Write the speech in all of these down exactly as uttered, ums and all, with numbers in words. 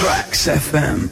Tracks F M.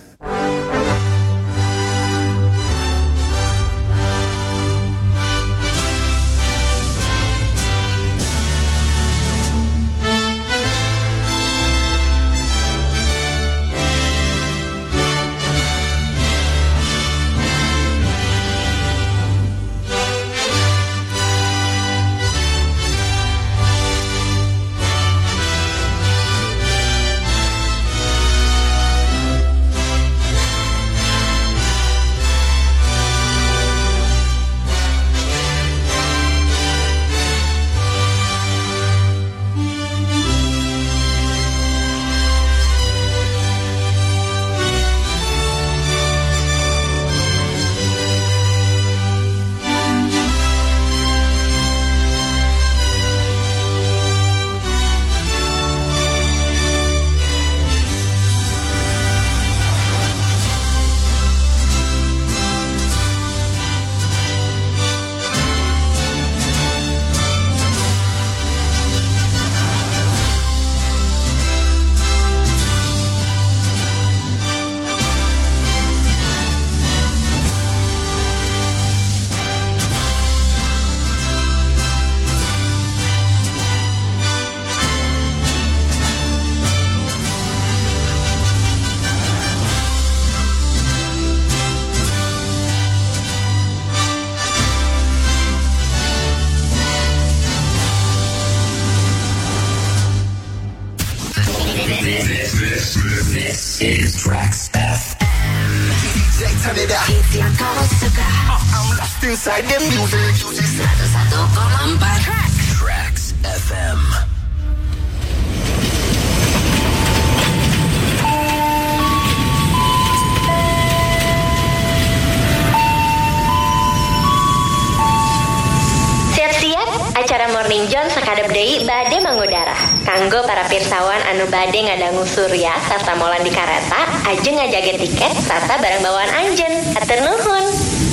Inside the music, seratus satu koma empat Tracks F M. Siap-siap, acara Morning John sakadep deui bade mangudara. Kanggo para pirsawan anu bade ngadangu surya sarta molan di kareta, ajeng ngajaga tiket sarta barang bawaan anjeun. Hatur nuhun.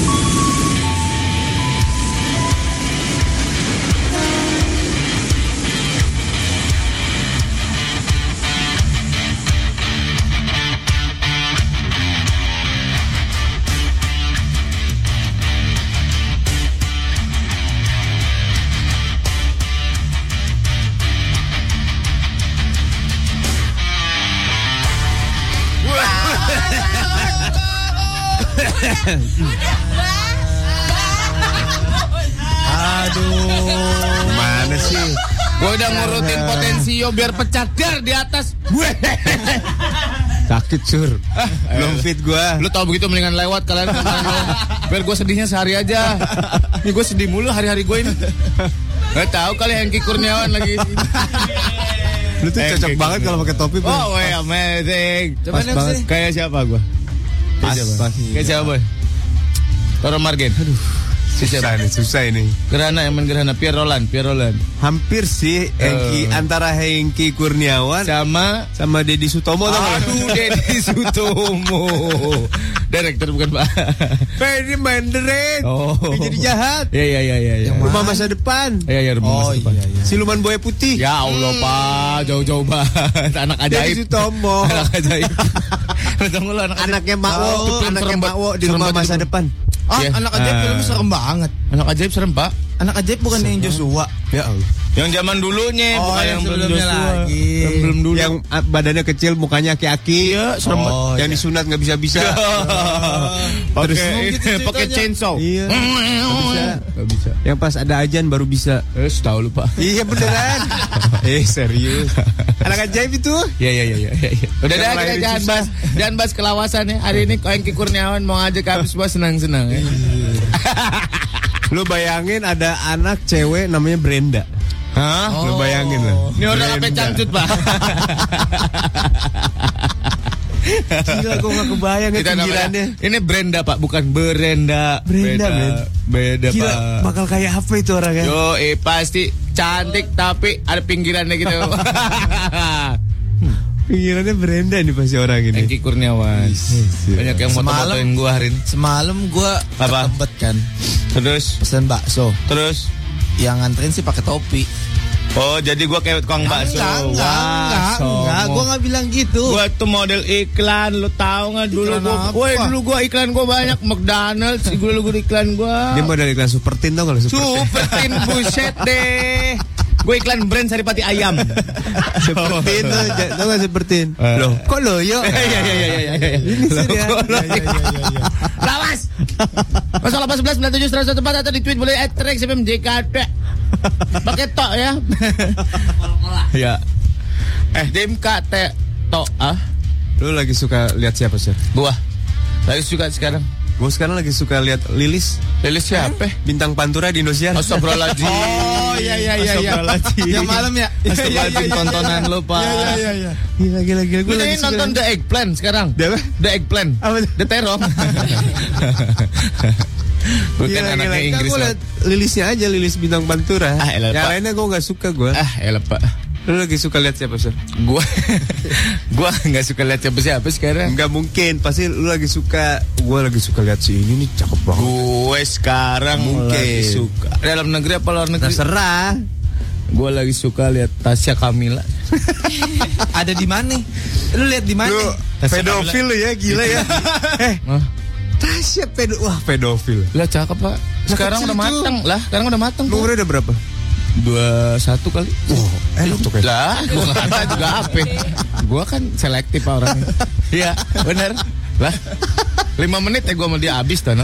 Aduh, mana sih? Gue udah ngurutin Potensio biar pecah dar di atas. Sakit sur, belum fit gue. Lu tau begitu mendingan lewat kalian. Biar gue sedihnya sehari aja. Ini gue sedih mulu hari-hari gue ini. Gak tahu kali Hengki Kurniawan lagi. Lu tuh cocok banget kalau pakai topi. Oh, wey, amazing. Pas banget. Kayak siapa gue? Pas, pas. Kayak siapa boy? Toro Margen. Aduh, susah nih, susah ini. Gerhana yang main Gerhana Pierre Roland, Pierre Roland. Hampir sih Hengki uh. antara Hengki Kurniawan sama sama Deddy Sutomo. Aduh, Deddy Sutomo. Direktur bukan Pak. Ini main direct. Oh. Dia jadi jahat. Iya iya iya iya. Ya. Rumah masa depan. Iya iya rumah oh, masa depan. Iya, iya. Siluman buaya putih. Ya Allah hmm. Pak, jauh-jauh banget. Anak ajaib. Deddy Sutomo. Anak ajaib. Tunggu lu anak anaknya Makwo, oh, anaknya Makwo di rumah masa depan. Ah, yeah. Anak ajaib filmnya serem banget. Anak ajaib serem, Pak. Anak ajaib bukan yang Joshua. Ya Allah. Yang zaman dulunya, oh, bukan yang, yang sebelumnya lagi. Yang belum dulu. Yang badannya kecil, mukanya aki-aki. Iya, serem banget. Oh, yang disunat enggak bisa-bisa. Pakai pakai chainsaw. Iya. Enggak bisa. Enggak bisa. Yang pas ada ajan baru bisa. Eh, tahu lu, Pak. Iya beneran. eh, serius. Anak ajaib itu. Iya, iya, iya, iya. Udah dah kita jangan bahas, jangan bahas kelawasan ya. Hari ini Hengki Kurniawan mau ngajak kami semua senang-senang ya. Lu bayangin ada anak cewek namanya Brenda. Hah? Oh. Lu bayangin lah. Ini orang sampai cangcut, Pak. Gila, gue gak kebayang ya pinggirannya. Ini Brenda, Pak, bukan Berenda. Brenda, Brenda. Beda, Gila, Pak. bakal kayak apa itu orangnya? Yo, eh pasti cantik tapi ada pinggirannya gitu. Pinggirannya Brenda nih pasti orang ini. Hengki Kurniawan. Banyak yang foto-fotoin gue hari ini. Semalam gue ketebet kan. Terus pesen bakso. Terus yang nganterin sih pakai topi. Oh, jadi gua kayak tukang bakso. Enggak, enggak, enggak, enggak. Gua enggak bilang gitu. Gua tuh model iklan, lu tahu enggak dulu Iklan gua. apa? Woi, dulu gua iklan gua banyak McDonald's, gua dulu iklan gua. Dia model iklan Supertin tau gak lu? Supertin buset deh. Gue iklan brand Saripati ayam. Supertin tuh, tau gak Supertin? Loh, kok loyo? Iya iya iya iya iya. Ini sih dia. Lawas. nol delapan sebelas sembilan tujuh satu satu empat atau di tweet boleh at Rex F M J K D. Pakai tok ya. Ya. Eh, D M K T tok ah. Lu lagi suka lihat siapa sih? Gua. Lagi suka sekarang. Gue sekarang lagi suka lihat Lilis. Lilis siapa? Bintang Pantura di Indosiar. Astagfirullahaladzim. Oh iya iya iya iya. Yang malam ya. Astagfirullahaladzim tontonan lu, Pak. Iya iya iya. Gila gila gila. Gue lagi nonton The Eggplant sekarang. The apa? The Eggplant. Apa? The Terong. Bukan anaknya Inggris. Gue lihat Lilisnya aja, Lilis Bintang Pantura. Ah, elah, yang Pak. lainnya gue nggak suka gue. Ah, elah Pak. Lu lagi suka lihat siapa sih? Gua gua nggak suka lihat siapa-siapa sekarang. Nggak mungkin, pasti lu lagi suka. Gue lagi suka lihat si ini nih cakep banget. Gue sekarang Mungkin. lagi suka dalam negeri apa luar negeri? Terserah. Gue lagi suka lihat Tasya Kamila. Ada di mana? Lu lihat di mana? Lu pedofil lu ya, gila ya. Eh, Hah? Tasya pedo, wah pedofil. Lah cakep Pak. Sekarang kecil udah itu. matang lah. Sekarang udah matang. Pak. Umurnya udah berapa? Dua satu kali. Oh, enak tuh kayak. Lah, gue nggak ada juga apa. Gue kan selektif Pak orangnya. Iya, bener. Lah, lima menit ya gue sama dia habis tuh.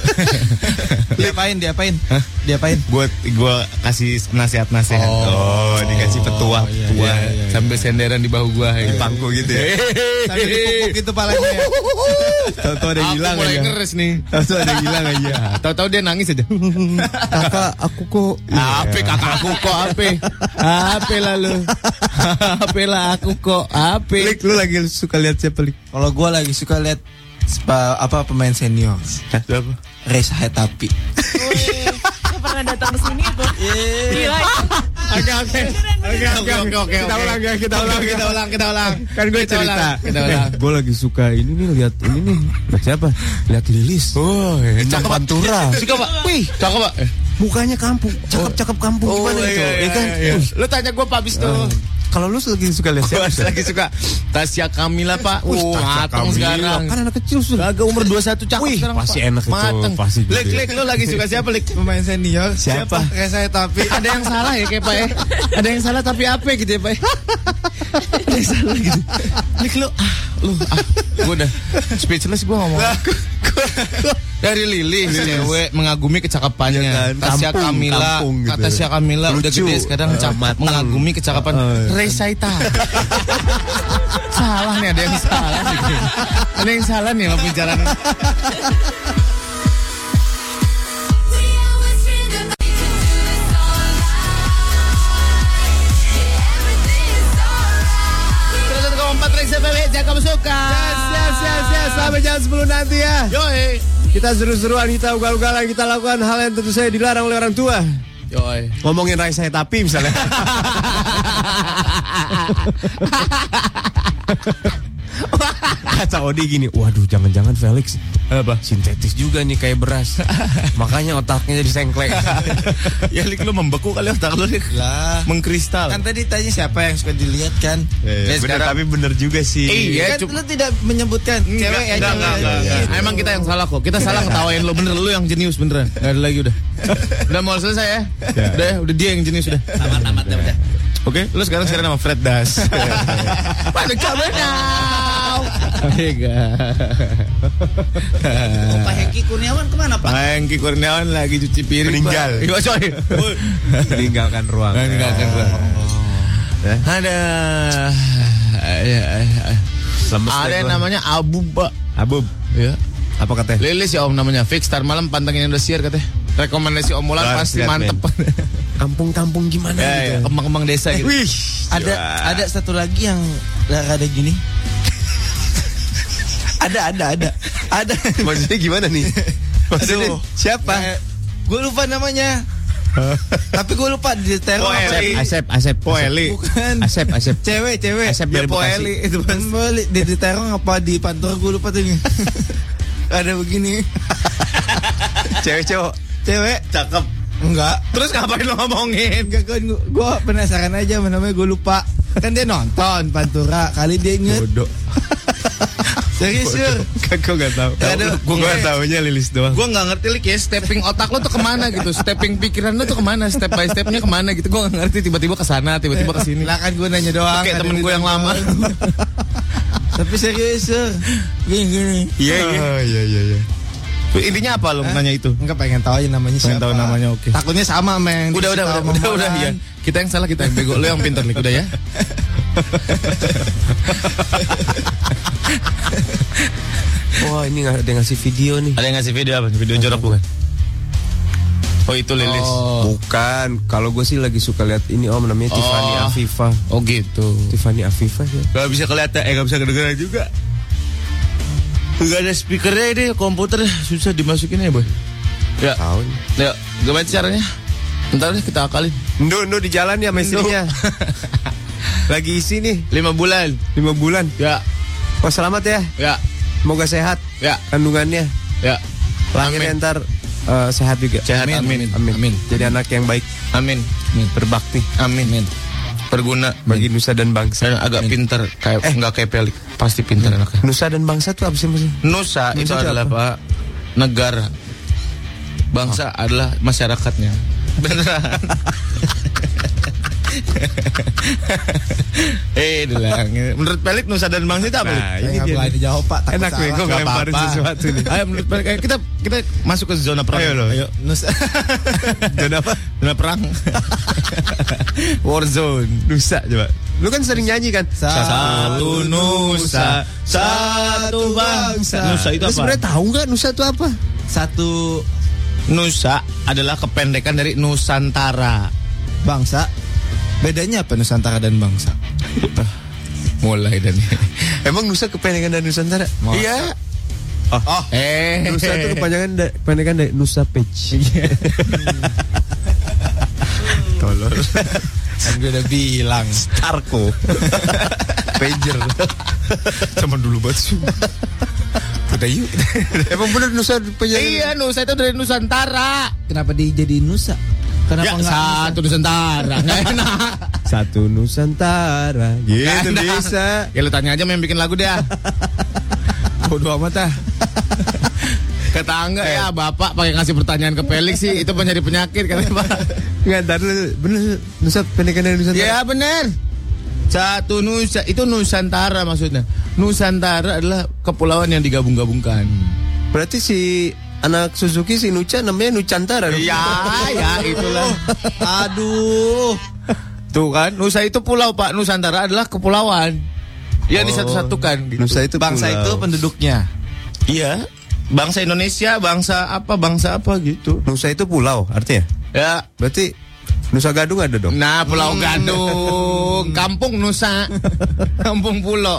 Diapain? Diapain? Hah? Diapain? Gue gue kasih nasihat-nasihat. Oh, dikasih petua. iya, Tua, iya, iya. sambil senderan di bahu gue. Di pangku gitu ya. Sambil dipukul gitu palanya ya. Tahu-tahu ada yang Aku hilang mulai aja. ngeres nih. Tahu-tahu ada yang hilang aja. Tahu-tahu dia nangis aja. Kakak, aku kok. Ape kakak aku kok ape? Ape lalu? Ape lah aku kok ape? Lik, lu lagi suka lihat siapa, Lik? Kalau gue lagi suka lihat spa- apa pemain senior. Siapa? Reza Hetapi. Wih, saya pernah datang ke sini tuh. Gila itu. Oke oke oke oke oke oke kita ulang ya kita ulang kita ulang kita ulang kan gue Kita cerita ulang, kita ulang. gue lagi suka ini nih lihat ini nih lihat siapa lihat Lilis Oh, Bintang Pantura Suka Pak? Wih, cakep Pak. mukanya kampung cakep cakep kampung gimana itu ya kan Uh, Lu tanya gue Pak abis tuh. kalau lu lagi suka lihat Gue siapa lagi suka Tasya Kamila Pak. Wih, Oh, Tasya matang Kamila. sekarang. Kan anak kecil sudah Kagak umur dua puluh satu cakep Wih, sekarang pasti Pak. enak itu, Mateng. pasti gitu Lik, ya. Lik, lu lagi suka siapa Lik? Pemain senior. Siapa? Reza Hetapi. Ada yang salah ya kayak Pak ya? Ada yang salah tapi apa gitu ya Pak ya? Ada yang salah gitu. Lik lu ah, lu ah. Gue udah speechless gue ngomong. Dari Lilis, cewek mengagumi kecakapannya. Ya kan, Tasya kampung, Kamila, kampung gitu. kata Tasya Kamila udah Lucu. gede sekarang Uh, cakep, matang. mengagumi kecakapan. Uh, Reza Ita. Salah nih, ada yang salah nih. Ada yang salah nih sama pembicaraan. empat Rex F M, jangan kamu suka. Yes, yes, yes, yes. Sampai jam sepuluh nanti ya. Yoi. Kita seru-seruan, kita ugal-ugalan, kita lakukan hal yang tentu saja dilarang oleh orang tua. Yoi. Ngomongin Reza Hetapi misalnya. Kata Odi gini, waduh jangan-jangan Felix Apa? sintetis juga nih kayak beras. Makanya otaknya jadi sengklek. Ya Lik, lu membeku kali otak lu Lik. Lah. Mengkristal. Kan tadi tanya siapa yang suka dilihat kan? Eh, bener, tapi bener juga sih. Iya, Kan cuma lu tidak menyebutkan cewek ya. enggak, enggak, enggak, enggak. Emang kita yang salah kok. Kita salah ngetawain lu, bener lu yang jenius beneran. Enggak ada lagi udah. Udah mau selesai ya? Udah, udah dia yang jenius udah. Tamat-tamat udah. Oke, lu sekarang sekarang nama Fred Das. Pada kamu now. Oh, Pak Hengki Kurniawan kemana Pak? Pak Hengki Kurniawan lagi cuci piring. Meninggal. Pak. Iya, sorry. Meninggalkan ruang. Meninggalkan ruang. Ya. Ada Lemes ada deh yang gua. namanya Abu, Pak. Abub. Ya. Apa katanya? Lilis ya Om namanya. Fix Star Malam pantengin Indosiar katanya. Rekomendasi Om Mulan Wah, pasti lihat, mantep. Kampung-kampung gimana Ya, ya, gitu. kembang-kembang desa gitu. Wih, Ada ada satu lagi yang ada gini. Ada ada ada. Ada. Maksudnya gimana nih? Maksudnya Aduh. siapa? Gue lupa namanya. Tapi gue lupa di teror. Poeli. Asep, Asep, Poeli. Bukan. Asep, Asep. Cewek, cewek. Asep Ya, dari Bekasi. Poeli itu kan balik di, di teror apa di Pantura gue lupa tuh. Ada begini. Cewek cowok. Cewek Cakep. Enggak. Terus ngapain lo ngomongin? Enggak, gue, gue penasaran aja namanya, gue lupa. Kan dia nonton Pantura, kali dia inget. Bodoh. Serius, Sur. Gue gak tau. Gue gak taunya Lilis doang. Gue gak ngerti Lik ya, stepping otak lo tuh kemana gitu, stepping pikiran lo tuh kemana, step by stepnya kemana gitu. Gue gak ngerti, tiba-tiba kesana, tiba-tiba kesini. Lah kan gue nanya doang. Kayak temen gue yang lama. Tapi serius, Sur. Gini-gini. Iya, iya. Iya, iya, iya. Intinya apa lo nanya itu? Enggak, pengen tahu aja namanya Pengen siapa. tahu namanya, oke. Takutnya sama, men. Udah, udah, udah, udah, udah, ya. Kita yang salah, kita yang bego. Lo yang pintar, Lik, udah ya. Wah, ini gak ada yang ngasih video nih. Ada yang ngasih video apa? Video jorok bukan? Oh, itu Lilis. Oh. Bukan, kalau gue sih lagi suka lihat ini om, namanya Oh. Tiffany Afifa. Oh gitu. Tiffany Afifa ya. Gak bisa kelihatan, eh gak bisa kedengeran juga. Gak ada speakernya ini, komputer susah dimasukin ya boy. Ya, Tahu. ya, gimana caranya? Ntar deh kita akalin. Ndo, Ndo di jalan ya sama istrinya. Lagi isi nih, Lima bulan. lima bulan. Ya, Wah, selamat ya. ya, Semoga sehat ya, kandungannya. ya. Lahirnya Amin. ntar eh, sehat juga. Sehat, amin. Amin. Amin. Jadi anak yang baik, Amin. berbakti Amin. Berguna bagi nusa dan bangsa. saya agak pintar, kayak nggak kayak Pelik, pasti pintar anaknya. Nusa dan bangsa tuh apa sih maksudnya? Nusa, itu Nusa itu adalah apa? Pak negara. Bangsa adalah masyarakatnya. Beneran. eh, dilang. Menurut Pelik Nusa dan bangsa itu apa? Lik? Nah, Saya ini nggak dia. boleh dijawab, Pak. Takut Enak nih, salah. gue Nggak ngelemparin apa-apa. sesuatu nih. Ayo menurut Pelik, ayo kita kita masuk ke zona perang. Ayo loh. Ayo. Nusa. Zona apa? Zona perang. War zone. Nusa coba. Lu kan sering nyanyi kan? Satu Nusa, satu bangsa. Nusa itu Lu apa? sebenarnya tahu nggak Nusa itu apa? Satu Nusa adalah kependekan dari Nusantara. bangsa. Bedanya apa Nusantara dan bangsa? Mulai dan Emang Nusa kependekan dari Nusantara? iya. Oh, oh. Eh, Nusa itu kepanjangan da- kependekan dari Nusa Page. Tolol. Kan gue udah bilang. Starco. Pager. Zaman dulu banget. Udah yuk. Emang bener Nusa penyanyi? Iya, Nusa itu dari Nusantara. Kenapa dia jadi Nusa? Kenapa Ya, nggak satu Nusantara. Nggak enak. Satu Nusantara. Gitu Nggak enak. bisa. Ya lu tanya aja yang bikin lagu dia. Bodoh amat ah. Kata Angga ya, Bapak pakai ngasih pertanyaan ke Pelik sih, itu penyari penyakit katanya Pak. Nggak, ntar dulu. Bener Nusa pendekan dari Nusantara. Ya bener. Satu Nusa, itu Nusantara maksudnya. Nusantara adalah kepulauan yang digabung-gabungkan. Berarti si anak Suzuki si Nucha namanya Nucantara. dong? Iya, ya itulah. Aduh. Tuh kan, Nusa itu pulau Pak, Nusantara adalah kepulauan. Ya Oh. disatu-satukan gitu. Nusa itu Bangsa pulau. itu penduduknya. Iya. Bangsa Indonesia, bangsa apa, bangsa apa gitu. Nusa itu pulau artinya. Ya. Berarti Nusa Gadung ada dong. Nah, Pulau Gadung, Kampung Nusa, Kampung Pulau.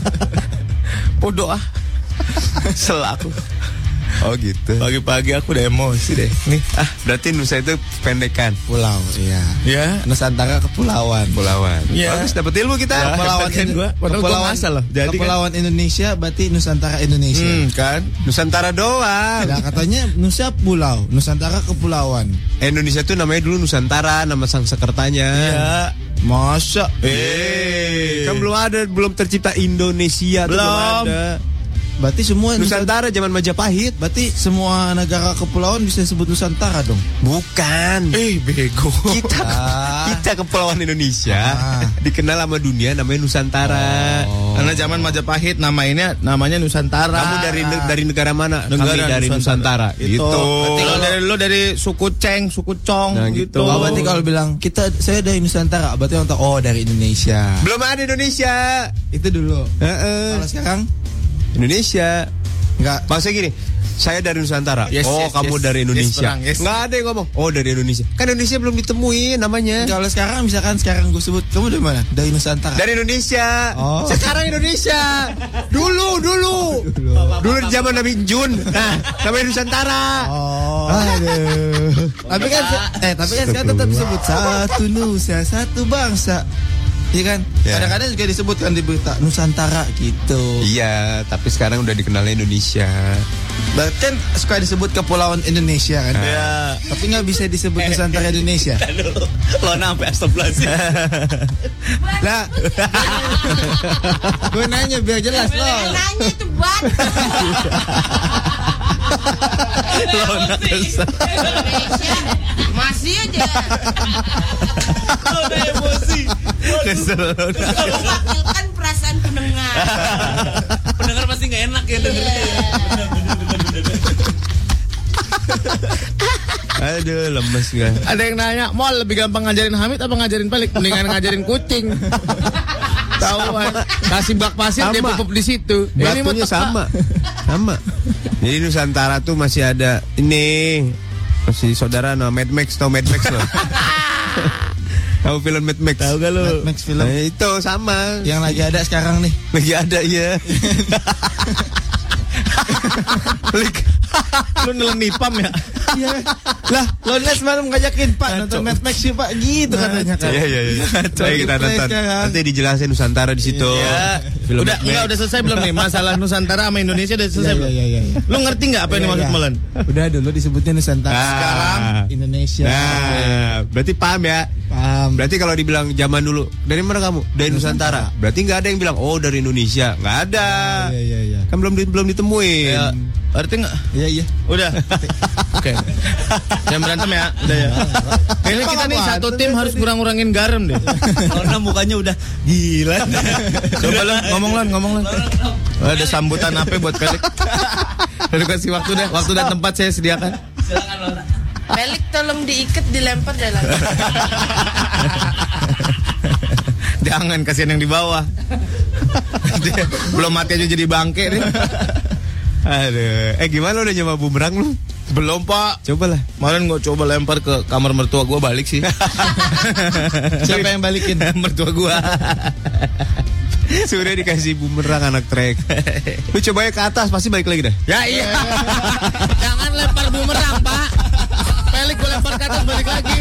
Bodoh ah. Selaku. Oh gitu. Pagi-pagi aku udah emosi deh. Nih, Ah, berarti Nusa itu pendekan. Pulau, iya. ya. Nusantara kepulauan. Pulauan. Iya. Bagus dapat ilmu kita. Ya, Kepulauan hebat kan gua. Padahal gua kepulauan, ngasal loh. Jadi kan- kepulauan Indonesia berarti Nusantara Indonesia. Hmm, kan? Nusantara doang. Nah, katanya Nusa pulau, Nusantara kepulauan. Indonesia tuh namanya dulu Nusantara, nama sang sekertanya. Iya. Masa? Eh, kan belum ada, belum tercipta Indonesia. tuh Belum. ada. Berarti semua Nusantara zaman Majapahit. Berarti semua negara kepulauan bisa disebut Nusantara dong. Bukan. Eh, bego. Kita Ah. kita kepulauan Indonesia Ah. dikenal sama dunia namanya Nusantara. Karena zaman Majapahit namanya namanya Nusantara. Kamu dari ne- dari negara mana? Negara Kami dari Nusantara. Gitu. Gitu. Berarti kalau dari lu dari suku Ceng, suku Cong Nah, gitu. gitu. Oh, berarti kalau bilang kita saya dari Nusantara, berarti orang tahu oh dari Indonesia. Belum ada Indonesia. Itu dulu. Heeh. Kalau sekarang Indonesia. enggak. Maksudnya gini, saya dari Nusantara. Yes, oh, yes, kamu yes. dari Yes, Indonesia. perang, yes. Nggak ada yang ngomong. Oh, dari Indonesia. Kan Indonesia belum ditemuin namanya. Kalau sekarang misalkan sekarang gue sebut kamu dari mana? Dari Nusantara. Dari Indonesia. Oh. Sekarang Indonesia. Dulu, dulu. Dulu di zaman Nabi Jun. Nah, namanya Nusantara. Oh. Aduh. Tapi kan eh tapi kan sekarang tetap disebut satu Nusa, satu bangsa. Iya kan? Ya. Kadang-kadang juga disebutkan di berita Nusantara gitu. Iya, tapi sekarang udah dikenalnya Indonesia. Berarti kan suka disebut Kepulauan Indonesia kan? Ya. Tapi nggak bisa disebut Nusantara Indonesia. Lo sampai astagfirullahaladzim. Lah, gue nanya biar jelas lo. Nanya itu buat. Lona kesel. Masih aja. Lo udah emosi. Kesel. Mewakilkan perasaan pendengar. Pendengar pasti nggak enak ya dengerin. Aduh, lemes gue. Ada yang nanya, mau lebih gampang ngajarin Hamid apa ngajarin Pelik? Mendingan ngajarin kucing. Tahuan, kasih bak pasir dia Sama. pupuk di situ. Ini mah Batunya teka. sama. Sama. Jadi Nusantara tuh masih ada ini masih saudara no Mad Max, tau Mad Max lo. Tahu film Mad Max? Tahu gak lu? Mad Max film. Nah, itu sama. Yang lagi ada sekarang nih. Lagi ada iya. Pelik. Lu nelen nipam ya? Iya. Lah, lo lihat semalam ngajakin Pak nonton Mad Max sih Pak gitu katanya kan. Iya iya iya. Ayo kita nonton. Nanti dijelasin Nusantara di situ. Ya. Film Udah, Mad Max. enggak udah selesai belum nih? Masalah Nusantara sama Indonesia udah selesai Iya belum? iya iya. Lu ngerti nggak apa yang Iya, dimaksud iya. Molan? Udah dulu disebutnya Nusantara. Ah. Sekarang Indonesia. Nah, berarti paham ya? Paham. Berarti kalau dibilang zaman dulu, dari mana kamu? Dari Nusantara. Berarti nggak ada yang bilang, oh dari Indonesia. Nggak ada. Iya iya iya. Kan belum di- belum ditemuin. Ya, arti nggak? Iya iya. Udah. Oke. Jangan berantem ya. Udah ya. Ini kita nih satu tim harus kurang-kurangin garam deh. Karena mukanya udah gila. Coba lo ngomong lan, ngomong lan. Ada sambutan apa buat Pelik? Udah kasih waktu deh, waktu dan tempat saya sediakan. Silakan Lona. Pelik tolong diikat dilempar dalam. Jangan, kasihan yang di bawah. Dia belum mati aja jadi bangke nih. Aduh. Eh gimana udah nyoba bumerang lu? Belum Pak. Coba lah. Kemarin gue coba lempar ke kamar mertua gue, balik sih. Siapa yang balikin? Mertua gue. Sudah dikasih bumerang anak trek. Lu coba ke atas pasti balik lagi dah. Ya iya. Jangan lempar bumerang Pak. Pelik gue lempar ke atas balik lagi.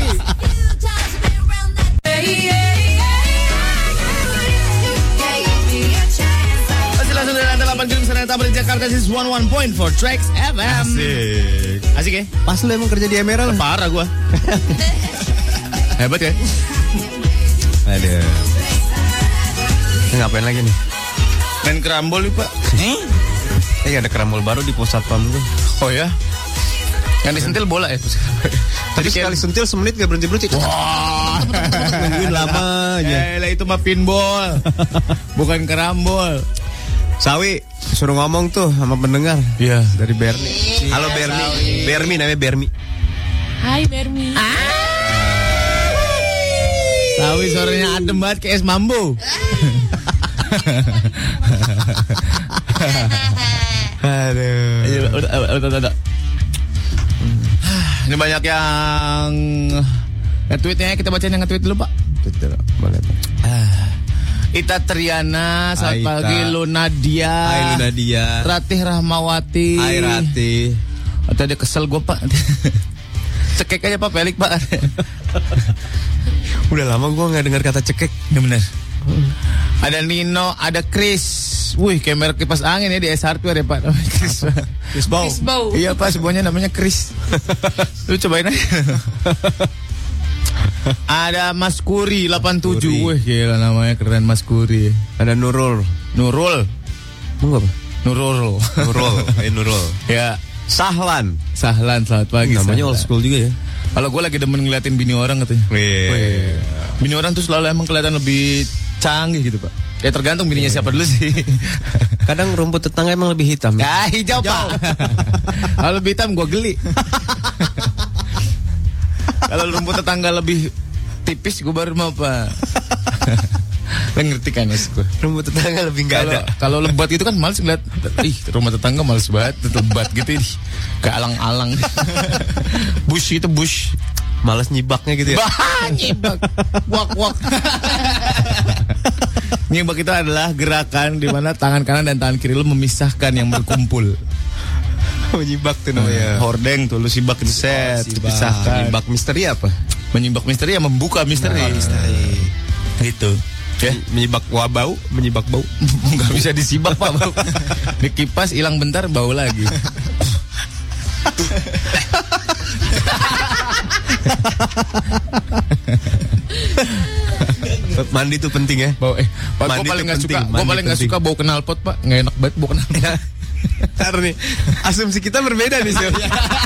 Masih langsung dari lantai delapan Gedung Serentak di Jakarta, this is one one point four Tracks F M. Asik. Asik ya? Pas lu emang kerja di Emerald. Parah gue. Hebat ya? Aduh. Ngapain lagi nih? Main kerambol nih Pak. Eh ada kerambol baru di pos satpam gue. Oh ya? Yang disentil bola ya? Tadi sekali sentil semenit gak berhenti-berhenti. Wah, Nungguin lama aja. ya itu mah pinball, bukan kerambol. Sawi, suruh ngomong tuh sama pendengar. Iya. Dari Bermi. Halo Bermi. Bermi namanya Bermi. Hai Bermi. Sawi suaranya adem banget kayak es mambo. Aduh. Udah, udah, udah, udah. Ini banyak yang nge-tweetnya, kita bacain yang nge-tweet dulu Pak. Betul, boleh. Ita Triana, selamat Aita. pagi. Luna Dia, Hai Luna Dia. Ratih Rahmawati. Hai Rati. Atau dia kesel gue Pak. Cekek aja Pak, Pelik Pak. Udah lama gue gak dengar kata cekek. Ya benar. Ada Nino, ada Chris. Wih, kayak merek kipas angin ya di S Hardware ya Pak. Namanya Chris. Chris Bow. Chris Bow. Iya Pak, semuanya namanya Chris. Lu cobain aja. Ada Mas Kuri delapan tujuh. Kuri. Wih, gila namanya keren Mas Kuri. Ada Nurul. Nurul. Mau apa? Nurul. Nurul. Eh Nurul. Ya, Sahlan. Sahlan, selamat pagi. Namanya Sahlan. old school juga ya. Kalau gue lagi demen ngeliatin bini orang katanya. Wih. Bini orang tuh selalu emang kelihatan lebih canggih gitu Pak. Ya tergantung bininya siapa dulu sih. Kadang rumput tetangga emang lebih hitam. Ya hijau Pak. Kalau lebih hitam gue geli. Kalau rumput tetangga lebih tipis gue baru mau Pak. Lo ngerti kan ya gue. Rumput tetangga lebih nggak Kalau ada. kalau lebat itu kan males ngeliat. Ih rumah tetangga males banget lebat gitu. Ih, kayak alang-alang. Bush itu bush. Males nyibaknya gitu ya. Bah, nyibak. Wak-wak. Nyibak itu adalah gerakan di mana tangan kanan dan tangan kiri lu memisahkan yang berkumpul. Menyibak tuh namanya. Hordeng tuh lu sibak itu set, dipisahkan. Menyibak misteri apa? Menyibak misteri ya membuka misteri. Misteri. Gitu. Ya, Menyibak wah bau, menyibak bau. nggak bisa disibak Pak. Bau. Dikipas hilang bentar bau lagi. Mandi tuh penting ya. Bau eh, Pak, Mandi gue paling tuh nggak penting, suka, gue mandi paling nggak penting. suka bau knalpot Pak, nggak enak banget bau knalpot. Ntar nih, asumsi kita berbeda nih, Sil.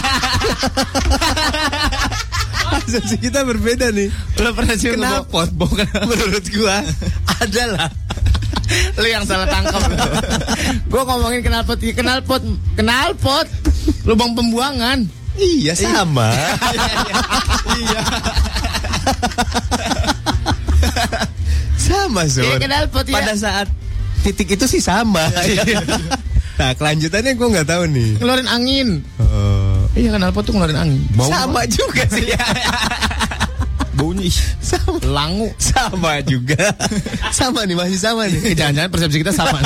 Asumsi kita berbeda nih. Lo pernah sih Knalpot, bau knalpot? menurut gua adalah Lo yang salah tangkap. Gue ngomongin knalpot, ya, knalpot, knalpot, lubang pembuangan. iya sama. Iya. Sama, Sur. Iya, knalpot, ya. Pada saat titik itu sih sama. Nah, kelanjutannya gua nggak tahu nih. Ngeluarin angin. Oh. Iya, knalpot tuh ngeluarin angin. Bau Sama juga sih. baunya ih, Sama. langu. Sama juga. Sama nih, masih sama nih. Eh, jangan-jangan persepsi kita sama.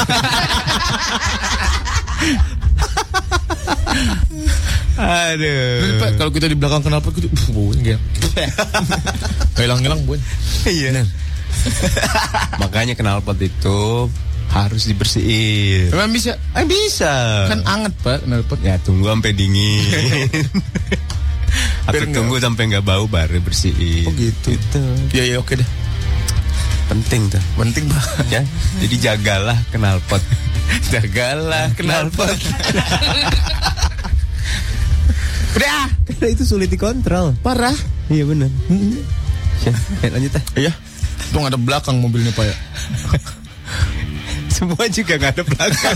Aduh. Pak, kalau kita di belakang knalpot gitu, uh, baunya kayak hilang-hilang baunya. Iya. Makanya knalpot itu harus dibersihin. Emang bisa? Eh bisa. Kan anget Pak knalpot. Ya tunggu sampai dingin. Atau Biar tunggu sampai nggak bau baru bersihin. Oh gitu. Gitu. Iya iya oke deh. Penting tuh. Penting banget Ya. Jadi jagalah knalpot. Jagalah knalpot. Udah. Karena itu sulit dikontrol. Parah. Iya benar. Ya, ya, lanjut ah. Iya. Tuh nggak ada belakang mobilnya Pak ya. Semua juga nggak ada belakang.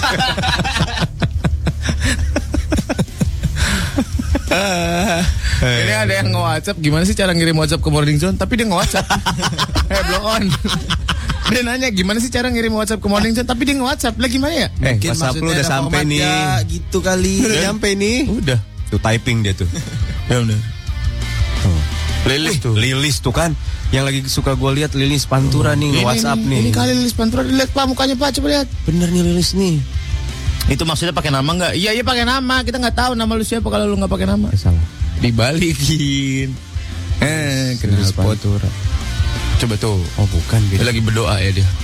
Ini ada yang nge-WhatsApp, gimana sih cara ngirim WhatsApp ke Morning Zone? Tapi dia nge-WhatsApp. Eh, blow on. Dia nanya gimana sih cara ngirim WhatsApp ke Morning Zone? Tapi dia nge-WhatsApp. Lah gimana ya? Eh, Mungkin WhatsApp lu maksudnya udah ada sampai nih. formatnya gitu kali. Udah nyampe nih. Udah. Tuh typing dia tuh. Ya udah. Lilis tuh. Lilis tuh kan. Yang lagi suka gue lihat Lilis Pantura nih Ini, WhatsApp ini, nih. Ini kali Lilis Pantura, lihat Pak mukanya Pak, coba lihat. Bener nih Lilis nih. Itu maksudnya pakai nama nggak? Iya iya pakai nama. Kita nggak tahu nama lu siapa kalau lu nggak pakai nama. Eh, salah. Dibalikin. Eh, Lilis knalpot. Pantura. Coba tuh. Oh bukan Dia beda. lagi berdoa ya dia.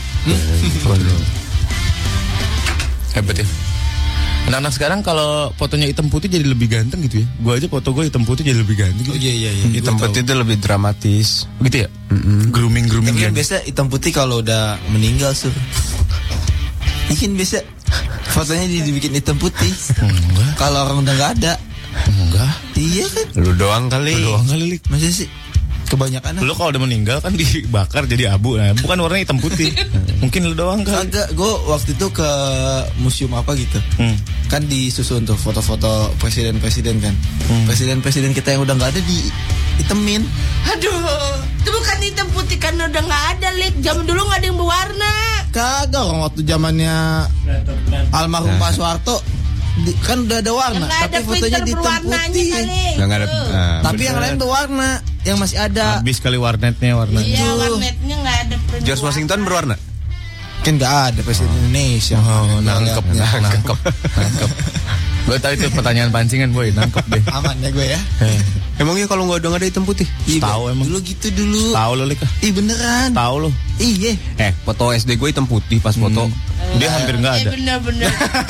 Hebat ya. Anak-anak sekarang kalau fotonya hitam putih jadi lebih ganteng gitu ya. Gua aja foto gue hitam putih jadi lebih ganteng gitu. Oh iya iya iya. Hitam Gua putih tahu. itu lebih dramatis. Gitu ya? Grooming grooming Tapi kan gitu. biasa hitam putih kalau udah meninggal sur. Ikan biasa fotonya di- dibikin hitam putih. Enggak, Kalau orang udah nggak ada. enggak. Iya kan? Lu doang kali. Lu doang kali Lik. Masa sih? Kebanyakan Lu kalau udah meninggal kan dibakar jadi abu. Nah, bukan warnanya hitam putih. Mungkin lu doang kali. Agak, gue waktu itu ke museum apa gitu. Hmm. Kan disusun tuh foto-foto presiden-presiden kan. Hmm. Presiden-presiden kita yang udah nggak ada di hitemin. Aduh, itu bukan hitam putih kan udah nggak ada, Lik. Zaman dulu nggak ada yang berwarna. Kagak, orang waktu zamannya almarhum Pak Soeharto di- kan udah ada warna, Yang nggak tapi ada fotonya filter di hitam berwarnanya putih. kali. Nggak ada. Tuh. Nah, Tapi yang bener. lain berwarna, yang masih ada. Habis kali warnetnya warna. Iya, warnetnya nggak ada. print George warna. Washington berwarna. Kan nggak ada presiden Indonesia. Oh, nangkep, Nggak- nangkep, nangkep. Gue tahu itu pertanyaan pancingan boy, nangkep deh. Aman ya gue ya. Emangnya kalau nggak udah nggak ada hitam putih? Iya, Tahu emang. Dulu gitu dulu. Tahu lo Lik. Ih beneran. Tahu lo. Iya. Eh, foto S D gue hitam putih pas foto. Dia hampir nggak Eh ada. bener-bener.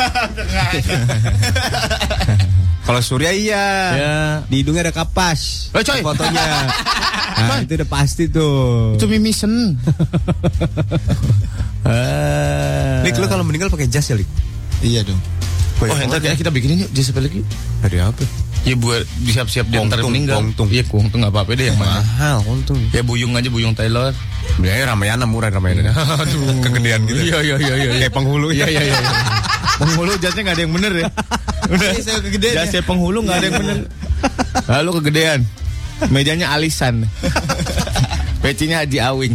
Kalau Surya iya. Ya. Di hidungnya ada kapas. Eh, coy. Fotonya. Nah, itu udah pasti tuh. Itu mimisen. Ah. Lik, lu kalau meninggal pakai jas ya, Lik? Iya dong. Oh, entar kayak kita bikinin yuk jas apa lagi? Dari apa? Ya buat siap-siap dia ntar Kongtung, meninggal. kongtung. Iya, kongtung enggak apa-apa deh yang mana. Mahal, untung. Ya buyung aja buyung Taylor. Biaya Ramayana murah Ramayana. Aduh. Kegedean gitu. Iya iya iya iya. Kayak penghulu. Iya iya iya. Penghulu jasnya enggak ada yang bener ya. Udah. Saya kegedean ya. Jasnya penghulu enggak ada yang bener. Lalu kegedean. Mejanya alisan. Pecinya Haji Awing.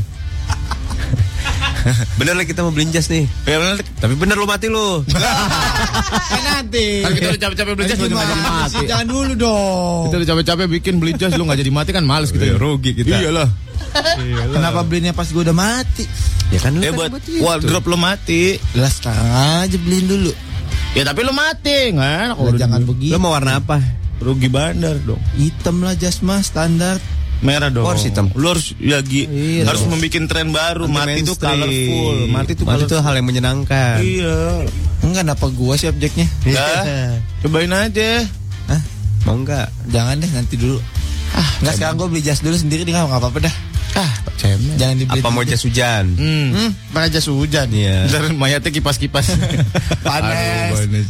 Bener lah kita mau beliin jas nih. Ya bener. Tapi bener lu mati lu. Eh nanti. Kan kita udah capek-capek beli jas lu enggak jadi mati. Jangan dulu dong. Kita udah capek-capek bikin beli jas lu enggak jadi mati kan males kita. Iya, rugi kita. Iyalah. Kenapa belinya pas gue udah mati? Ya kan lu Eh kan buat itu. wardrobe lu mati. Lah sekarang aja beliin dulu. Ya tapi lu mati, nggak enak. Lah, jangan begitu. Lu mau warna apa? Rugi bandar dong. Hitam lah jas mah standar. Merah dong. Oh, harus hitam. Lu harus ya Gi, Iya harus dong. membuat tren baru. Anti Mati itu mainstream. colorful. Mati itu Mati itu colorful. hal yang menyenangkan. Iya. Enggak, kenapa gua sih objeknya? Nah, cobain aja. Hah? Mau enggak? Jangan deh, nanti dulu. Ah, enggak sekarang gue beli jas dulu sendiri nih, enggak apa-apa dah. Ah, cemen. Jangan dibeli. Apa mau jas hujan? Hmm. Hmm, pakai jas hujan. Iya. Ntar mayatnya kipas-kipas. Panas. Aduh, panas.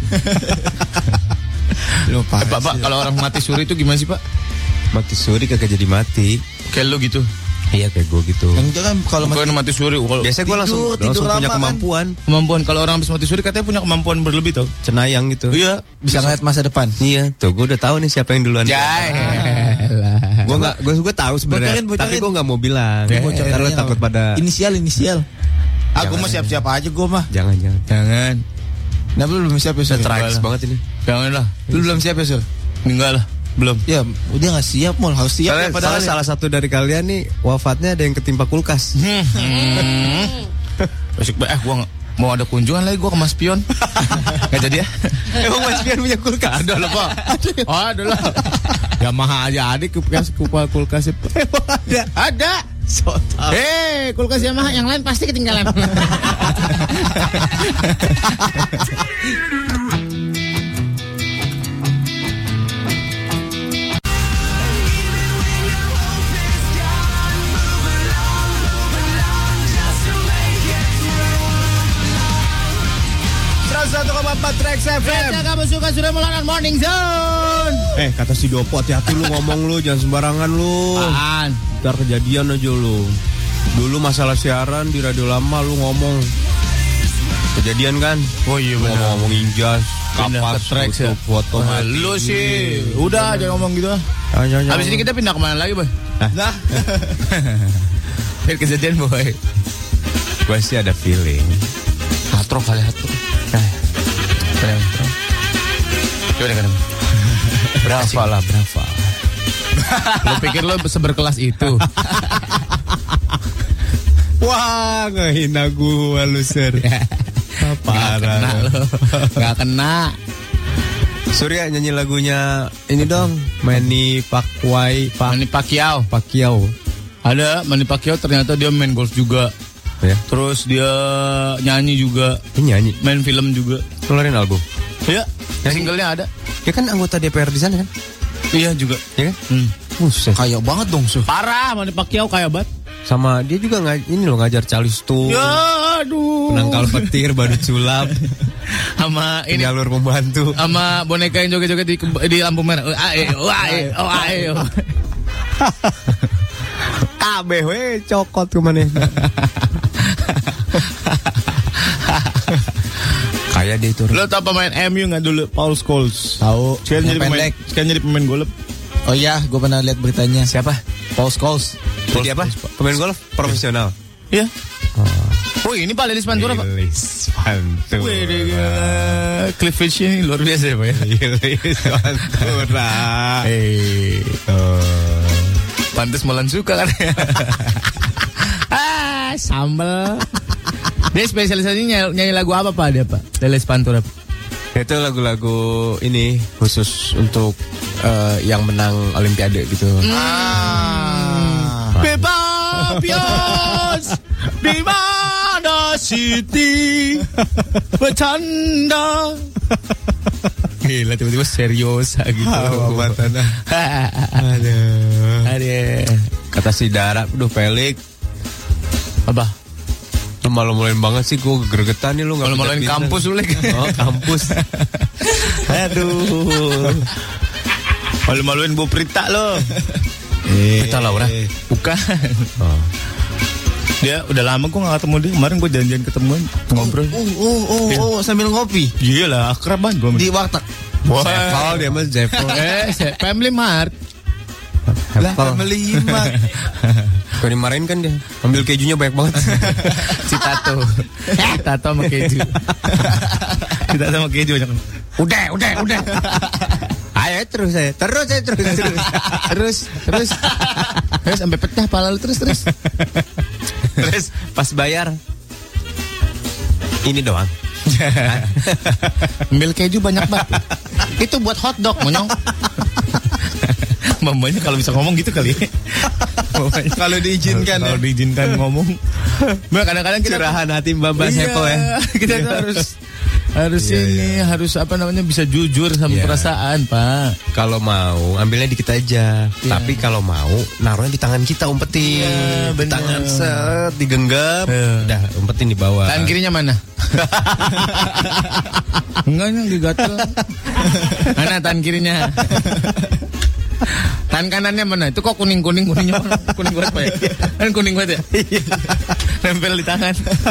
Lu Eh, Pak, Pak, kalau orang mati suri itu gimana sih, Pak? Mati suri kagak jadi mati. Kayak lu gitu. Iya kayak gue gitu. Yang itu kan kalau Bukan mati suri. Kalau Biasanya gue langsung, tidur, tidur langsung punya lama kan. kemampuan. kemampuan kalau orang habis mati suri katanya punya kemampuan berlebih tau. Cenayang gitu. Iya. bisa ngeliat masa depan. Iya, tuh gue udah tahu nih siapa yang duluan. Jai. Gue nggak, gue gue tahu sebenarnya. Bocorin, bocorin. Tapi gue nggak mau bilang. Eh, Bocorin Ntar lo aja takut apa? pada. Inisial, inisial. Aku Jangan. mah siap-siap aja gue mah. Jangan jangan. Jangan. Nah, lu belum siap ya, Sur? Tragis banget ini. Jangan lah. Lu belum siap ya, Sur? Enggak lah. Belum. Ya, udah nggak siap, Mul. Harus siap Soalnya, ya, padahal. soalnya salah satu dari kalian nih wafatnya ada yang ketimpa kulkas. Hmm. Besok eh gua nggak- mau ada kunjungan lagi gua ke Mas Pion. Enggak jadi ya? Emang Mas Pian punya kulkas? Ada lah, Pak. Oh, ada lah. Yamaha aja ada kulkas kulkas kulkas itu. Ada. Ada. Hei, kulkas Yamaha yang lain pasti ketinggalan. seratus satu koma empat Trax F M. Jika kamu suka sudah mulakan Morning Zone. Eh kata si Dopo, hati-hati lu ngomong lu, jangan sembarangan lu. Apaan? Ntar kejadian aja lu. Dulu masalah siaran di radio lama lu ngomong kejadian kan? Oh iya Ngomong, ngomong injas, Pindah kapas, ke Trax ya. tutup, foto Wah, mati. lu sih, udah jangan ngomong gitu. Jangan, jangan, Habis jangan. ini kita pindah kemana lagi, Boy? Nah, Biar kejadian, Boy. Gue sih ada feeling. Hatro kali hatro. Coba kan. Berapa lah, berapa? Lo pikir lo seberkelas itu? Wah, ngehina gua lu, Sir. Parah. Kena lo. Gak kena. Surya nyanyi lagunya ini dong, Manny Pacquiao, Manny Pacquiao. Pacquiao. Ada Manny Pacquiao, ternyata dia main golf juga. Ya, Terus dia nyanyi juga, ini nyanyi. main film juga. Keluarin album. Iya, singlenya ada. Dia kan anggota D P R di sana kan? Iya juga. Ya kan? Hmm. Buset. kayak banget dong, Sur. Parah, Manny Pacquiao kayak banget. Sama dia juga ngaj- ini loh ngajar calistung. Ya, aduh. Penangkal petir, badut sulap, Sama ini penyalur pembantu. sama boneka yang joget-joget di, di lampu merah. Oh, ae, oh, ae, oh, ae, oh. Kabeh we cokot kemana? Kayak dia itu. Lo tau pemain M U nggak dulu? Paul Scholes. Tahu. Sekarang jadi Yang pemain, pendek. sekarang jadi pemain golf. Oh iya, gue pernah lihat beritanya. Siapa? Paul Scholes. Jadi apa? Pemain golf profesional. Iya. Oh ini Pak Lilis Pantura Pak. Lilis Pantura. Wih, dia cleavage ini luar biasa ya Pak ya. Lilis Pantura. Eh, Oh. pantes Molan suka kan. Ah, sambel. Dia spesialisasinya nyanyi, nyanyi lagu apa Pak dia Pak? Lilis Pantura. Itu lagu-lagu ini khusus untuk eh, yang menang Olimpiade gitu. Ah. Bebabios di mana Siti bercanda. Gila tiba-tiba serius gitu. Hawa tanah. Aduh. Aduh. Kata si Dara, udah Pelik, Apa? lu malu-maluin banget sih, gue gregetan nih lu nggak Malu-maluin pindah-pindah. kampus lu, Lek. Oh kampus. Aduh. Malu-maluin Bu Prita lo. Eh, Prita Laura? Bukan. Oh. Dia udah lama gue gak ketemu dia. Kemarin gue janjian ketemuan ngobrol. Oh, oh, oh, oh, sambil ngopi Iya lah, akrab banget gue. di warteg. Zevel dia mah Zevel. Eh, se- Family Mart. Lah, family mart. Kau dimarahin kan dia, ambil kejunya banyak banget. Citato. Citato sama keju. Citato sama keju banyak. Udah, udah, udah. Ayo terus saya, terus saya terus terus. Terus, terus. Terus sampai pecah pala lu terus, terus. Terus pas bayar, ini doang. Ambil keju banyak banget. Itu buat hotdog, monyong. Mamanya kalau bisa ngomong gitu kali. Kalau diizinkan Kalau ya. diizinkan ngomong. Mbak kadang-kadang kita Curahan hati Mbak Mbak Iya, Sepo ya. Kita tuh harus Harus Iya, ini, harus apa namanya bisa jujur sama Iya. perasaan, Pak. Kalau mau ambilnya dikit aja. Tapi kalau mau naruhnya di tangan kita, umpetin. Iya, Di bener. tangan set, digenggam, Iya. udah umpetin di bawah. Tangan kirinya mana? Enggak, yang digatel. Mana tangan kirinya? Tangan kanannya mana? Itu kok kuning-kuning kuningnya mana? Kuning banget, Pak ya? Kan kuning banget ya? Nempel di tangan.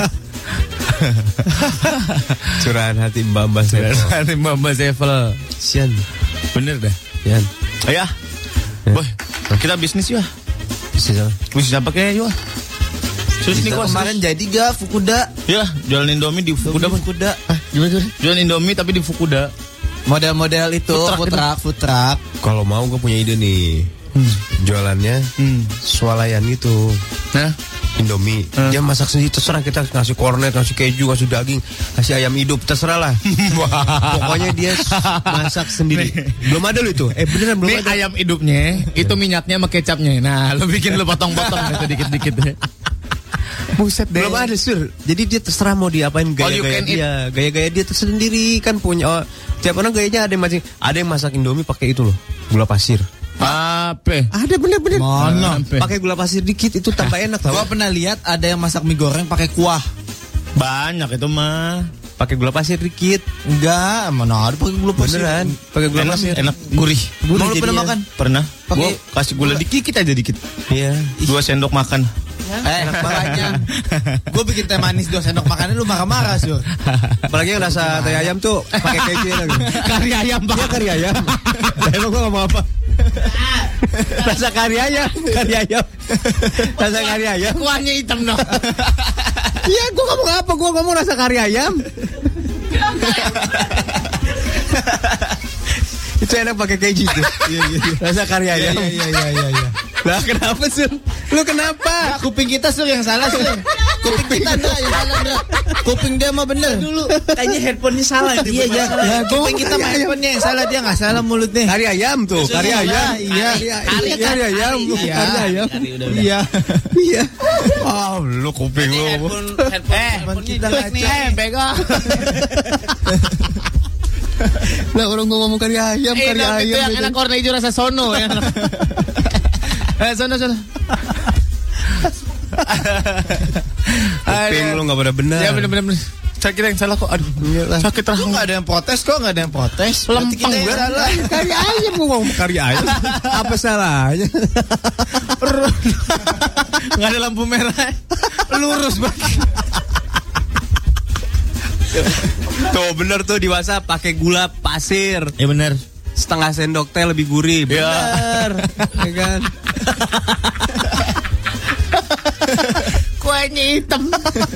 Curahan hati Mbak-mbak saya. Nanti Mbak Sevel. Sian. Bener dah. Sian. Ayah. Boy, kita bisnis ya. Bisnis apa? Bisnis apa kayak yuk? Terus nih Kita kok kemarin jadi gak Fukuda? ya jualan Indomie di Fukuda. Bang. Fukuda. Gimana gimana? Jualan Indomie tapi di Fukuda. Model-model itu Food truck food gitu. truck, food truck. Kalau mau gue punya ide nih. Jualannya Hmm. swalayan gitu. Nah, Indomie. Hmm. Dia masak sendiri, terserah kita ngasih kornet, ngasih keju, ngasih daging, kasih ayam hidup, terserah lah. Pokoknya dia masak sendiri. Belum ada lo itu. Eh beneran belum ini ada. ayam hidupnya, itu minyaknya sama kecapnya. Nah, lo bikin lo potong-potong gitu dikit-dikit deh. Buset deh. Belum ada sur. Jadi dia terserah mau diapain All you gaya-gaya can eat. dia, gaya-gaya dia tersendiri kan punya. Oh, tiap orang gayanya ada yang masing. Ada yang masak Indomie pakai itu loh, gula pasir. Apa? Ada bener-bener. Mana? Pakai gula pasir dikit itu tambah enak tau. Gua pernah lihat ada yang masak mie goreng pakai kuah. Banyak itu mah. Pakai gula pasir dikit. Enggak, mana ada pakai gula pasir. Beneran. Pakai gula Enak, pasir. enak, gurih. Mau lu jadinya. pernah makan? Pernah. Pakai- Gua kasih gula dikit aja dikit. Iya. Dua sendok makan. Eh, makanya gue bikin teh manis dua sendok makannya lu marah-marah, Sur. Apalagi yang rasa teh ayam tuh pakai keju enak. Kari ayam, Pak. Iya kari ayam. Emang gua ngomong apa? Rasa kari ayam, kari ayam. Rasa kari ayam. Kuahnya hitam dong. Iya, gua ngomong apa? Gua ngomong rasa kari ayam. Itu enak pakai keju tuh. Iya, iya. Rasa kari ayam. Iya, iya, iya, iya. Lah kenapa sih? Lu kenapa? Nah, kuping kita Sur yang salah, Sur. Kuping kita Ndra yang salah, Ndra. Kuping dia mah bener. Dulu kayaknya headphone-nya salah. Iya, iya. Ya, kuping kita mah headphone-nya yang salah, dia enggak salah mulutnya. Kari ayam tuh, kari Iya, ayam. iya. Kari, kari ayam, Iya. kari ayam. Iya. Iya. Oh, lu kuping lu. Headphone, headphone kita ngaco. Eh, bego. Lah orang gua ngomong kari ayam, Eh, kari tapi itu ayam. yang enak warna hijau rasa sono ya. Eh, sono sono. Kuping lu enggak pada benar. Ya benar-benar. Saya kira yang salah kok. Aduh. Sakit Kok rahang. enggak ada yang protes kok, enggak ada yang protes. Berarti kita yang gue. salah. Kari ayam gua ngomong kari ayam. Apa salahnya? Enggak ada lampu merah. Lurus banget. Tuh bener tuh di WhatsApp pakai gula pasir. Ya benar. Setengah sendok teh lebih gurih. Ya. Bener. Ya kan? Kuahnya hitam.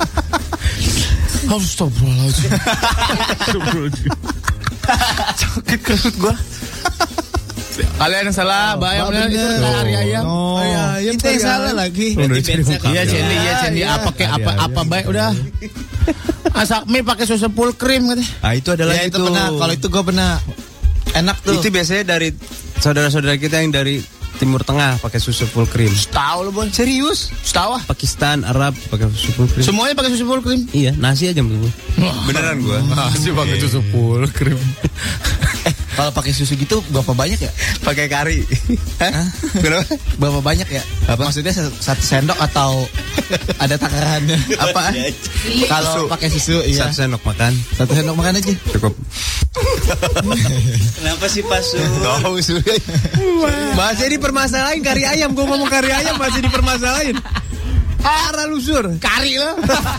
Astagfirullahaladzim. Astagfirullahaladzim. Sakit kerut gua. Kalian yang salah, bayam bener itu kari ayam. Oh, ayam, kita yang kari salah ayam. lagi. Iya Cendi, iya Cendi. Iya. Apa kayak apa Kari apa ayam. baik udah. Masak mie pakai susu full cream katanya. Ah itu ada Ya lagi itu tuh. pernah, kalau itu gue pernah. Enak tuh. Itu biasanya dari saudara-saudara kita yang dari Timur Tengah pakai susu full cream. Tahu lo, Boy. Serius? Tahu ah. Pakistan, Arab pakai susu full cream. Semuanya pakai susu full cream. Iya, nasi aja menurut gua. Beneran gua. Masih pakai susu full cream. Kalau pakai susu gitu berapa banyak ya? Pakai kari. Hah? Kenapa? Berapa banyak ya? Apa? Maksudnya se- satu sendok atau ada takarannya? Apa? Kalau pakai susu iya. Satu sendok makan. Satu sendok makan aja. Cukup. Kenapa sih Pak Su? Tahu sudah. Masih dipermasalahin kari ayam. Gua ngomong kari ayam masih dipermasalahin. Parah lu Sur. Kari lo.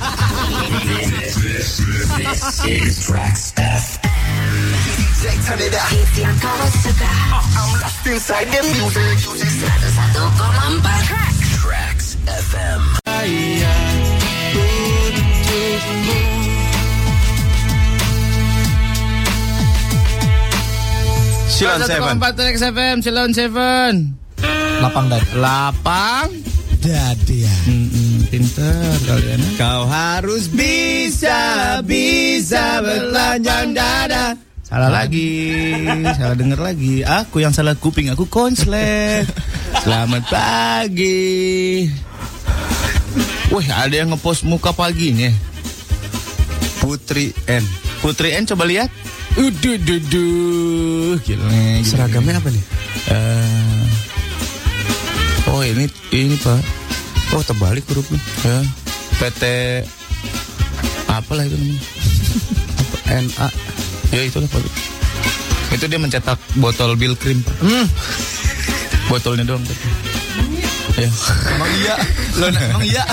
Turn it up. I'm lost inside the music. seratus satu koma empat Tracks F M. Silon Seven. Empat Trax F M, Silon Seven. Lapang dan Lapang. dadian. Mm-mm, pinter kalian. Kau harus bisa, bisa bertelanjang dada. Salah lagi, salah denger lagi. Aku yang salah kuping, aku konslet. Selamat pagi. Wih, ada yang ngepost muka paginya. Putri N. Putri N coba lihat. Uduh, duh, duh. Gila. Seragamnya apa nih? Uh, oh ini ini Pak. Oh terbalik hurufnya. Ya. P T apalah itu namanya? N A. Ya itulah Pak. Itu dia mencetak botol Bill Cream Pak. Hmm. Botolnya doang Pak. Ya. Emang iya. Lo emang iya.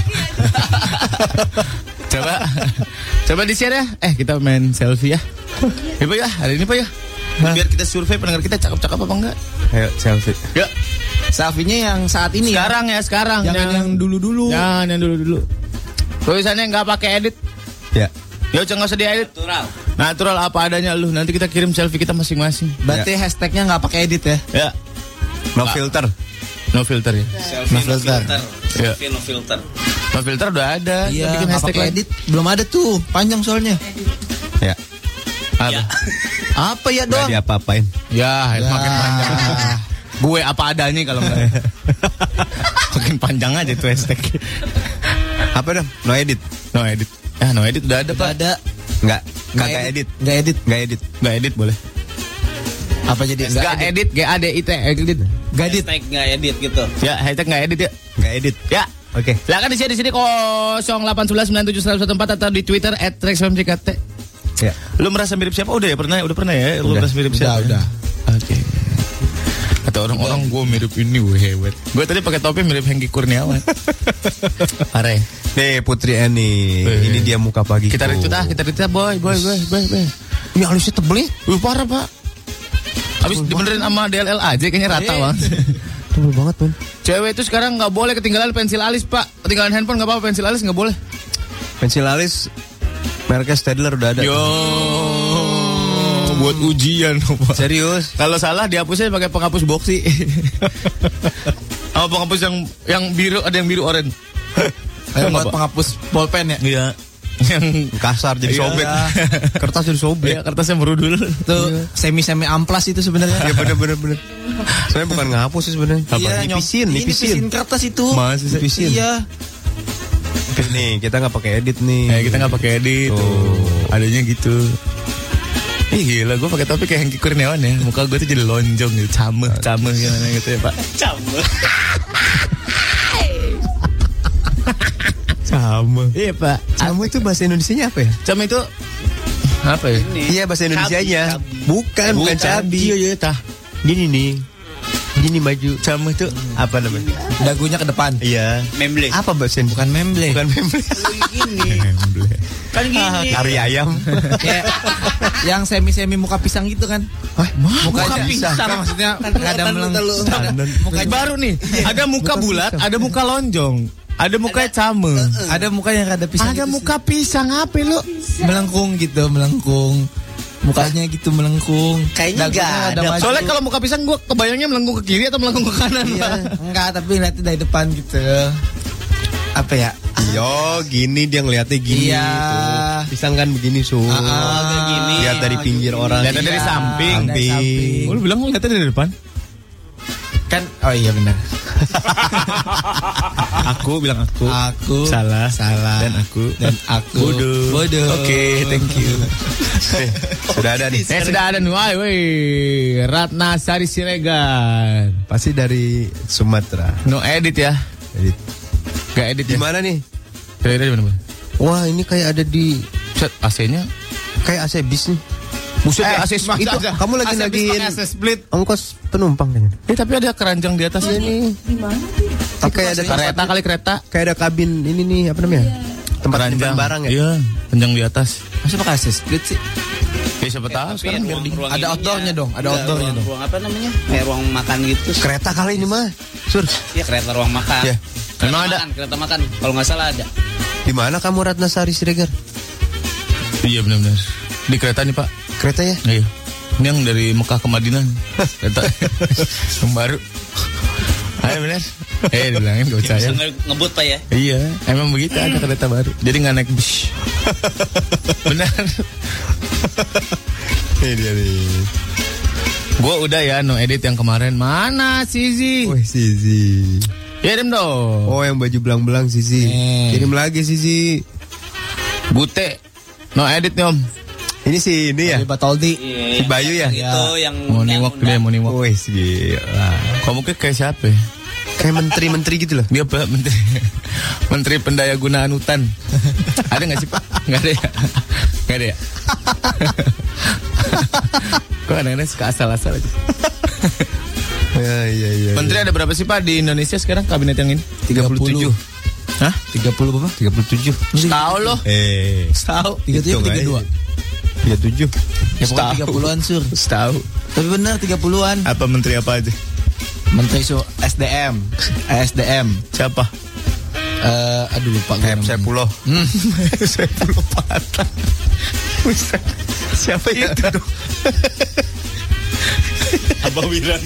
Coba coba di-share ya. Eh kita main selfie ya. Ya Pak ya, hari ini Pak ya. Biar kita survei pendengar kita cakep-cakep apa enggak? Ayo selfie. Ya. Selfie-nya yang saat ini Sekarang ya, sekarang. Jangan yang dulu-dulu. Jangan yang dulu-dulu. Tulisannya enggak pakai edit. Ya. Ya jangan usah diedit. Natural. Natural apa adanya lu. Nanti kita kirim selfie kita masing-masing. Berarti Ya. hashtagnya nggak pakai edit ya? Ya. No filter. No filter ya. Selfie No filter. Ya. Selfie no filter. No filter udah ada. Iya, Kita bikin nggak hashtag pakai lagi. edit. Belum ada tuh, panjang soalnya. Ya. Apa? Apa ya Gak doang? diapa-apain. Ya, Ya. makin panjang. Gue apa adanya kalau enggak. Makin panjang aja tuh hashtag. Apa dong? No edit. No edit. Ya, no edit udah ada, Pak. Ada. Enggak. Enggak edit. Nggak edit. Enggak edit. Enggak edit boleh. Apa jadi? Enggak edit, G A D I T, edit. Nggak edit. Hashtag nggak edit gitu. Ya, hashtag enggak edit ya. Enggak edit. Ya. Oke. Silakan di share di sini nol delapan satu sembilan sembilan tujuh satu satu empat atau di Twitter et rex f m c k t. Ya. Lu merasa mirip siapa? Udah ya pernah, udah pernah ya. Lu Udah. merasa mirip Udah, siapa? udah. Oke. Kata orang-orang gue mirip ini, gue hebat. Gue tadi pakai topi mirip Hengki Kurniawan. Parah. Ya? Nih Putri Eni. Eh. Ini dia muka pagi. Kita retweet ah, kita retweet boy, boy, boy, boy, boy. Ini alisnya tebel ya? Wih parah Pak. Habis dibenerin sama D L L aja kayaknya rata Eh. banget. Tebel banget pun. Cewek itu sekarang nggak boleh ketinggalan pensil alis Pak. Ketinggalan handphone nggak apa-apa, pensil alis nggak boleh. Pensil alis mereknya Stadler udah ada. Yo, buat ujian Pak. Serius? Kalau salah dihapusnya pakai penghapus boxy. Sama penghapus yang yang biru, ada yang biru oranye. Ayo buat penghapus bolpen ya? Iya. Yang Kasar jadi Iya. sobek. Kertas jadi sobek. Iya, kertasnya merudul. Tuh semi-semi amplas itu sebenarnya. Ya bener bener bener. Sebenarnya bukan ngapus sih sebenarnya. Iya, nipisin, nyom- nipisin. nipisin kertas itu. Masih sih. Nipisin. Iya. Nih kita nggak pakai edit nih. Eh, kita nggak pakai edit. Tuh. Tuh. Adanya gitu. Ih gila, gue pakai topi kayak Hengki Kurniawan ya. Muka gue tuh jadi lonjong gitu, cameh, cameh gimana gitu ya Pak. Camel. Sama. Iya Pak. Sama itu bahasa Indonesianya apa ya? Cameh itu apa ya? Iya bahasa Indonesianya. Bukan, bukan cabi. Iya iya tah. Gini nih. Gini maju. Cameh itu Apa namanya? Dagunya ke depan. Iya. Memble. Apa bahasa Indonesia? Bukan memble. Bukan memble. Gini. Kan gini. Kari ayam. Kayak yang semi-semi muka pisang gitu kan? Hah? Muka pisang. Kan maksudnya nggak ada meleng. muka baru nih. Ada muka bulat, ada muka lonjong, ada muka cameh. Ada muka yang ada pisang. Ada gitu muka pisang apa lu? sih. melengkung gitu, melengkung. Mukanya gitu melengkung. Kayaknya Dagunya nggak ada. maju. Soalnya kalau muka pisang gue kebayangnya melengkung ke kiri atau melengkung ke kanan. Iya, Pak. enggak, tapi lihatnya dari depan gitu. Apa ya? Yo, gini dia ngeliatnya gini. Iya. Tuh. Pisang kan begini, Su. Ah, kayak gini. Lihat dari pinggir orang. Lihatnya dari Iya, samping. dari samping. Oh, lu bilang lu lihatnya dari depan? Kan, oh iya benar. Aku bilang aku. Aku Salah. salah. Dan aku. dan aku Bodoh. Bodoh. Oke, thank you. Eh, sudah ada nih. Eh sudah ada nih, woi, woi, Ratna Sari Siregar. Pasti dari Sumatera. No edit ya, Edit. gak edit Di ya. mana nih? Kira-kira di mana? Bang? Wah, ini kayak ada di Set A C-nya. kayak A C bis nih. Buset, Eh, A C split. itu kamu lagi A C bis nagiin pakai A C split. ongkos penumpang kayaknya. Eh tapi ada keranjang di atas ini. Tapi kayak ada Kereta kali kereta. kayak ada kabin ini nih apa namanya? Tempat Keranjang nyimpan barang ya. Iya, keranjang di atas. Masa pakai A C split sih? Ya siapa tahu Tapi sekarang biar ruang- dingin. ruang Ada ininya. outdoornya dong, ada Enggak, outdoornya ruang- dong. Ruang apa namanya? Kayak ruang makan gitu. Kereta kali ini mah. Sur, Iya kereta ruang makan. Ya. Kereta Memang ada. makan, kereta makan. Kalau nggak salah ada. di mana kamu Ratna Sari Siregar? Iya benar-benar. Di kereta nih Pak. Kereta ya? Iya. Ini yang dari Mekah ke Madinah. Kereta yang baru. Ayo benar. Eh dibilangin gak Bisa percaya. nge- ngebut Pak ya. Iya, emang begitu ada kereta baru. Jadi nggak naik bis. Benar. Ini dia nih. Gue udah ya no edit yang kemarin. Mana Sizi? Wih, Sizi. Kirim dong. Oh, yang baju belang-belang Sizi. Eh. Kirim lagi Sizi. Bute. No edit nih om. Ini si ini ya. Batoldi. Iya. Si Bayu ya. Itu yang Morning walk dia, morning walk. Wih, gila. Kok mungkin kayak siapa ya? Kayak menteri-menteri gitu loh. Dia apa? Menteri Menteri Pendaya Gunaan Hutan. Ada nggak sih Pak? Nggak ada ya? Nggak ada ya? Kok kadang-kadang suka asal-asal aja. Ya, iya, iya. Menteri ada berapa sih Pak di Indonesia sekarang kabinet yang ini? tiga puluh tujuh. Hah? tiga puluh berapa? tiga puluh tujuh. Setahu loh. Eh, Setahu. tiga puluh tujuh tiga puluh dua. tiga puluh tujuh. Ya pokoknya tiga puluhan sur. Setahu. Tapi benar tiga puluhan. Apa menteri apa aja? Menteri su S D M. S D M. Siapa? Eh, aduh lupa gue. Saya pulau. Hmm. Saya belum patah. Buset. Siapa itu dong? Abah Wiran.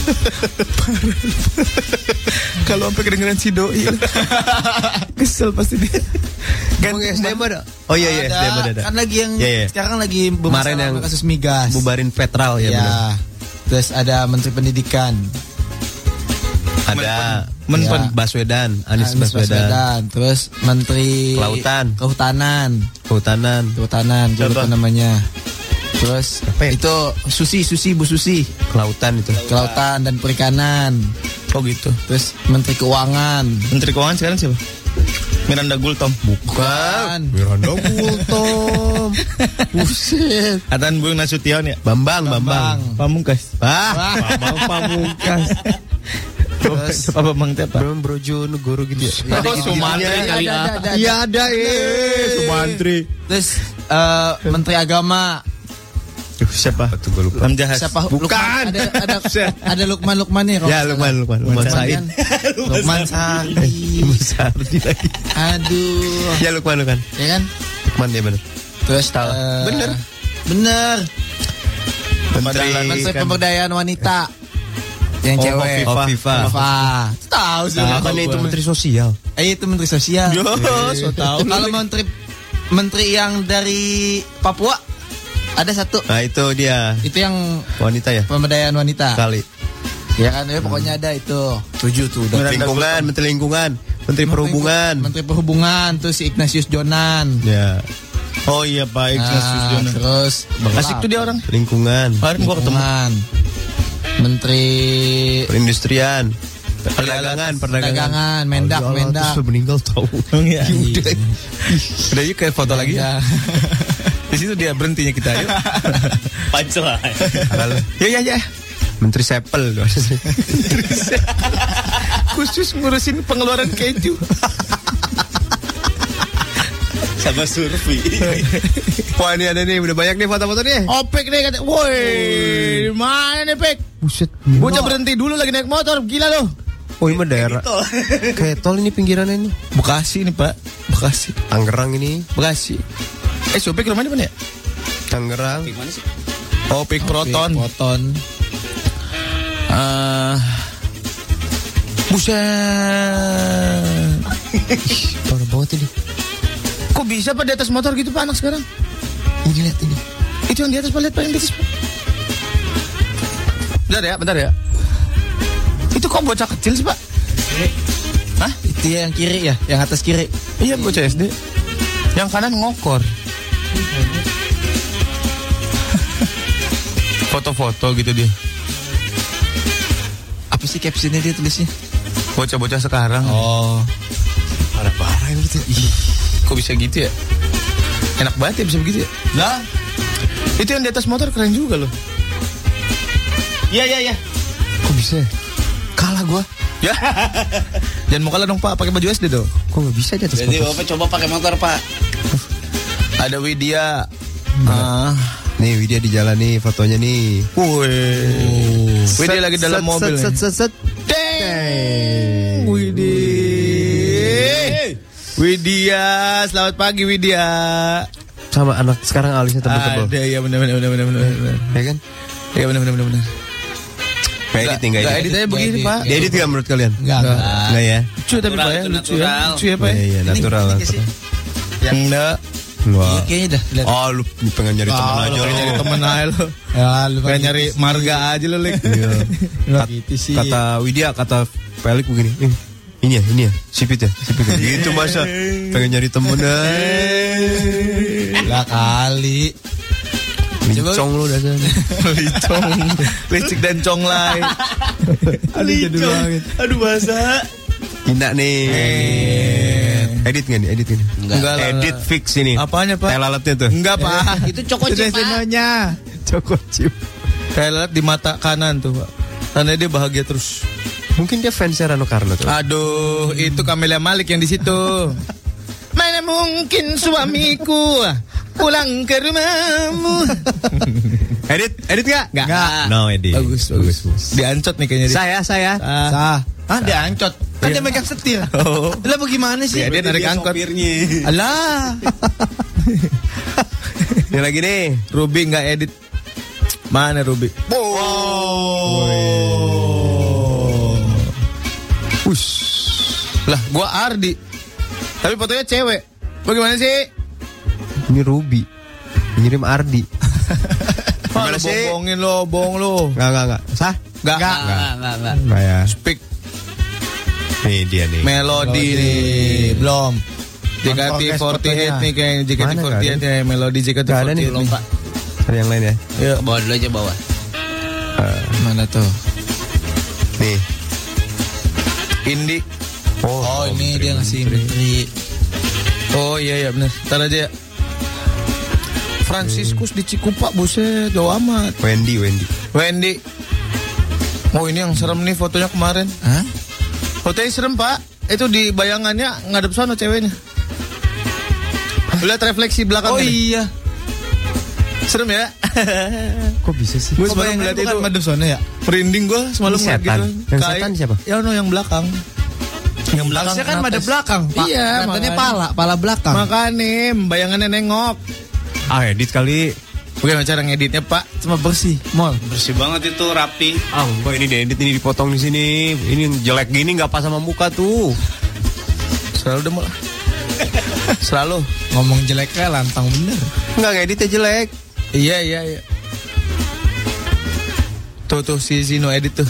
Kalau sampai kedengeran si Doi kesel pasti dia. Kan S D M ada. Oh iya iya S D M ada. ada. Kan lagi yang Iya, iya. sekarang lagi Kemarin bermasalah yang kasus migas. Bubarin Federal ya, Ya. benar. Terus ada Menteri Pendidikan. Ada Menpen. Ya. Baswedan, Anies, Anies Baswedan. Terus Menteri Kelautan. Kehutanan. Kehutanan. Kehutanan, gue lupa namanya. Terus Apa ya? itu Susi, Susi, Bu Susi. Kelautan itu. Kelautan dan Perikanan. Oh gitu. Terus Menteri Keuangan. Menteri Keuangan sekarang siapa? Miranda Gultom. Bukan. Miranda Gultom. Buset. Atan Bung Nasution ya? Bambang, Bambang. Pamungkas. Ah, Bambang Pamungkas. Terus Apa Bang Teh apa? Bro Brojo Negoro gitu ya. Oh, Sumantri Ada, kali ada, ah. ada, ada. Iya ada eh Sumantri. Terus eh, Menteri Agama. Duh, siapa? Tuh gue lupa. Lamjahas. Siapa? Bukan. Lukman. Ada ada ada Lukman Lukman nih. kalau Ya nggak Lukman, salah. Lukman, Lukman Said. kan? Lukman Said. Lukman Sardi lagi. Aduh. Ya Lukman, Lukman. Ya kan? Lukman ya benar. Terus Tahu. eh, Bener. Bener. Menteri Menteri Pemberdayaan Wanita. Yang Oh, cewek. Oh, Viva. Viva. Tahu sih. Bukan itu Menteri Sosial. Eh itu Menteri Sosial. Yo, so tahu. Kalau menteri menteri yang dari Papua ada satu. Nah itu dia Itu yang wanita ya pemberdayaan wanita. kali. Ya kan, ya pokoknya ada itu. Tujuh tuh udah. Lingkungan, Menteri Lingkungan, Menteri Perhubungan. Menteri Perhubungan tuh si Ignatius Jonan. Ya, Oh iya Pak Ignatius Nah, Jonan. terus Asik tuh dia orang. lingkungan, Kemarin gua ketemu. Lingkungan. Menteri perindustrian, perdagangan, perdagangan. Perdagangan, Mendak, Allah, Mendak. terus meninggal tahu. Oh iya. Iya. Udah yuk kayak foto lagi ya. Ya. Di situ dia berhentinya kita yuk. Pancel. Ya ya ya. Menteri Sepel. Khusus ngurusin pengeluaran keju. Sama Surfi. Wah ini ada nih, udah banyak nih foto-foto nih. Opek nih kata. Woi, mana nih Pek? Buset. Bocah berhenti dulu lagi naik motor, gila loh. Oh ini mah daerah. Kayak tol ini pinggirannya ini. Bekasi nih Pak, Bekasi, Tangerang ini, Bekasi. Eh, si Opek rumahnya mana ya? Tangerang. Gimana sih? Opek Proton. Proton. Eh, buset. Parah banget ini. Kok bisa Pak di atas motor gitu Pak anak sekarang? Ini lihat ini. Itu yang di atas Pak, lihat Pak yang di atas Pak. Bentar ya, bentar ya. Itu kok bocah kecil sih Pak? Hah? Itu yang kiri ya, yang atas kiri. Iya bocah S D. Yang kanan ngokor. Foto-foto gitu dia. Apa sih captionnya dia tulisnya? Bocah-bocah sekarang. Oh. Parah-parah ini gitu. Ih, kok bisa gitu ya? Enak banget ya bisa begitu ya? Lah, Itu yang di atas motor keren juga loh. Iya iya iya. Kok bisa? Kalah gua. Ya. Jangan mau kalah dong Pak, pakai baju S D dong. Kok nggak bisa di atas Jadi motor? Bapak coba pakai motor Pak. Ada Widya. Ah. Nih Widya di jalan nih fotonya nih. Wih. Widya lagi dalam Set, mobil. Set, nih. set, set, set. Deng. Widya. Widya, selamat pagi Widya. Sama anak sekarang alisnya tebel-tebel. Ada ya benar benar benar benar benar. Ya kan? Ya benar benar benar benar. Nggak edit nih, nggak Nggak edit. edit aja begini Pak. Di edit nggak menurut kalian? enggak enggak. Nggak ya? Lucu tapi Natural, Pak ya, itu lucu ya. natural. Lucu ya Pak. Iya, iya, natural. Ini natural. sih. Enggak. Wah. Kayaknya dah. Lihat. Oh, lu pengen nyari teman Ah, aja lu lu. nyari temen aja lu. Ya, lu Pengen nyari marga aja lu, Lik. Iya. Kat- gitu sih. Kata Widya, kata Pelik begini. "Eh, ini ya, ini ya, sipit ya, sipit ya." Gitu masa pengen nyari temen aja. Lah kali. Licong lu dasarnya. Licong, licik dan conglay. Aduh jadul banget. Aduh bahasa. Hina nih. Edit nggak nih? Edit nggak nih? Enggak lah. Edit fix ini. Apanya Pak? Tai lalatnya tuh. Enggak Pak. Itu coko Itu chip, Pak. desenonya. Coko chip. Tai lalat di mata kanan tuh Pak. Karena dia bahagia terus. Mungkin dia fansnya Rano Karno tuh. Aduh, itu Camelia Malik yang di situ. Mana mungkin suamiku pulang ke rumahmu. Edit, edit nggak? Nggak. No edit. Bagus, bagus. Diancot nih kayaknya. dia. Saya, saya. Ah. Sah. Ah dia ancot. Kan dia megang setir. Oh. Lah bagaimana sih? Ya, dia narik angkot. Sopirnya. Alah. Ini lagi nih. Ruby nggak edit. Mana Ruby? Ush. Lah, gua Ardi. Tapi fotonya cewek. Bagaimana sih? Ini Ruby. Ngirim Ardi. Gimana Gimana sih? sih? Bohongin lo, bohong lo. Enggak, enggak, enggak. Sah? Enggak. Enggak, enggak, enggak. Enggak ya. Speak Nih dia nih. melodi nih. Belum. J K T Orkes empat delapan fotonya. nih kayaknya J K T Mana empat nggak delapan ada? nih melodi J K T Nggak ada empat nih. delapan lompat. Cari yang lain ya. Yuk. Bawa dulu aja bawa. Mana tuh? Nih. Indi. Oh, ini dia ngasih menteri. Oh iya iya benar. Ntar aja ya. Franciscus di Cikupa, buset, jauh amat. Wendy, Wendy. Wendy. Oh ini yang serem nih fotonya kemarin. Hah? Fotonya serem Pak. Itu di bayangannya ngadep sana ceweknya. Lihat refleksi belakang. Oh iya. Serem ya. Kok bisa sih? Gue Kok semalam bayangannya ngeliat itu. bukan madep sana ya? Merinding gue semalam Ini ngeliat setan. gitu. Yang Kayak- setan siapa? Ya no yang belakang. Yang belakang Harusnya kan kena madep tes. belakang, Pak. Iya, Katanya makanya. pala, pala belakang. Makanya bayangannya nengok. Ah, edit kali. Bagaimana cara ngeditnya Pak? Cuma bersih. Mall. Bersih banget itu, rapi. Ah, enggak ini diedit, ini dipotong di sini. Ini jelek gini enggak pas sama muka tuh. Selalu demo lah. Selalu. Ngomong jeleknya lantang bener. Enggak ngeditnya jelek. Iya iya iya. Tuh tuh si Zino edit tuh.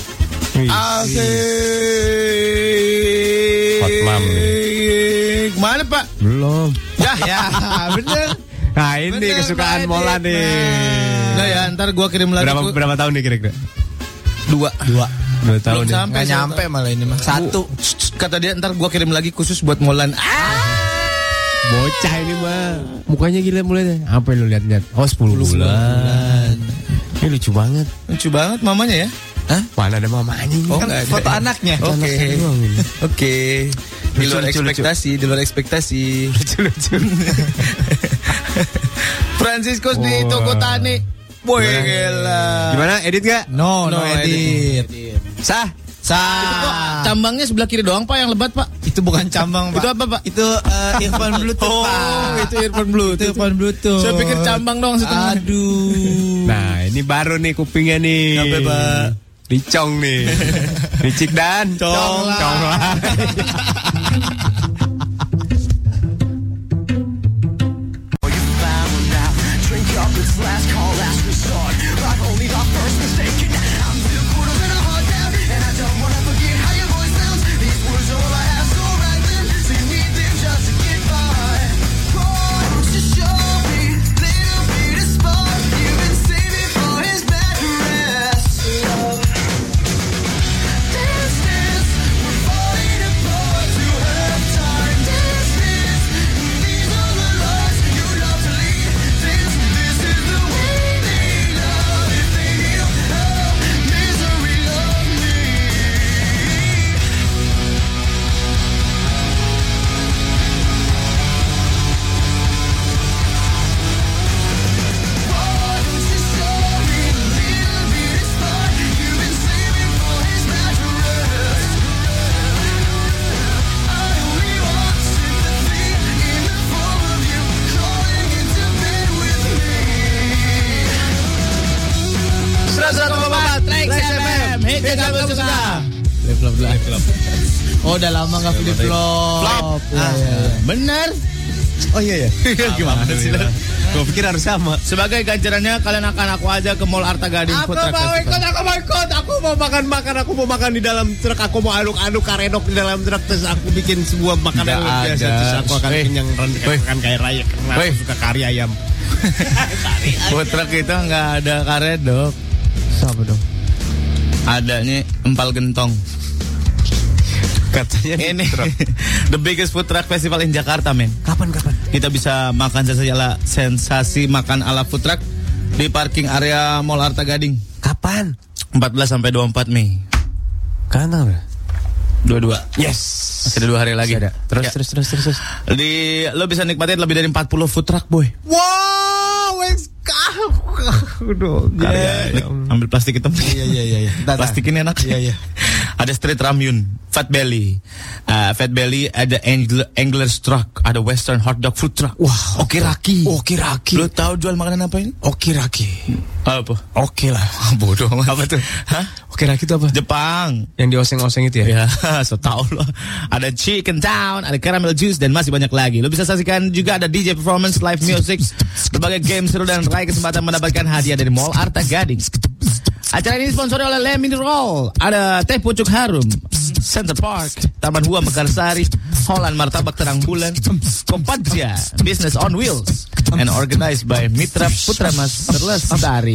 Asik. Hotlam nih. Mana Pak? Belum. Ya, ya bener. Nah, ini Bener, kesukaan Pak Mola Edit. nih. Nah ya ntar gua kirim lagi. Berapa gua- berapa tahun nih kira-kira? Dua. Dua. Dua tahun Belum nih. sampai Nggak satu. nyampe malah ini mah. Satu. Bu, kata dia ntar gua kirim lagi khusus buat Molan. Ah. Bocah ini mah. Mukanya gila mulai deh. Apa yang lu lihat-lihat? Oh, sepuluh bulan. Ini lucu banget. Lucu banget mamanya ya. Hah? Mana ada mamanya ini? Oh, Kan nggak ada. foto anaknya. Oke. Anaknya doang ini. Oke. Di Lucu, luar lucu, lucu. ekspektasi, di luar ekspektasi. Lucu-lucu. Franciscus di Wah. toko tani. Boy gila. Gimana? Edit gak? No, no, No edit. Sah? Sah. Cambangnya sebelah kiri doang Pak yang lebat Pak. Itu bukan cambang, Pak. Itu apa, Pak? Itu uh, earphone Bluetooth, Oh, Pak. itu earphone Bluetooth. Itu earphone Bluetooth. Saya pikir cambang doang setengah. Aduh. Nah, ini baru nih kupingnya nih. Apa, Pak? Dicong nih. Dicik dan Cong lah. Cong lah. seratus koma empat Trax F M. Hit yang kamu suka. Flip flop flop. Oh, udah lama enggak flip flop. Flop. Iya, iya, iya. Bener. Oh iya ya. Gimana sih? Gue pikir harus sama. Sebagai ganjarannya kalian akan aku aja ke Mall Arta Gading Aku Food Truck mau Festival. ikut, aku mau ikut. Aku mau makan-makan, aku mau makan di dalam truk. Aku mau aduk-aduk karedok di dalam truk. Terus aku bikin sebuah makanan Nggak luar biasa. ada. Terus aku akan Weh. kenyang Weh. makan kayak raya. Karena Weh. aku suka kari ayam. Food truck itu nggak ada karet dok. Siapa dong? Adanya empal gentong. Katanya Ini the biggest food truck festival in Jakarta, men. Kapan kapan? Kita bisa makan sensasi ala, sensasi makan ala food truck di parking area Mall Arta Gading. Kapan? empat belas sampai dua puluh empat Mei. Kapan tanggal? Dua-dua. Yes. Masih ada dua hari lagi. Ada. Terus, Ya. terus terus terus terus. Di lo bisa nikmatin lebih dari empat puluh food truck, boy. Wow, wes kau. Udah. Ya, ambil plastik hitam. Iya iya iya. iya. Plastik ini enak. Iya iya. Ada street ramyun, Fat Belly, uh, Fat Belly, ada Angler, Angler's Truck, ada Western Hot Dog Food Truck. Wah, Okiraki. Okiraki. Lo tahu jual makanan apa ini? Okiraki. Apa? Oke lah. Bodoh amat. Apa tuh? Hah? Okiraki itu apa? Jepang. Yang dioseng-oseng itu ya? Ya, so tau lo. Ada Chicken Town, ada Caramel Juice, dan masih banyak lagi. Lo bisa saksikan juga ada D J Performance, Live Music, berbagai game seru, dan raih kesempatan mendapatkan hadiah dari Mall Arta Gading. Acara ini disponsori oleh Le Mineral, ada Teh Pucuk Harum, Center Park, Taman Hua Mekarsari, Holland Martabak Terang Bulan, Kompaja, Business on Wheels, and organized by Mitra Putra Mas Terlestari.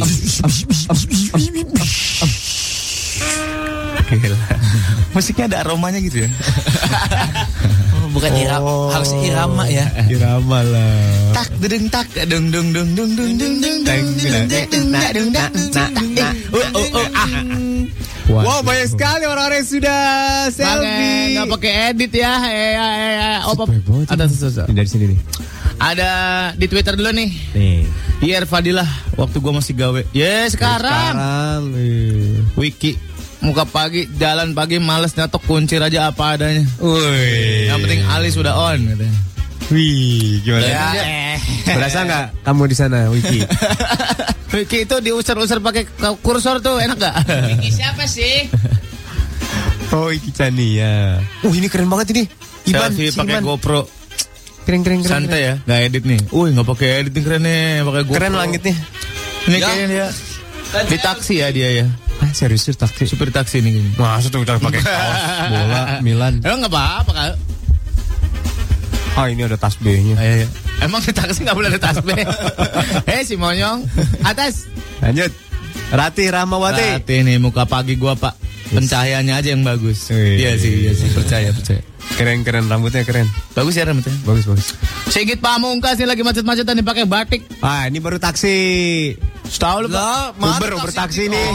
Gila. Musiknya ada aromanya gitu ya. Oh, bukan irama, harus irama ya. Irama lah. Tak dedeng tak dung dung dung dung dung dung dung dung dung dung Wow, banyak sekali orang-orang yang sudah selfie. nggak pakai edit ya. Eh, eh, eh, oh, pop. Banget. Ada sesuatu. Dari sini nih. Ada di Twitter dulu nih. Nih. Hier Fadilah, waktu gua masih gawe. Yes, sekarang. Sekarang. eh. Wiki. Muka pagi, jalan pagi, males nyatok kuncir aja apa adanya. Wih. Yang penting Ali sudah on katanya. Wih, gimana? Ya, eh. Berasa nggak kamu di sana, Wiki? Wiki itu diusir-usir pakai kursor tuh, enak gak? Ini siapa sih? Oh, Wiki Chania. Uh, ini keren banget ini. Iban, Selfie si pakai Iban. GoPro. Keren, keren, keren. Santai ya, nggak edit nih. Wih, nggak pakai edit nih, keren nih, pakai GoPro. Keren langitnya. Ini Ya. kayaknya dia di taksi ya dia ya. Ah, serius tuh taksi. Supir taksi nih kayaknya. Masa tuh udah pakai kaos bola Milan. Emang nggak apa-apa kan? Ah, ini ada tas B-nya. Ayo, ayo. Emang di taksi nggak boleh ada tas B. Eh si Monyong, atas. Lanjut. Rati Ramawati. Hati nih muka pagi gua pak. Pencahayaannya aja yang bagus. Wih. Iya sih, iya sih, percaya, percaya. Keren, keren, rambutnya keren. Bagus ya rambutnya. Bagus, bagus. Sigit Pamungkas nih lagi macet-macetan nih pakai batik. Ah, ini baru taksi. Setahu lu Lah, pak. mana Uber, Uber taksi nih.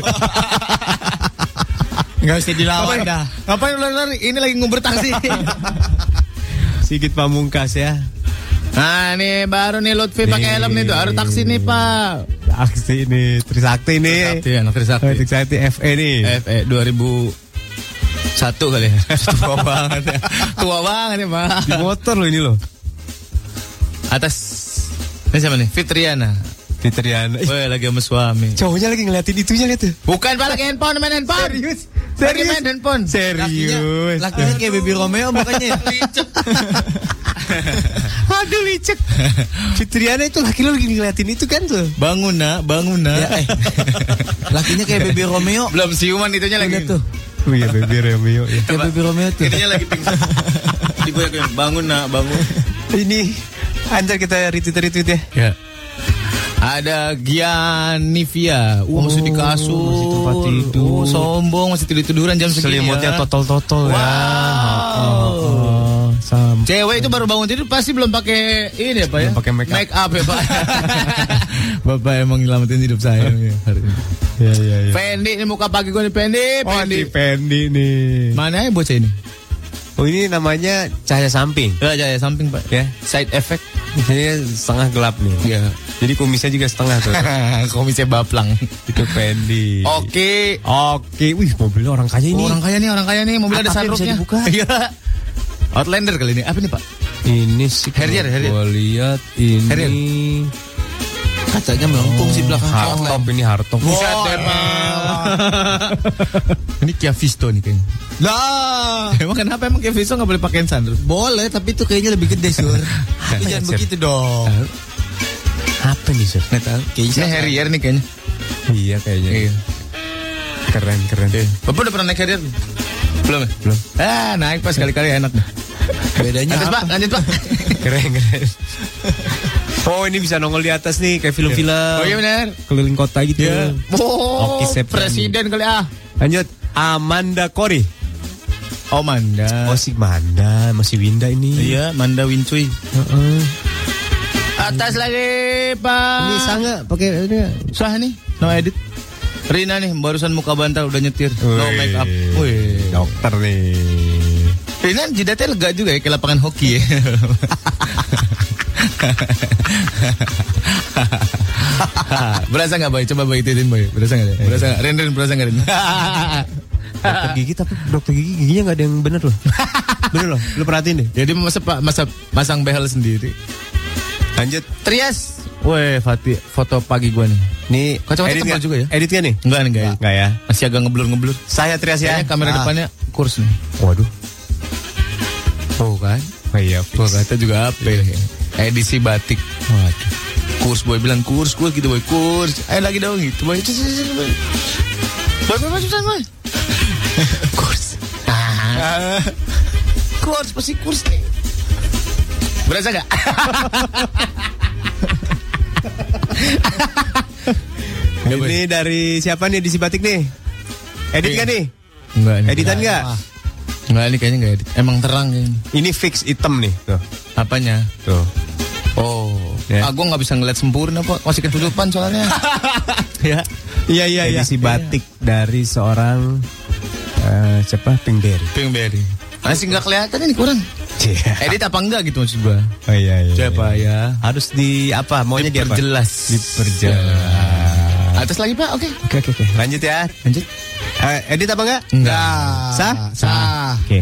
Enggak usah dilawan Ngapain, dah. ngapain lu lari? Ini lagi nguber taksi. Sigit Pamungkas ya. Nah ini baru nih Lutfi pakai helm nih tuh. Harus taksi nih pak. Taksi ini, Trisakti nih. Trisakti, anak Trisakti. Oh, Trisakti F E nih. F E dua ribu satu kali ya. Tua banget ya. Tua banget ya pak. Di motor loh ini loh. Atas. Ini siapa nih? Fitriana. Fitriana. Ih, Woi lagi sama suami. cowoknya lagi ngeliatin itunya lihat tuh. Bukan pak, lagi handphone, main handphone. Serius? Lagi Serius? main handphone. Serius. Lakinya kayak Baby Romeo makanya. Aduh licik. Fitriana itu laki lo lagi ngeliatin itu kan tuh. Bangun nak, bangun nak. Ya, eh. Lakinya kayak Baby Romeo. Belum siuman itunya lagi. Lihat tuh. Oh iya, Baby Romeo ya. Kayak Baby Romeo tuh. Itunya lagi pingsan. Digoyak-goyak. Bangun nak, bangun. Ini anjir kita retweet-retweet ya. Ya. Ada Gianivia. Uh, masih di kasur. masih tempat tidur. Uh, sombong, masih tidur-tiduran jam segini Selimutnya ya. totol-totol ya. Wow. Oh, oh, sam. Cewek itu baru bangun tidur pasti belum pakai ini ya Pak ya? Belum pakai make up. Make up ya Pak. Bapak emang nyelamatin hidup saya ya, hari ini. Ya, ya, ya. Fendi ini muka pagi gue nih Fendi, Oh, Fendi. di Fendi nih. Mana ya bocah ini? Oh, ini namanya cahaya samping. Ya, ya samping Pak. Ya. Side effect. Ini setengah gelap nih. Ya. Jadi kumisnya juga setengah tuh. Komisnya baplang. Itu Fendi. Oke. Oke. Wih, mobilnya orang kaya ini. Oh, orang kaya nih, orang kaya nih. Mobil ada Atapnya bisa sunroofnya. dibuka. Iya. Outlander kali ini. Apa nih Pak? Ini sih. Harrier, Harrier. Gue lihat ini. Harrier. Kacanya melengkung sih belakang. Hardtop ini hardtop. Buset deh, Ini Kia Visto nih kayaknya. Lah, Emang kenapa emang Kia Visto nggak boleh pakein sunroof? boleh tapi itu kayaknya lebih gede sur. Tapi jangan Sur. begitu dong. Apa nih, Sur? Nggak tahu. Ini Harrier nih kayaknya. Iya kayaknya. Iya. Keren, keren. Bapak udah pernah naik Harrier? Belum ya? Belum. Ah, naik pas sekali-kali enak dah. Bedanya Lanjut apa? Pak, lanjut Pak. Keren, keren. Oh ini bisa nongol di atas nih kayak film-film. Oh iya benar. Keliling kota gitu. Ya. Oh, Oke, September. presiden kali ah. Lanjut. Amanda Kori. Oh Manda. Oh si Manda, masih Winda ini. Iya, Manda Wincuy. Uh-uh. Atas lagi, Pak. Ini Sanga pakai ini. Sah nih, no edit. Rina nih, barusan muka bantal udah nyetir. No Wih. make up. Wih. Dokter nih. Rina jidatnya lega juga ya, kayak lapangan hoki ya. Berasa nggak Boy? Coba Boy ituin Boy. Berasa nggak? Berasa nggak? Rin Rin berasa nggak Rin? Dokter gigi tapi dokter gigi giginya nggak ada yang bener loh. Bener loh, lu perhatiin deh. Jadi masa pak masa masang behel sendiri. Lanjut. Trias. Weh, Fatih, foto pagi gua nih. Nih, Kacamata edit tebal nggak? juga ya? Edit kan nih? Enggak nih enggak. Enggak ya. Masih agak ngeblur-ngeblur. Saya Trias ya. Kayaknya kamera Ah. depannya kurs nih. Waduh. Oh kan? Oh iya. Gua kata juga apa ya? Edisi batik. Waduh. Kurs Boy bilang kurs, kurs gitu Boy, kurs. Ayo lagi dong gitu Boy. Cus, cus, cus, Boy. Boy, Boy, Boy, Boy. Kurs. Ah. Kurs, pasti kurs nih. Berasa gak? Ini dari siapa nih edisi batik nih? Edit Iya. kan nih? Enggak nih. Editan nggak? Enggak nih kayaknya enggak edit. Emang terang kayaknya. Ini fix hitam nih. Tuh. Apanya? Tuh. Oh, Ya. ah, gue nggak bisa ngeliat sempurna Pak, masih ketutupan soalnya. Ya. Iya iya iya. Edisi batik dari seorang eh, siapa? Pinkberry. Pinkberry. Masih nggak kelihatan ini kurang. Iya. Edit apa enggak gitu maksud gue? Oh iya iya. Siapa iya. ya? Harus di apa? Maunya di apa? Diperjelas. Diperjelas. Atas lagi Pak, oke. Oke oke oke. Lanjut ya. Lanjut. Eh, edit apa enggak? Enggak. Sah? Sah. Oke.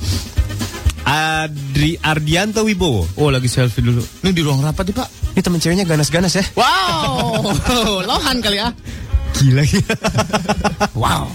Adri Ardianto Wibowo. Oh lagi selfie dulu. Ini di ruang rapat nih Pak. Ini temen ceweknya ganas-ganas ya. Wow. Lohan kali ya. Gila gila. Wow.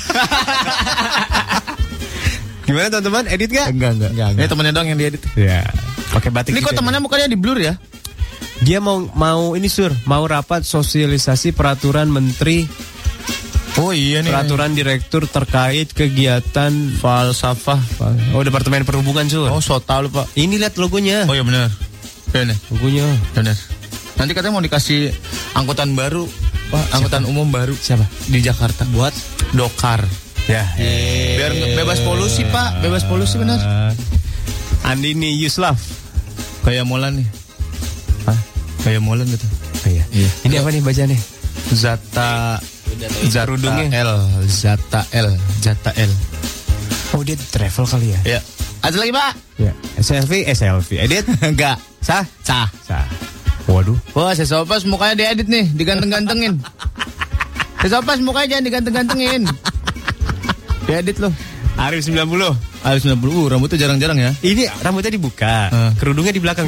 Gimana teman-teman? Edit gak? Enggak enggak. enggak, enggak. Ini temennya doang yang diedit. Ya. Pakai batik. Ini kok gitu ya. temannya mukanya di blur ya? Dia mau mau ini sur, mau rapat sosialisasi peraturan menteri, Oh iya nih. peraturan direktur terkait kegiatan falsafah. oh departemen perhubungan sur. Oh so tau lu Pak. Ini lihat logonya. Oh iya benar. Benar. Logonya. Benar. Nanti katanya mau dikasih angkutan baru, Pak, angkutan umum baru. Siapa? Di Jakarta buat dokar. Ya. Biar nge- bebas polusi, Pak. Bebas polusi benar. Andini Yuslaf. Kayak Molan nih. Hah? Kayak Molan gitu. Oh, iya. Iya. Ini apa nih bacanya? Zata Zata Kerudungnya. L, Zata L, Zata L. Oh dia travel kali ya? Ya. Ada lagi, Pak? Ya. Selfie, eh selfie. Edit? Enggak. Sah? Sah. Sah. Waduh. Wah, Sesopas mukanya diedit nih, diganteng-gantengin. Sesopas mukanya jangan diganteng-gantengin. Diedit loh. Arif sembilan puluh. Arif sembilan puluh, uh, rambutnya jarang-jarang ya. Ini rambutnya dibuka, Uh. kerudungnya di belakang.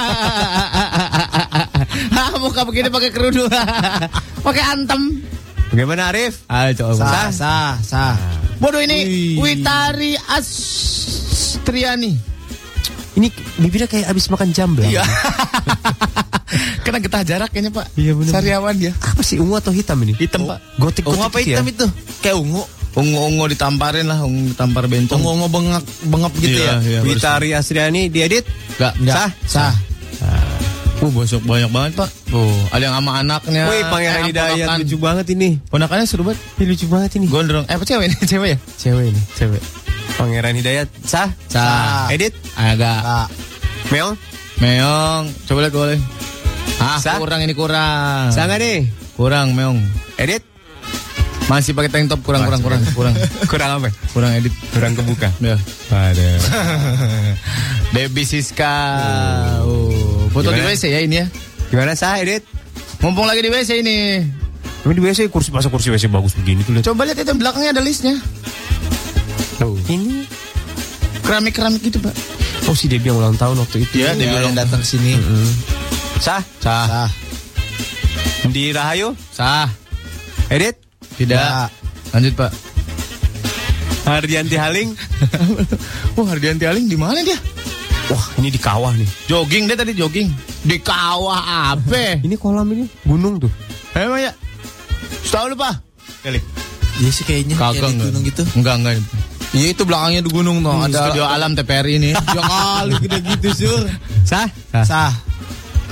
Hah, muka begini pakai kerudung. Pakai antem. Bagaimana Arif? Ayo coba. Sah, sah, sah. Bodoh ini Wih. Witari Astriani. Ini bibirnya kayak abis makan jamblang. Iya. Kena getah jarak kayaknya, Pak. Iya, bener. Sariawan dia. Apa sih ungu atau hitam ini? Hitam, Pak. Gotik Ungu apa hitam itu? Kayak ungu. Ungu-ungu ditamparin lah, ungu ditampar bencong. Ungu-ungu bengap bengap gitu Iya, ya. iya. Witari Astriani diedit? Enggak, Sah, sah. Uh, bosok banyak banget, Pak. Tuh, ada yang sama anaknya. Wih, Pangeran Eh, Hidayat ponakan. lucu banget ini. Ponakannya seru banget. Ini lucu banget ini. Gondrong. Eh, apa cewek ini? Cewek ya? Cewek ini. Cewek. Pangeran Hidayat sah? Sah. Edit? Agak. Sah. Meong? Meong. Coba lihat boleh. Ah, Sah? kurang ini kurang. Sah nggak nih? Kurang, Meong. Edit? Masih pakai tank top, kurang, kurang, kurang, kurang. Kurang apa? Kurang edit. Kurang kebuka. Ya. Ada. Baby Siska. Oh, foto di Gimana? W C ya ini ya. Gimana sah edit? Mumpung lagi di W C ini. Tapi di W C kursi masa kursi W C bagus begini tuh lihat. Coba lihat itu belakangnya ada listnya. Tuh. Ini. Keramik-keramik gitu, Pak. Oh si Debbie yang ulang tahun waktu itu. Iya, Debbie Dia ulang yang datang sini. Sah? Sah. Sah. Di Rahayu? Sah. Edit? Tidak. Ya. Lanjut, Pak. Hardianti Haling? Wah, Hardianti Haling di mana dia? Wah ini di kawah nih. Jogging dia tadi jogging. Di kawah apa? Ini kolam ini gunung tuh. Emang ya? Tahu lu, Pak? Kali. Iya sih kayaknya kayak di gunung gitu. Enggak, enggak. Iya itu belakangnya di gunung tuh. Hmm, Ada studio alam T P R I ini. Ya kali gede gitu sur. Sah? Sah.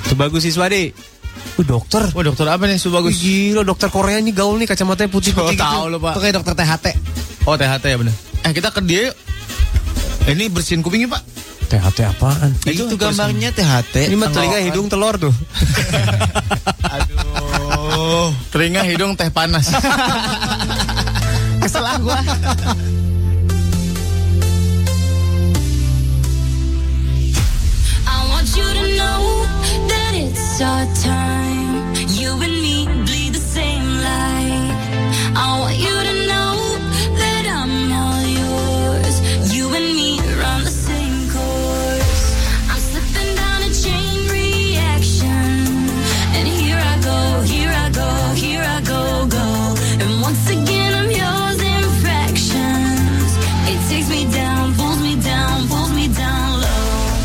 Sebagus Siswadi. Uh, dokter. Wah, dokter apa nih Sebagus? Gila, dokter Korea nih gaul nih, kacamatanya putih-putih gitu. Tahu lo, Pak. Itu kayak dokter T H T. Oh, T H T ya benar. Eh, kita ke dia yuk. Ini bersihin kupingnya, Pak. T H T apaan? Itu, itu gambarnya T H T. Ini mah telinga, hidung, telur tuh. Aduh, telinga, hidung, teh panas. Kesel ah gua. I want you to know that it's our time. You and me bleed the same light. I want you to know that I'm all yours. You and me run the same course. I'm slipping down a chain reaction. And here I go, here I go, here I go, go. And once again I'm yours in fractions. It takes me down, pulls me down, pulls me down low.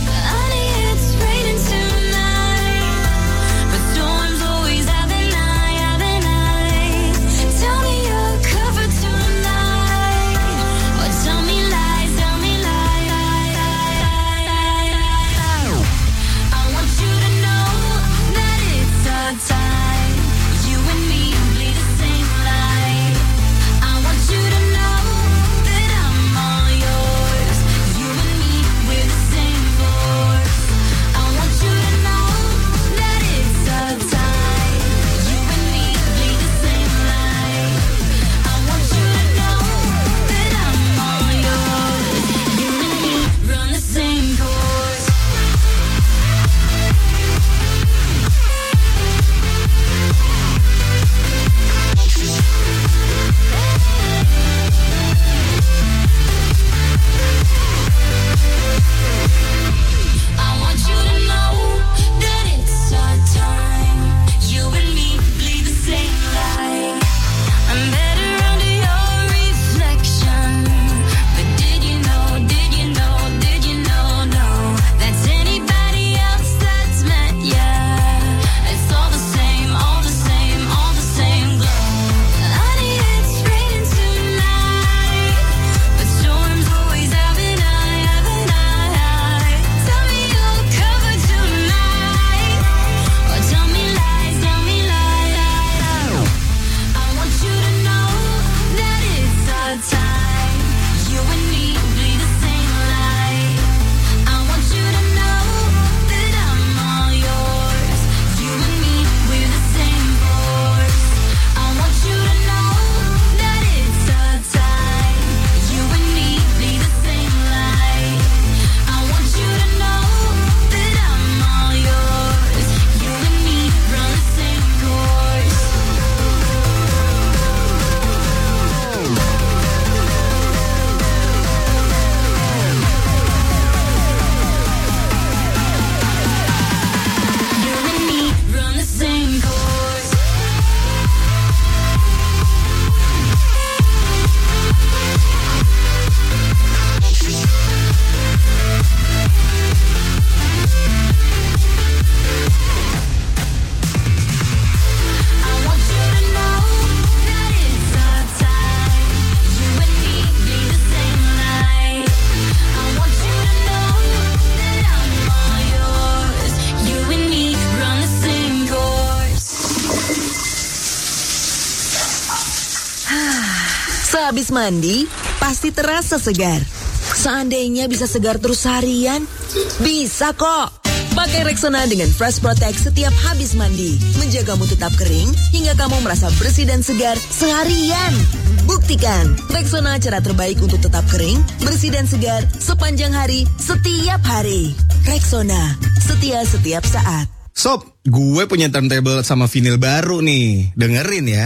Sehabis mandi, pasti terasa segar. Seandainya bisa segar terus harian, bisa kok. Pakai Rexona dengan Fresh Protect setiap habis mandi. Menjagamu tetap kering hingga kamu merasa bersih dan segar seharian. Buktikan, Rexona cara terbaik untuk tetap kering, bersih dan segar sepanjang hari, setiap hari. Rexona, setia setiap saat. Sob, gue punya turntable sama vinyl baru nih. Dengerin ya.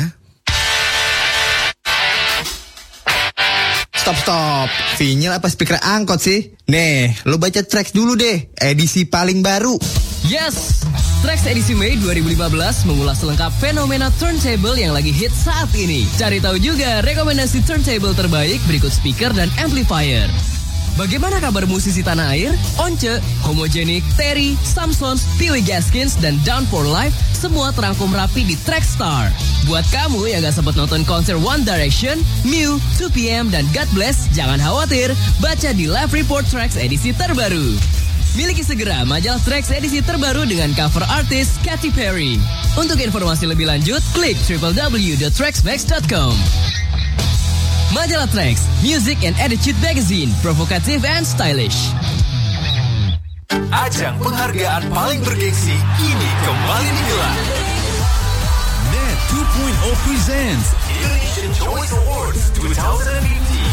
Stop, stop. Vinyl apa speaker angkot sih? Nih, lo baca tracks dulu deh. Edisi paling baru. Yes! Tracks edisi Mei dua ribu lima belas mengulas lengkap fenomena turntable yang lagi hit saat ini. Cari tahu juga rekomendasi turntable terbaik berikut speaker dan amplifier. Bagaimana kabar musisi tanah air? Once, Homogenic, Terry, Samsons, Peewee Gaskins, dan Down for Life semua terangkum rapi di Trackstar. Buat kamu yang gak sempat nonton konser One Direction, Mew, two P M, dan God Bless, jangan khawatir, baca di Live Report Tracks edisi terbaru. Miliki segera majalah Trax edisi terbaru dengan cover artis Katy Perry. Untuk informasi lebih lanjut, klik w w w dot trax max dot com. Majalah Trax, Music and Attitude Magazine, provokatif and stylish. Ajang penghargaan paling bergengsi kini kembali digelar. Net two point oh presents Indonesian Choice Awards twenty fifteen.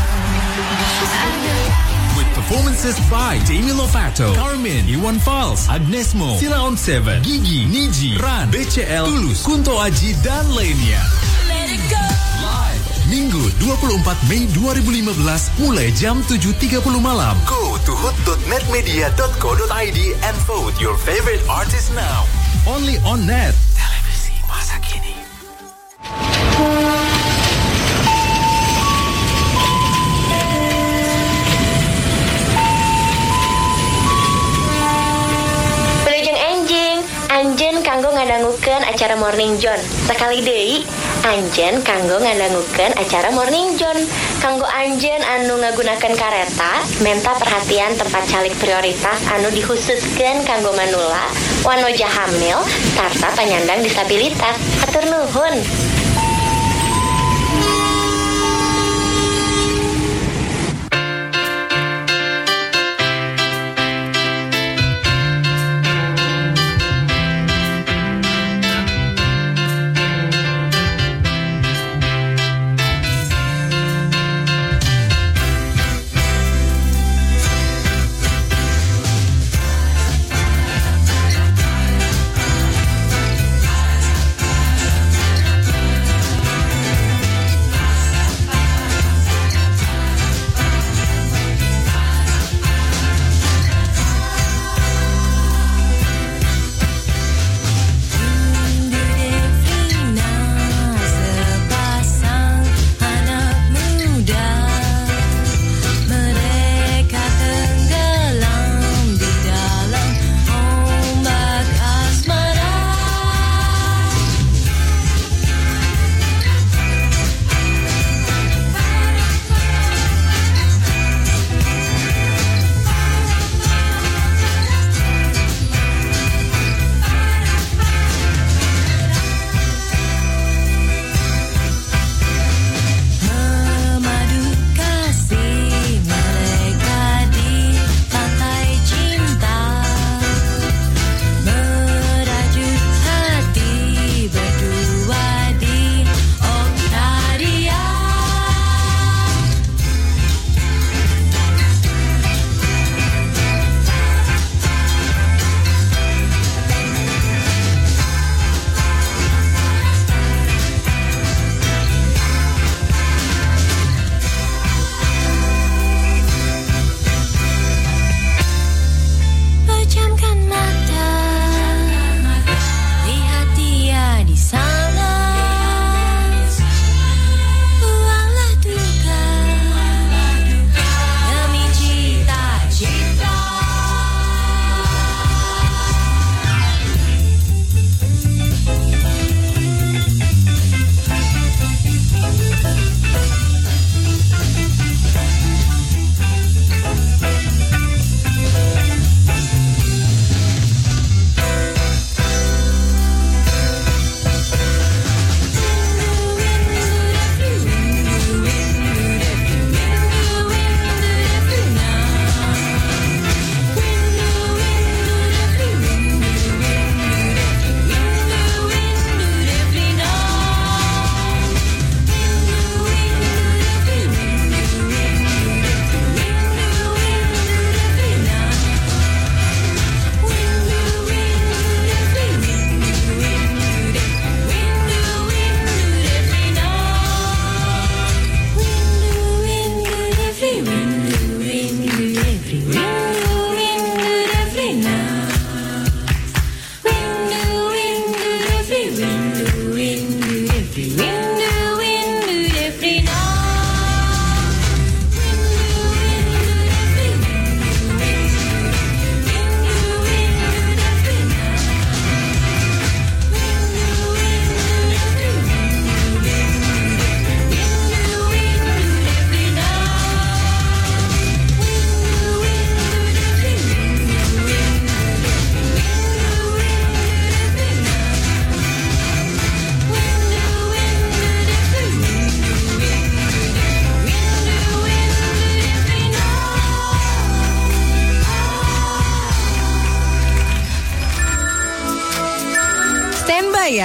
With performances by Demi Lovato, Carmen, Iwan Fals, Agnes Mo, Sila On Seven, Gigi, Niji, Ran, B C L, Tulus, Kunto Aji, dan lainnya. Live Minggu dua puluh empat Mei dua ribu lima belas mulai jam tujuh tiga puluh malam. Go to hood dot netmedia dot co dot i d and vote your favorite artist now. Only on Net. Televisi masa kini. Anjen kanggo ngadangukeun acara Morning John. Sekali deui, Anjen kanggo ngadangukeun acara Morning John. Kanggo Anjen anu ngagunakeun kareta, menta perhatian tempat calik prioritas anu dikhususkeun kanggo manula, wanoja hamil, sarta penyandang disabilitas. Hatur nuhun.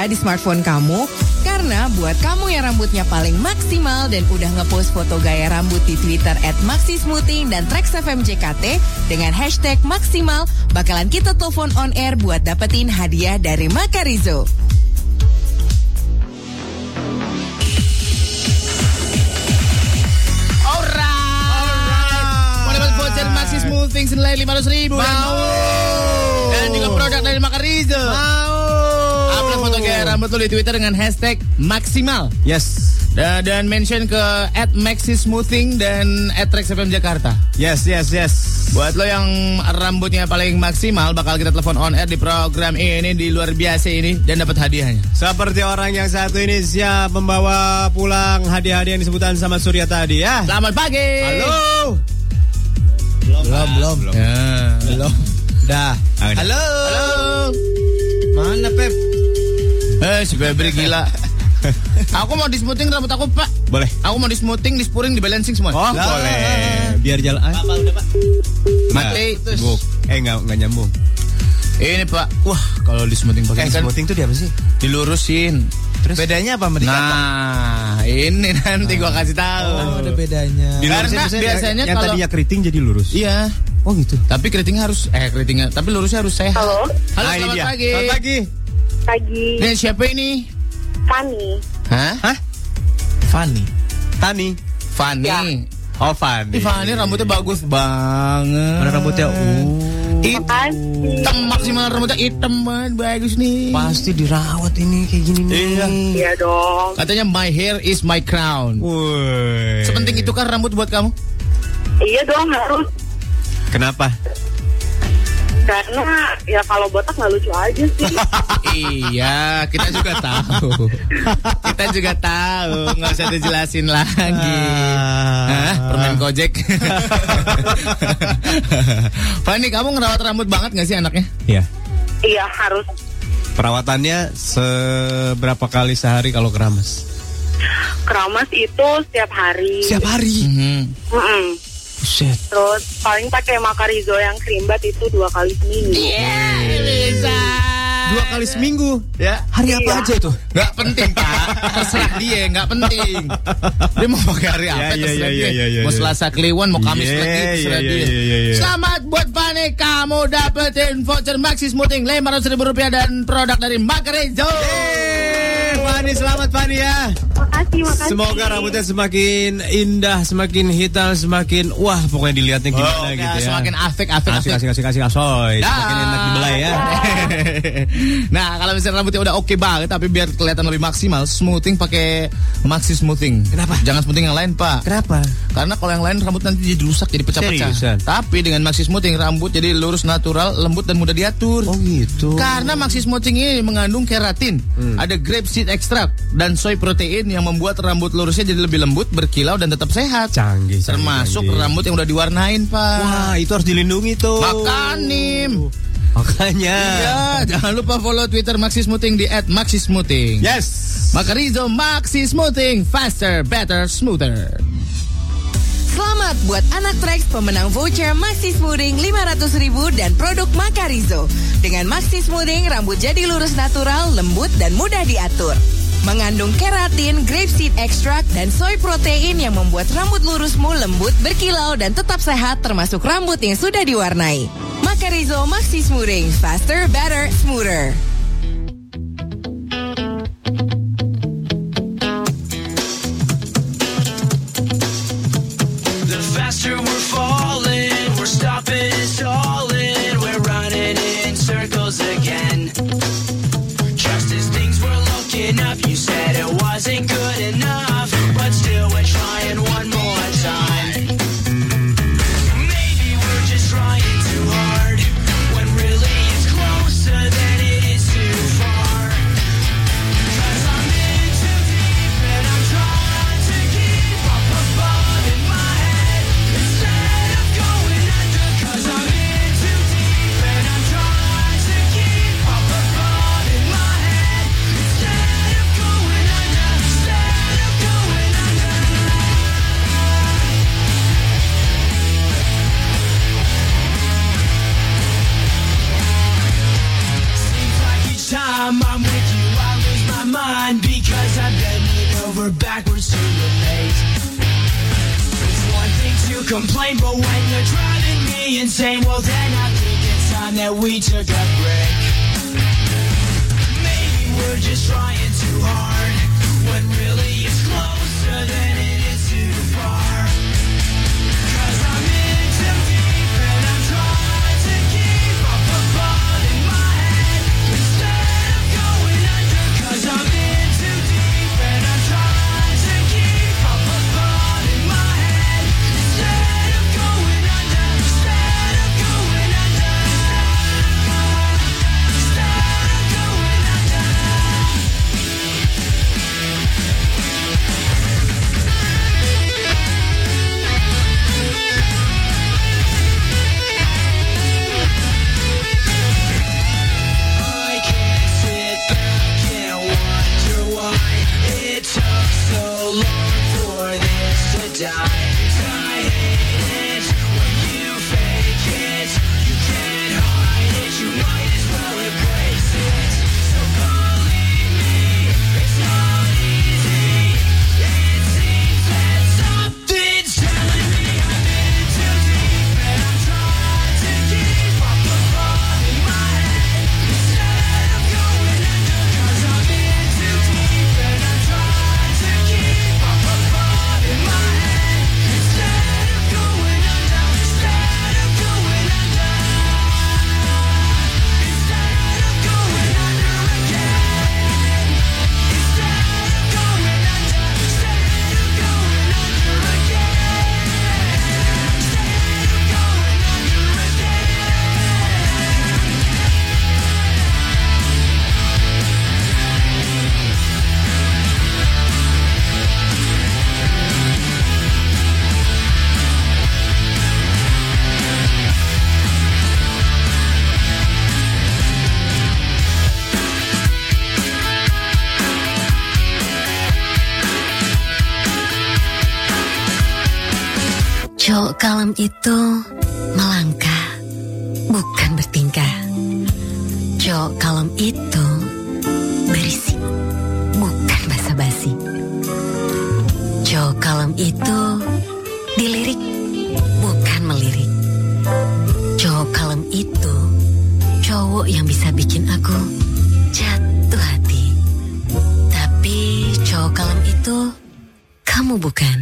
ya di smartphone kamu. Karena buat kamu yang rambutnya paling maksimal dan udah ngepost foto gaya rambut di Twitter at maxismoothing dan Trax F M J K T dengan hashtag maksimal, bakalan kita telepon on air buat dapetin hadiah dari Makarizo. Voucher Maxi Smoothing senilai lima ratus ribu. Mau. Dan juga produk dari Makarizo. Mau. Upload foto gaya rambut lo di Twitter dengan hashtag maksimal. Yes. Dan, dan mention ke at Maxi Smoothing dan at Trax F M Jakarta. Yes, yes, yes. Buat lo yang rambutnya paling maksimal, bakal kita telepon on air di program ini, di luar biasa ini, dan dapat hadiahnya. Seperti orang yang satu ini siap membawa pulang hadiah-hadiah yang disebutkan sama Surya tadi ya. Selamat pagi. Halo. Belum, belum, belum. Ya. Belum. Dah. Halo. Halo. Mana Pep? Eh, si Febri gila. Aku mau di smoothing rambut aku, Pak. Boleh. Aku mau di smoothing, di spuring, di balancing semua. Oh, lah. Boleh. Biar jalan. Apa udah, Pak? Mati. Buk. Eh, enggak enggak nyambung. Ini, Pak. Wah, kalau di smoothing pakai Eh, kan smoothing tuh dia apa sih? dilurusin. Terus bedanya apa sama dikata? Nah, ini nanti gua kasih tahu. Oh, ada bedanya. Dilurusin Karena maksudnya biasanya yang kalau- tadinya keriting jadi lurus. Iya. Oh gitu. Tapi keritingnya harus eh keritingnya, tapi lurusnya harus sehat. Halo. Halo, Nah, ini selamat dia. pagi. Selamat pagi. Pagi. Ini siapa ini? Fanny. Hah? Hah? Fanny. Tani. Fanny. Ya. Oh, Fanny. Ih, Fanny rambutnya bagus banget. Mana rambutnya? Uh. Makasih. Hitam maksimal, rambutnya hitam banget, bagus nih. Pasti dirawat ini kayak gini nih. Iya. Iya dong. Katanya my hair is my crown. Woi. Sepenting itu kan rambut buat kamu? Iya dong harus. Kenapa? Karena ya kalau botak nggak lucu aja sih. Iya, kita juga tahu. Kita juga tahu, nggak usah dijelasin lagi. Hah? Permen Gojek. Fanny, kamu ngerawat rambut banget nggak sih anaknya? Iya. Iya harus. Perawatannya seberapa kali sehari kalau keramas? Keramas itu setiap hari. Setiap hari. Mhm. Mm-mm. Buset. Terus paling pakai Makarizo yang krimbat itu dua kali seminggu. Iya, bisa. Dua kali seminggu. Ya. Hari apa Iya. aja itu? Nggak penting, Pak. Terserah dia, nggak penting. Dia mau pakai hari apa, Ya, ya, terserah ya, dia. ya, ya, Mau ya. Selasa Kliwon, mau Kamis Iya, lagi, terserah iya, dia. iya, iya, iya. Selamat buat Fanny, kamu dapetin voucher Maxi Smoothing lima ratus ribu rupiah dan produk dari Makarizo. Fanny, selamat Fanny ya. Makasih, makasih. Semoga rambutnya semakin indah, semakin hitam, semakin wah pokoknya dilihatnya gimana Oh, gitu ya. semakin afek, afek, Asik, afek. asik, asik, asik, asoy. Semakin enak dibelai ya. Nah, kalau misalnya rambutnya udah oke banget, tapi biar kelihatan lebih maksimal, smoothing pakai Maxi Smoothing. Kenapa? Jangan smoothing yang lain, Pak. Kenapa? Karena kalau yang lain rambut nanti jadi rusak, jadi pecah-pecah. Seriusan? Tapi dengan Maxi Smoothing rambut jadi lurus, natural, lembut dan mudah diatur. Oh gitu. Karena Maxi Smoothing ini mengandung keratin, Hmm. ada grape seed extract dan soy protein yang membuat rambut lurusnya jadi lebih lembut, berkilau dan tetap sehat. Canggih, canggih, Termasuk canggih. rambut yang udah diwarnain, Pak. Wah, itu harus dilindungi tuh. Makanim. Makanya. Iya, jangan lupa follow Twitter Maxi Smoothing di at maxi smoothing. Yes. Makarizo Maxi Smoothing, faster, better, smoother. Selamat buat anak Trax pemenang voucher Maxi Smoothing lima ratus ribu dan produk Makarizo. Dengan Maxi Smoothing, rambut jadi lurus natural, lembut dan mudah diatur. Mengandung keratin, grapeseed extract, dan soy protein yang membuat rambut lurusmu lembut, berkilau, dan tetap sehat termasuk rambut yang sudah diwarnai. Makarizo Maxi Smoothing, faster, better, smoother. The faster we're falling, we're stopping and stalling, we're running in circles again. Just as things were looking up, you said it wasn't good enough, but still we're trying one more time. Maybe we're just trying too hard, when really it's closer than it is too late. It's one thing to complain, but when you're driving me insane, well then I think it's time that we took a break. Maybe we're just trying too hard, when really it's closer than it is too far. Cause I'm in too deep and I'm trying to keep up above in my head instead of going under. Cause I'm in too deep and I'm trying to keep up above in my head instead of going under. Instead of going under. Instead of going under. I can't sit back and wonder why it took so long for this to die. I hate it when you fake it. You can't hide it. You might as well embrace it. So believe me, it's not easy. It seems that something's telling me I'm in too deep and I'm trying to keep up above in my head instead of going under. Cause I'm in too deep and I'm trying to keep up above in my head instead of going under. Instead of going under. Instead of going under again. Instead of going under. Instead of going under again. Instead of going under Cowok kalem itu melangkah, bukan bertingkah. Cowok kalem itu berisik, bukan basa-basi. Cowok kalem itu dilirik, bukan melirik. Cowok kalem itu cowok yang bisa bikin aku jatuh hati. Tapi cowok kalem itu kamu bukan.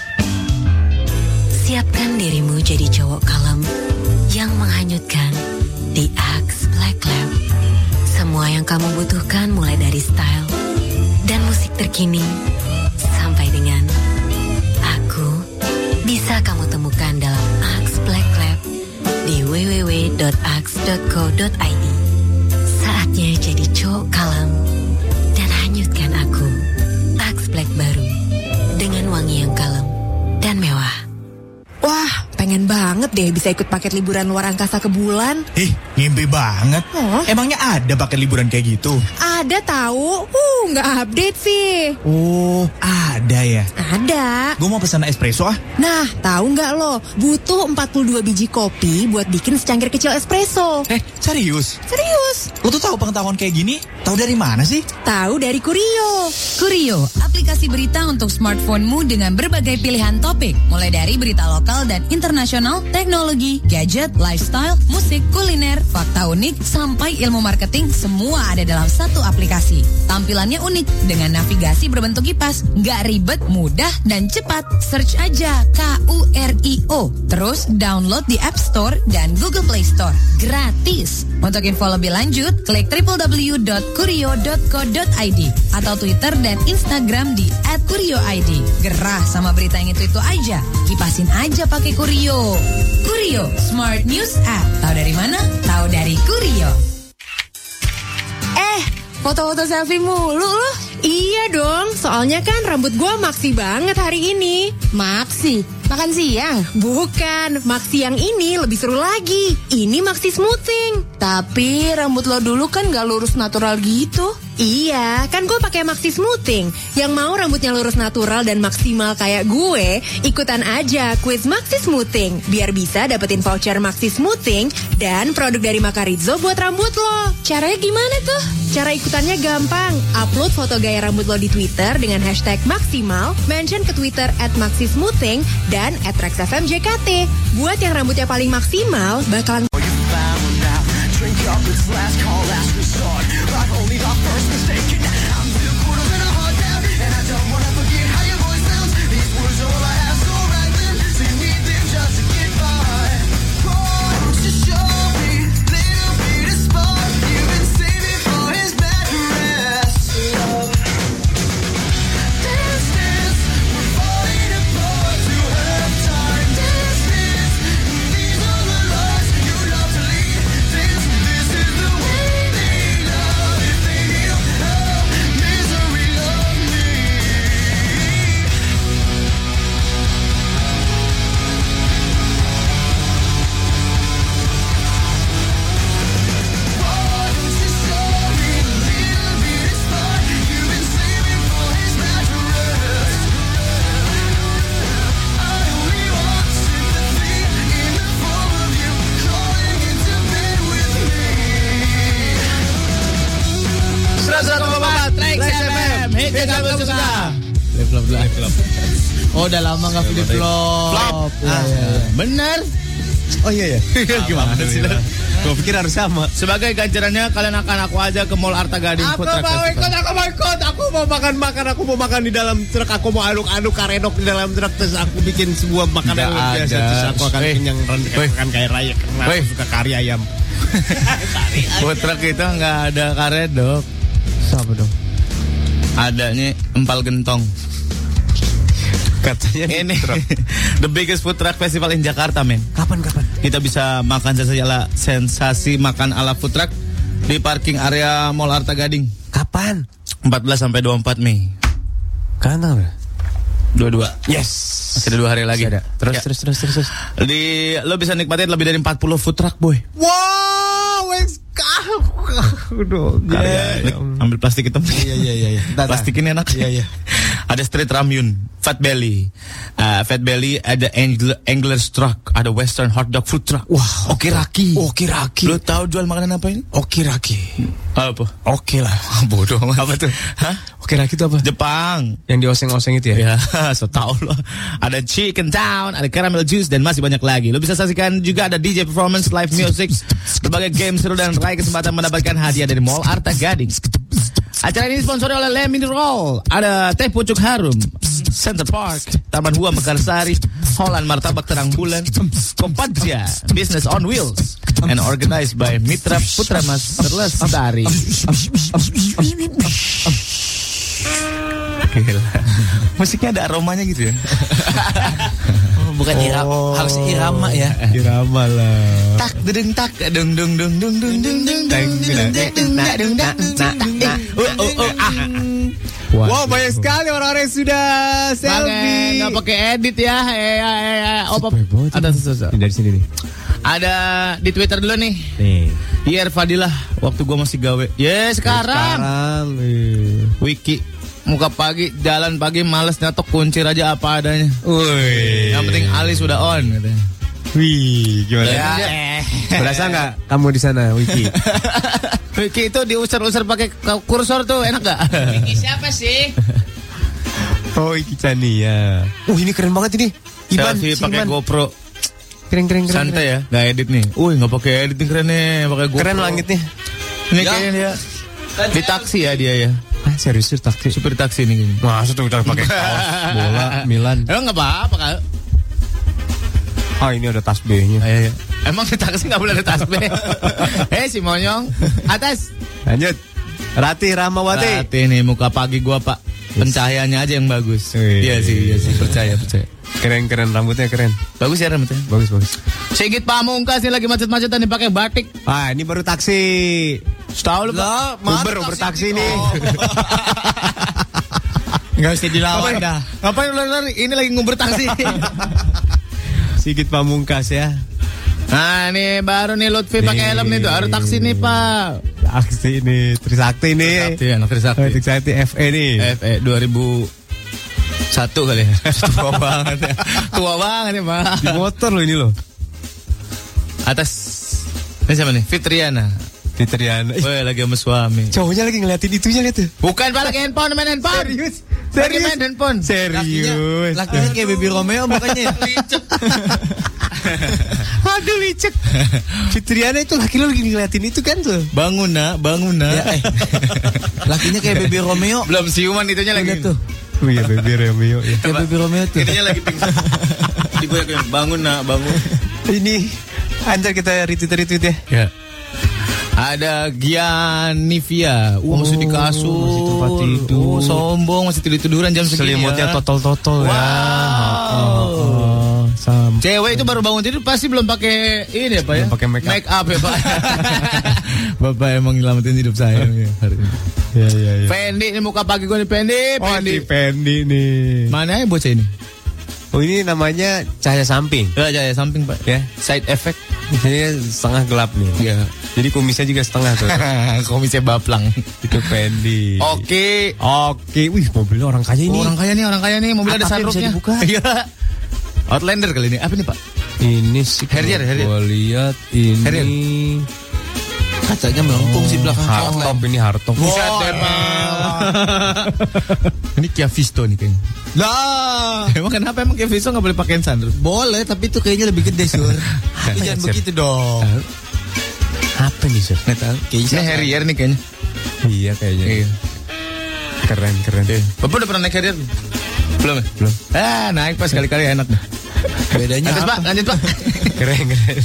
Siapkan dirimu jadi cowok kalem yang menghanyutkan di Axe Black Lab. Semua yang kamu butuhkan mulai dari style dan musik terkini sampai dengan aku bisa kamu temukan dalam Axe Black Lab di w w w dot axe dot co dot i d. Saatnya jadi cowok kalem dan hanyutkan aku. Axe Black baru dengan wangi yang kalem dan mewah. Wah, pengen banget deh bisa ikut paket liburan luar angkasa ke bulan. Ih, ngimpi banget. Oh. Emangnya ada paket liburan kayak gitu? Ada tahu? Uh, nggak update sih. Oh, ada ya? Ada. Gue mau pesan espresso ah. Nah, tahu nggak lo? Butuh empat puluh dua biji kopi buat bikin secangkir kecil espresso. Eh, serius? Serius. Lo tuh tahu pengetahuan kayak gini? Tahu dari mana sih? Tahu dari Kurio. Kurio, aplikasi berita untuk smartphone-mu dengan berbagai pilihan topik, mulai dari berita lokal dan internasional, teknologi, gadget, lifestyle, musik, kuliner, fakta unik, sampai ilmu marketing, semua ada dalam satu aplikasi. Tampilannya unik dengan navigasi berbentuk kipas, nggak ribet, mudah, dan cepat. Search aja K U R I O, terus download di App Store dan Google Play Store, gratis. Untuk info lebih lanjut, klik w w w dot kurio dot co dot i d atau Twitter dan Instagram di at kurio i d. Gerah sama berita yang itu-itu aja, kipasin aja pakai Kurio. Kurio, Smart News App. Tahu dari mana? Tahu dari Kurio. Eh, foto-foto selfie mulu loh. Iya dong, soalnya kan rambut gua maksi banget hari ini. Maksi? Makan siang? Bukan, maksi yang ini lebih seru lagi. Ini maksi smoothing. Tapi rambut lo dulu kan gak lurus natural gitu. Iya, kan gue pakai Maxi Smoothing. Yang mau rambutnya lurus natural dan maksimal kayak gue, ikutan aja quiz Maxi Smoothing. Biar bisa dapetin voucher Maxi Smoothing dan produk dari Makarizo buat rambut lo. Caranya gimana tuh? Cara ikutannya gampang. Upload foto gaya rambut lo di Twitter dengan hashtag maksimal, mention ke Twitter at Maxi Smoothing dan at Trax F M J K T. Buat yang rambutnya paling maksimal, bakalan Drink up, it's last call, last resort. I've only got first mistake. I'm two quarters in a hard down, and I don't wanna forget how your voice sounds. These words are all I have, so right then, so you need them just to get by. Won't you show me little bit of spark? You've been saving for his bad rest. Dance, dance, we're falling apart. To have time. Dance, dance, these are the lies you love to lead. Dance. This is the way they love. If they need help, misery love me. Why don't you show me a little bit of spark? You've been saving for his mattress. I only want sympathy in the form of you crawling into bed with me. seratus satu koma empat Trax F M, hit yang kamu suka. Flip flop flip flop. Oh, udah lama nggak flip flop. Flop. Ah, iya. Bener. Oh iya ya. Gimana sih? Gue pikir harus sama. Sebagai ganjarannya kalian akan aku aja ke Mall Arta Gading Aku Food Truck mau ikut, Festival. aku mau ikut. Aku mau makan-makan, aku mau makan di dalam truk. Aku mau aduk-aduk karedok di dalam truk. Terus aku bikin sebuah makanan Nggak yang biasa. ada. Terus aku akan Weh. kenyang Weh. makan kayak raya. Karena Weh. aku suka kari ayam. Food truck itu nggak ada karedok. Siapa dong? Adanya empal gentong. Katanya Ini the biggest food truck festival in Jakarta, men. Kapan kapan? Kita bisa makan sensasi ala, sensasi makan ala food truck di parking area Mall Arta Gading. Kapan? empat belas sampai dua puluh empat Mei. Karena apa? dua puluh dua. Yes. Masih ada dua hari lagi. Ada. Terus, Ya. terus terus terus terus. Di lo bisa nikmatin lebih dari empat puluh food truck, boy. Wow, wes Udah, Karya, Lik, ambil plastik hitam. Iya iya iya. Plastik ini enak. Iya iya. Ada street ramyun, fat belly, uh, fat belly, ada angler, angler's truck, ada western hot dog food truck. Wah, okiraki. Okiraki. Lo tahu jual makanan apa ini? Okiraki. Apa? Oke lah. Bodoh amat. Apa tuh? Hah? Okiraki itu apa? Jepang. Yang dioseng-oseng itu ya? Ya, so tau lo. Ada chicken town, ada caramel juice dan masih banyak lagi. Lo bisa saksikan juga ada D J performance, live music, berbagai game seru dan raih kesempatan mendapatkan hadiah dari Mall Arta Gading. Acara ini disponsori oleh Le Mineral, ada Teh Pucuk Harum, Center Park, Taman Hua Mekarsari, Holland Martabak Terang Bulan, Kompaja, Business on Wheels, and organized by Mitra Putra Mas Terlestari. Gila. Musiknya ada aromanya gitu ya. Bukan irama, harus irama ya. Irama lah. Tak dedeng tak dung dung dung dung dung dung dung dung dung dung dung ah. Wow, banyak sekali orang-orang yang sudah selfie. Nggak pakai edit ya. Eh, eh, eh, oh, pop. Ada sesuatu. Dari sini nih. Ada di Twitter dulu nih. Nih. Iya, Fadilah. Waktu gua masih gawe. Ya sekarang. Sekarang. eh. Wiki. Muka pagi, jalan pagi, males nyatok kuncir aja apa adanya. Wih. Yang penting alis udah on katanya. Wih, gimana? Ya, Eh. Berasa nggak kamu di sana, Wiki? Wiki itu diusir-usir pakai kursor tuh, enak gak? Ini siapa sih? Oh, Wiki Chania. Uh, ini keren banget ini. Iban, Selfie si pakai Iban. GoPro. Keren, keren, keren. Santai ya, nggak edit nih. Wih, nggak pakai editing keren nih, pakai GoPro. Keren langitnya. Ini Ya. kayaknya dia di taksi ya dia ya. Ah, serius tuh taksi. Supir taksi nih. Gini. Masa tuh kita pakai kaos bola Milan. Emang nggak apa-apa kak? Ah, ini ada tas B-nya. Ayo, ayo. Emang di taksi nggak boleh ada tas B? Eh si Monyong, atas. Lanjut. Rati Ramawati. Rati nih muka pagi gua pak. Pencahayaannya aja yang bagus. Wih. Iya sih, iya sih. Percaya, percaya. Keren, keren, rambutnya keren. Bagus ya rambutnya. Bagus, bagus. Sigit Pamungkas nih lagi macet-macetan dipakai batik. Ah, ini baru taksi. Tahu lu Lah, pak? mana Uber, Uber taksi nih. Nggak usah dilawan dah. Ngapain lu lari? Ini lagi nguber taksi. Sigit Pamungkas ya. Nah, nih baru nih Lutfi pakai helm nih tuh. Harus taksi nih, Pak. Taksi nih, Trisakti nih. Trisakti, anak Trisakti. Oh, Trisakti F E nih. F E dua ribu satu kali ya. Tua banget ya. Tua banget ya, Pak. Di motor lo ini lo. Atas. Ini siapa nih? Fitriana. Fitriana. Woi, lagi sama suami. Cowoknya lagi ngeliatin itunya lihat tuh. Bukan, Pak, lagi handphone, main handphone. Serius. Lagi main handphone. Serius. Lakinya kayak Baby Romeo makanya. Aduh licek. Fitriana itu laki lo lagi ngeliatin itu kan tuh. Bangun nak, bangun nak. Ya, eh. Lakinya kayak Baby Romeo. Belum siuman itunya lagi. tuh. Oh iya Baby Romeo ya. Kayak Baby Romeo tuh. Itunya lagi pingsan. Di gue yang bangun nak, bangun. Ini antar kita retweet-retweet ya. Ya. Ada Gianivia. Uh, Oh, masih di kasur. masih tempat tidur. Oh, sombong, masih tidur-tiduran jam segini. Selimutnya ya. totol-totol Wow. ya. Oh, oh, oh. Sampai. Cewek itu baru bangun tidur pasti belum pakai ini ya, Pak ya. Belum pakai make up. Make up ya, Pak. Bapak emang nyelamatin hidup saya ya, hari ini. Ya ya ya. Fendi ini muka pagi gue nih, Fendi, Oh, Fendi. di Fendi nih. Mana ya bocah ini? Oh, ini namanya cahaya samping. Ya, cahaya samping, Pak. Ya. Side effect. Jadi setengah gelap nih. Ya. Jadi kumisnya juga setengah tuh. Komisnya baplang. Itu Fendi. Oke. Oke. Wih, mobilnya orang kaya ini. Oh, orang kaya nih, orang kaya nih. Mobil ada Atapnya bisa sunroofnya. dibuka. Iya. Outlander kali ini. Apa nih, Pak? Ini sih. Harrier, Harrier. Gue lihat ini. Harrier. Kacanya melengkung sih belakang. Hardtop ini hardtop. Buset emang. Ini Kia Visto nih kayaknya. Lah, Emang kenapa emang Kia Visto gak boleh pakein sunroof? boleh tapi itu kayaknya lebih gede, Sur. Tapi jangan Sir. begitu dong. Apa nih, Sur? Nggak tahu. Ini Harrier nih kayaknya. Iya kayaknya. Iya. Keren keren. Bapak udah pernah naik Harrier? Belum ya? Belum. Ah, naik pas kali-kali enak dah. Bedanya Lanjut, apa? Pak, lanjut, Pak. Keren keren.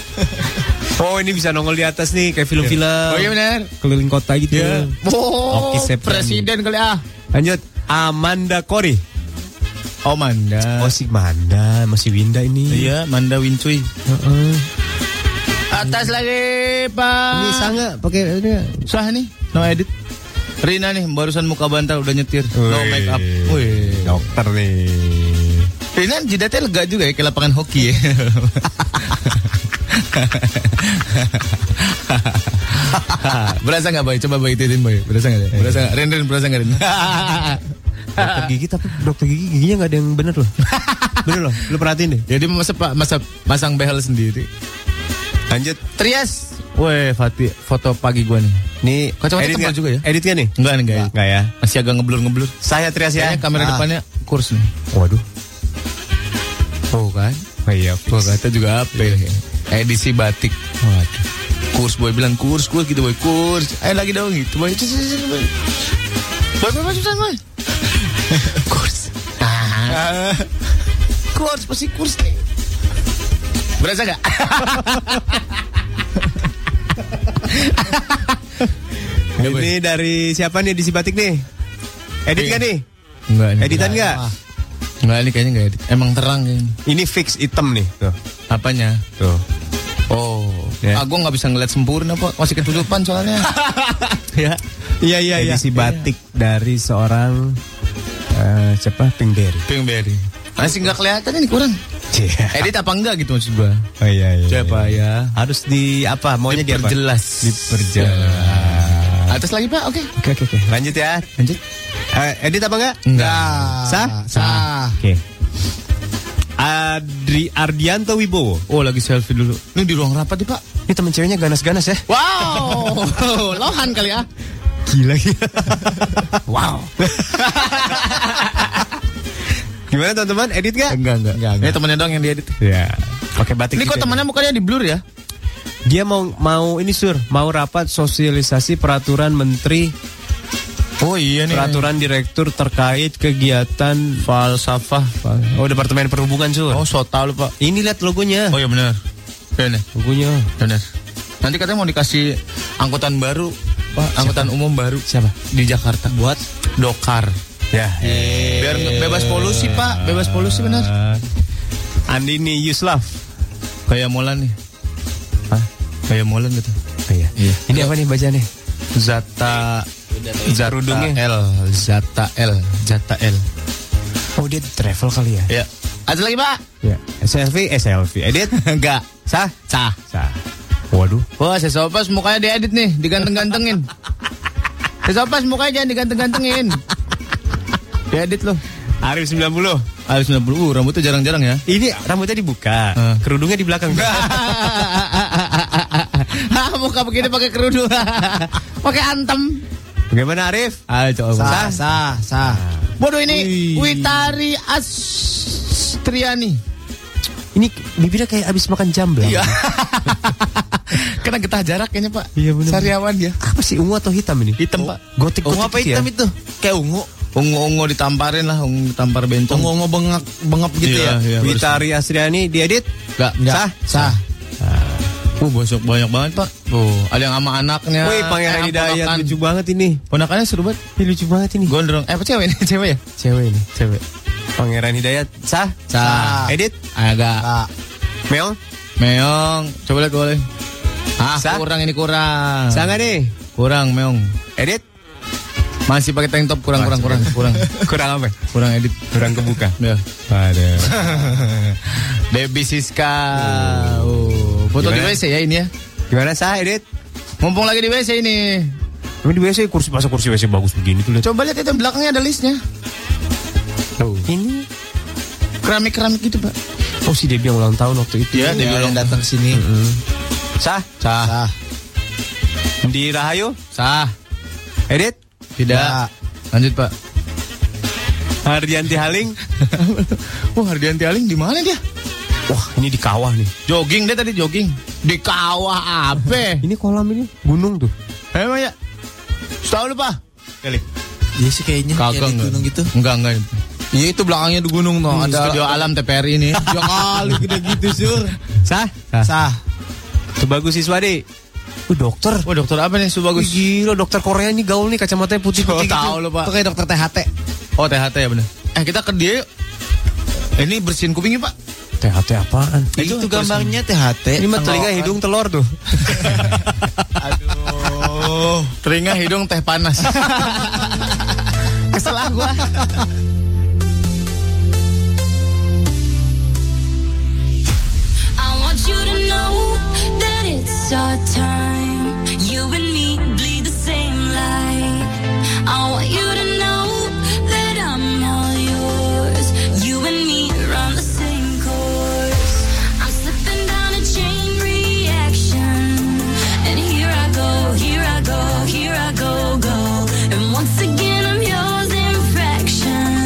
Oh, ini bisa nongol di atas nih kayak film-film. Oh iya benar. Keliling kota gitu. Iya. Oh, Oke, Septiani. presiden kali ah. Lanjut. Amanda Kori. Oh, Manda. Oh, si Manda, masih Winda ini. Iya, Manda Wincuy. Heeh. Atas lagi, Pak. Ini sangat pakai ini. Sah nih, no edit. Rina nih, barusan muka bantal udah nyetir. No Wih. make up. Wih. Dokter nih. Rina jidatnya lega juga ya, kayak lapangan hoki ya. Berasa nggak Boy? Coba Boy ituin Boy. Berasa nggak? Berasa nggak? Ren Ren berasa nggak Ren? Dokter gigi tapi dokter gigi giginya nggak ada yang bener loh. Bener loh, lu perhatiin deh. Jadi masa pak masa masang behel sendiri. Lanjut. Trias. Weh, Fatih, foto pagi gua nih. Nih, Kacamata edit tebal kan? juga ya? Edit kan nih? Enggak nih, enggak ya. Enggak ya. Masih agak ngeblur-ngeblur. Saya Trias ya. Kayaknya kamera Ah. depannya kurs nih. Waduh. Oh kan? Oh iya, Gua kata juga apa ya? Edisi batik. Waduh. Kurs Boy bilang kurs, kurs gitu Boy, kurs. Ayo lagi dong gitu Boy. Boy, Boy, Boy, masuk sana Boy. Kurs. Ah. Kurs, pasti kurs nih. Berasa gak? Ini dari siapa nih edisi batik nih? Edit kan nih? Enggak nih. Editan enggak? Enggak nih kayaknya enggak edit. Emang terang kayaknya. Ini fix hitam nih. Tuh. Apanya? Tuh. Oh, Ya. ah, gue nggak bisa ngeliat sempurna Pak, masih ketutupan soalnya. Ya, Iya iya iya. Edisi batik dari seorang eh, siapa? Pinkberry. Pinkberry. Masih nggak kelihatan ini kurang. Iya. Edit apa enggak gitu maksud gue? Oh iya iya. Siapa ya? Harus di apa? Maunya di apa? Diperjelas. Diperjelas. Atas lagi Pak, oke. Oke oke oke. Lanjut ya. Lanjut. Eh, edit apa enggak? Enggak. Sah? Sah. Oke. Adri Ardianto Wibowo. Oh lagi selfie dulu. Ini di ruang rapat nih Pak. Ini temen ceweknya ganas-ganas ya. Wow, lohan kali ya. Gila gila. Wow. Gimana teman-teman? Edit gak? Enggak enggak. enggak, enggak. Ini temennya doang yang diedit. Ya. Pakai batik. Ini kok juga. temannya mukanya di blur ya? Dia mau mau ini sur, mau rapat sosialisasi peraturan menteri. Oh iya nih. Peraturan direktur terkait kegiatan falsafah. Oh, Departemen Perhubungan sur. Oh, so tau lu Pak. Ini lihat logonya. Oh iya benar. Benar. Logonya. Benar. Nanti katanya mau dikasih angkutan baru, Pak, angkutan umum baru. Siapa? Di Jakarta. Buat Dokar. Ya. Biar nge- bebas polusi, Pak. Bebas polusi benar. Andini Yuslaf. Kayak Molan nih. Hah? Kayak Molan gitu. Oh, iya. Iya. Ini apa nih bacanya? Zata Zata Kerudungnya. L, Zata L, Zata L. Oh, dia travel kali ya? Ya. Ada lagi, Pak? Ya, selfie, eh selfie. Edit? Enggak. Sah? Sah. Sah. Waduh. Wah, Sesopas mukanya diedit nih, diganteng-gantengin. Sesopas mukanya jangan diganteng-gantengin. Diedit loh. Arif sembilan puluh. Arif sembilan puluh, uh, rambutnya jarang-jarang ya. Ini rambutnya dibuka, uh. kerudungnya di belakang. Muka begini pakai kerudung. Pakai antem. Bagaimana Arif? Ayo coba. Sah, sah, sah. Bodoh ini Witari Astriani. Ini bibirnya kayak abis makan jamblang. Iya. Kena getah jarak kayaknya, Pak. Iya benar. Sariawan dia. Apa sih, ungu atau hitam ini? Hitam, oh. Pak. Gotik, ungu apa hitam ya? itu? Kayak ungu. Ungu-ungu ditamparin lah, ungu ditampar bencong. Ungu-ungu bengap bengap gitu iya, ya. Iya, Witari Astriani diedit? Enggak, sah? Sah. Uh, banyak banyak banget, Pak. Oh, ada yang sama anaknya. Wih, Pangeran Hidayat lucu banget ini. Ponakannya seru banget. Ini lucu banget ini. Gondrong. Eh, apa cewek ini? Cewek ya? Cewek ini, cewek. Pangeran Hidayat sah? Sah. Edit? Agak. Sah. Meong? Meong. Coba lihat boleh. Ah, sah? Kurang ini kurang. Sah nggak nih? Kurang, Meong. Edit? Masih pakai tank top, kurang, kurang, kurang, kurang. Kurang apa? Kurang edit. Kurang kebuka. Ya. Ada. Debbie Siska. Oh, foto di W C ya ini ya. Gimana sah edit? Mumpung lagi di W C ini. Ini di W C kursi, masa kursi W C bagus begini tuh lihat. Coba lihat itu belakangnya ada listnya. Tuh. Ini keramik-keramik gitu, Pak. Oh, si Debbie yang ulang tahun waktu itu. Iya, Debbie yang datang sini. Mm-hmm. Sah? Sah. Sah. Di Rahayu? Sah. Edit? Tidak. Sah. Lanjut, Pak. Hardianti Haling? Oh, Hardianti Haling di mana dia? Wah, ini di kawah nih. Jogging dia tadi jogging. Di kawah apa? Ini kolam ini gunung tuh. Emang ya? Tahu lu, Pak? Kali. Iya sih kayaknya Kagak kayak di gunung gitu. Enggak, enggak. Iya itu belakangnya di gunung tuh. Hmm, ada studio alam T P R I ini. Ya kali gede gitu, Sur. Sah? Sah. Sah. Sebagus Siswadi. Oh, dokter. Oh, dokter apa nih Sebagus? Gila, dokter Korea ini gaul nih, kacamatanya putih-putih gitu. Tahu lu, Pak. Itu kayak dokter T H T. Oh, T H T ya benar. Eh, kita ke dia. Ini bersihin kupingnya, Pak. T H T apaan? Itu, itu gambarnya T H T. Ini mah telinga, hidung, telur tuh. Aduh. Telinga, hidung, teh panas. Kesel ah gua. I want you to know that it's our time. You and me bleed the same light. I want you to know that I'm all yours. You and me run the same course. I'm slipping down a chain reaction. And here I go, here I go, here I go, go. And once again I'm yours in fractions.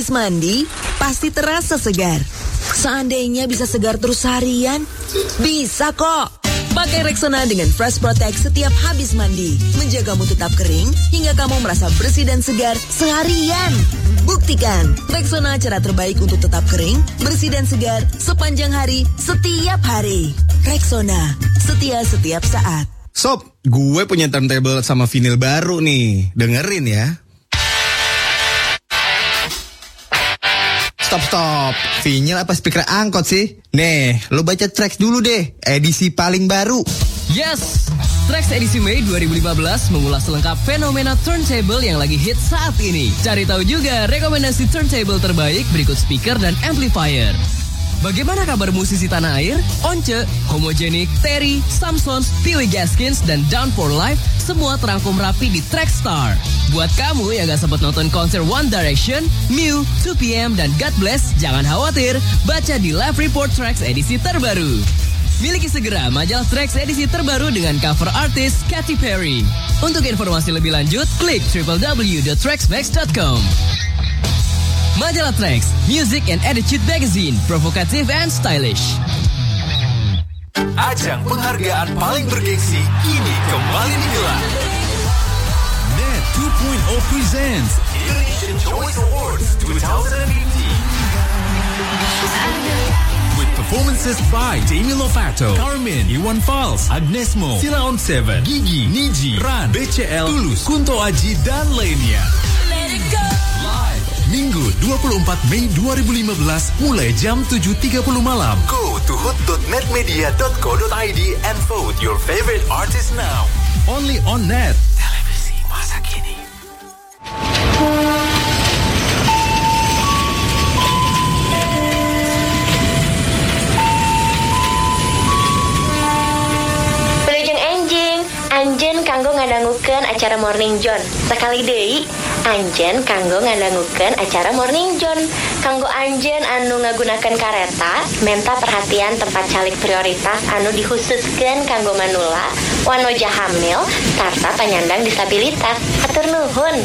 Habis mandi, pasti terasa segar. Seandainya bisa segar terus harian, bisa kok. Pakai Rexona dengan Fresh Protect setiap habis mandi. Menjagamu tetap kering hingga kamu merasa bersih dan segar seharian. Buktikan, Rexona cara terbaik untuk tetap kering, bersih dan segar sepanjang hari, setiap hari. Rexona, setia setiap saat. Sob, gue punya turntable sama vinil baru nih. Dengerin ya. Stop stop, vinyl apa speaker angkot sih? Nih, lo baca tracks dulu deh, edisi paling baru. Yes, Tracks edisi Mei dua ribu lima belas mengulas lengkap fenomena turntable yang lagi hit saat ini. Cari tahu juga rekomendasi turntable terbaik berikut speaker dan amplifier. Bagaimana kabar musisi tanah air? Once, Homogenic, Terry, Samsons, Pee-wee Gaskins, dan Down for Life semua terangkum rapi di Trackstar. Buat kamu yang gak sempat nonton konser One Direction, Mew, two P M, dan God Bless, jangan khawatir, baca di Live Report Tracks edisi terbaru. Miliki segera majalah Tracks edisi terbaru dengan cover artis Katy Perry. Untuk informasi lebih lanjut, klik w w w dot traxmax dot com. Majalah Tracks, Music and Attitude Magazine, provokatif and stylish. Ajang penghargaan paling bergengsi kini kembali digelar. Net two point oh presents Indonesian Choice Awards twenty eighteen. With performances by Demi Lovato, Carmen, Iwan Fals, Agnes Mo, Sila on Seven, Gigi, Niji, Ran, B C L, Tulus, Kunto Aji, dan lainnya. Live Minggu dua puluh empat Mei dua ribu lima belas mulai jam tujuh tiga puluh malam. Go to hood dot netmedia dot co dot i d and vote your favorite artist now. Only on Net. Televisi masa kini. Anjen kanggo ngadangukeun acara Morning John. Sekali deui, Anjen kanggo ngadangukeun acara Morning John. Kanggo Anjen anu ngagunakeun kareta, menta perhatian tempat calik prioritas anu dikhususkeun kanggo manula, wanoja hamil, sarta penyandang disabilitas. Hatur nuhun.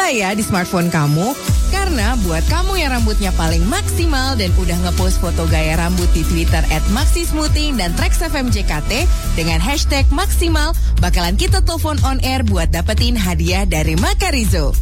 mulai ya di smartphone kamu. Karena buat kamu yang rambutnya paling maksimal dan udah ngepost foto gaya rambut di Twitter at maxismoothing dan Trax F M J K T dengan hashtag maksimal, bakalan kita telepon on air buat dapetin hadiah dari Makarizo.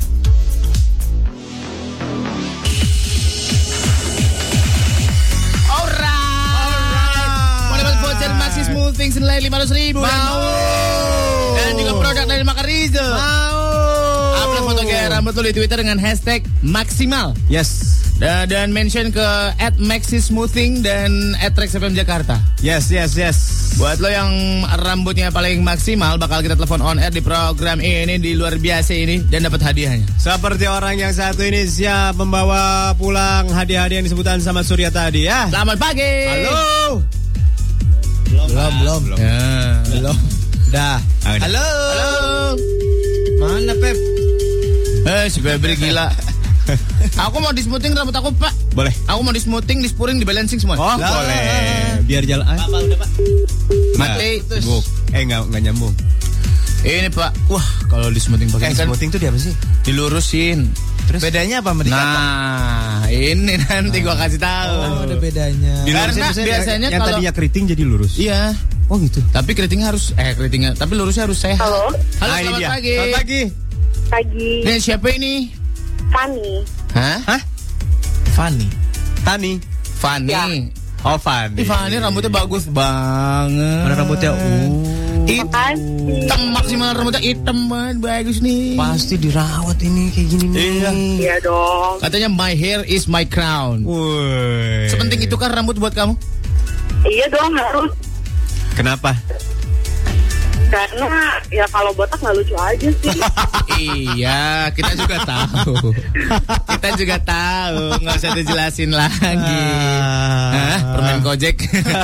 Maxi Smoothing senilai lima ratus ribu. Mau. Dan juga produk dari Makarizo. Mau. Upload foto gaya rambut lo di Twitter dengan hashtag maksimal. Yes. Dan, dan mention ke at Maxi Smoothing dan at Trax F M Jakarta. Yes, yes, yes. Buat lo yang rambutnya paling maksimal, bakal kita telepon on air di program ini, di luar biasa ini, dan dapat hadiahnya. Seperti orang yang satu ini siap membawa pulang hadiah-hadiah yang disebutkan sama Surya tadi ya. Selamat pagi. Halo. Belum, belum, belum. Ya. Belum. Dah. Halo. Halo. Mana Pep? Eh, si Febri gila. Aku mau di smoothing rambut aku, Pak. Boleh. Aku mau di smoothing, di spuring, di balancing semua. Oh, lah. Boleh. Biar jalan. Pak, Pak, udah, Pak. Mati. Nah, eh, enggak enggak nyambung. Ini, Pak. Wah, kalau di smoothing pakai eh, kan smoothing itu dia apa sih? Dilurusin. Terus bedanya apa sama dikata? Nah, ini nanti gua kasih tahu. Oh, ada bedanya. Karena biasanya yang kalau tadinya keriting jadi lurus. Iya. Oh gitu. Tapi keritingnya harus eh keritingnya, tapi lurusnya harus sehat. Halo. Halo, Nah, ini selamat dia. pagi. Selamat pagi. Pagi. Ini siapa ini? Fanny. Hah? Hah? Fanny. Tani. Fanny. Ya. Oh, Fanny. Ih, Fanny rambutnya bagus banget. Mana rambutnya? Uh. Hitam maksimal rambutnya hitam banget, bagus nih. Pasti dirawat ini kayak gini nih. Iya. Iya dong. Katanya my hair is my crown. Woi. Sepenting itu kan rambut buat kamu? Iya dong harus. Kenapa? Karena ya kalau botak nggak lucu aja sih. Iya, kita juga tahu. Kita juga tahu, nggak usah dijelasin lagi. Hah, permen Gojek.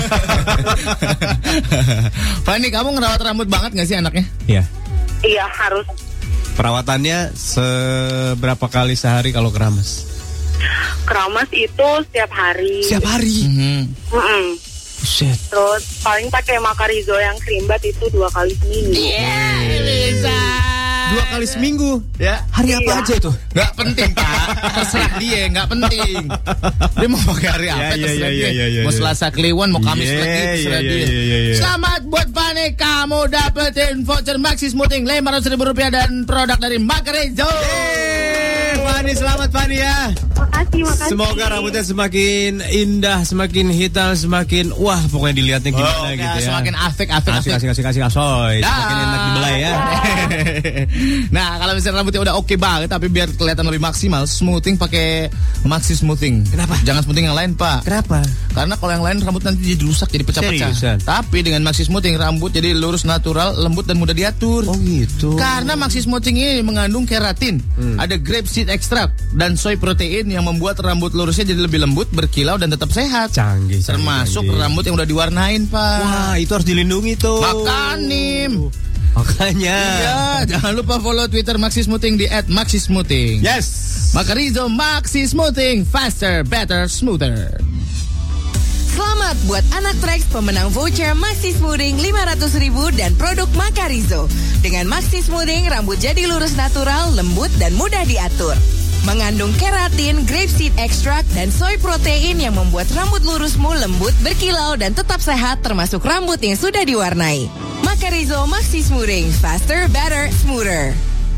Fanny, kamu ngerawat rambut banget nggak sih anaknya? Iya. Iya harus. Perawatannya seberapa kali sehari kalau keramas? Keramas itu setiap hari. Setiap hari. Mm-hmm. Mm-mm. Buset. Terus paling pakai Makarizo yang creambat itu dua kali seminggu. Iya, yeah, bisa. Dua kali seminggu. Ya. Hari Iya. apa aja itu? Nggak penting, Pak. Terserah dia, nggak penting. Dia mau pakai hari apa, Ya, ya, terserah ya, dia. ya, ya, Mau ya. Selasa Kliwon, mau Kamis Yeah, lagi, terserah yeah, dia. yeah, yeah, yeah. Selamat buat Fanny, kamu dapetin voucher Maxi Smoothing lima ratus ribu rupiah dan produk dari Makarizo. Fanny, selamat Fanny ya. Makasih, makasih. Semoga rambutnya semakin indah, semakin hitam, semakin wah pokoknya dilihatnya gimana Oh, gitu ya. semakin asik, asik, Asik, asik. asik, asik, asik, asoy. Semakin Dah. enak dibelai ya. Nah, kalau misalnya rambutnya udah oke banget, tapi biar kelihatan lebih maksimal, smoothing pakai Maxi Smoothing. Kenapa? Jangan smoothing yang lain, Pak. Kenapa? Karena kalau yang lain rambut nanti jadi rusak, jadi pecah-pecah. Seriusan? Tapi dengan Maxi Smoothing rambut jadi lurus, natural, lembut dan mudah diatur. Oh gitu. Karena Maxi Smoothing ini mengandung keratin, Hmm. ada grape seed extract dan soy protein yang membuat rambut lurusnya jadi lebih lembut, berkilau dan tetap sehat. Canggih. Termasuk canggih. rambut yang udah diwarnain, Pak. Wah, itu harus dilindungi tuh. Makanim. Makanya. Iya, jangan lupa follow Twitter Maxi Smoothing di at maxi smoothing. Yes. Makarizo Maxi Smoothing, faster, better, smoother. Selamat buat anak Trax pemenang voucher Maxi Smoothing lima ratus ribu dan produk Makarizo. Dengan Maxi Smoothing, rambut jadi lurus natural, lembut dan mudah diatur. Mengandung keratin, grapeseed extract, dan soy protein yang membuat rambut lurusmu lembut, berkilau, dan tetap sehat termasuk rambut yang sudah diwarnai. Makarizo Maxi Smoothing, faster, better, smoother.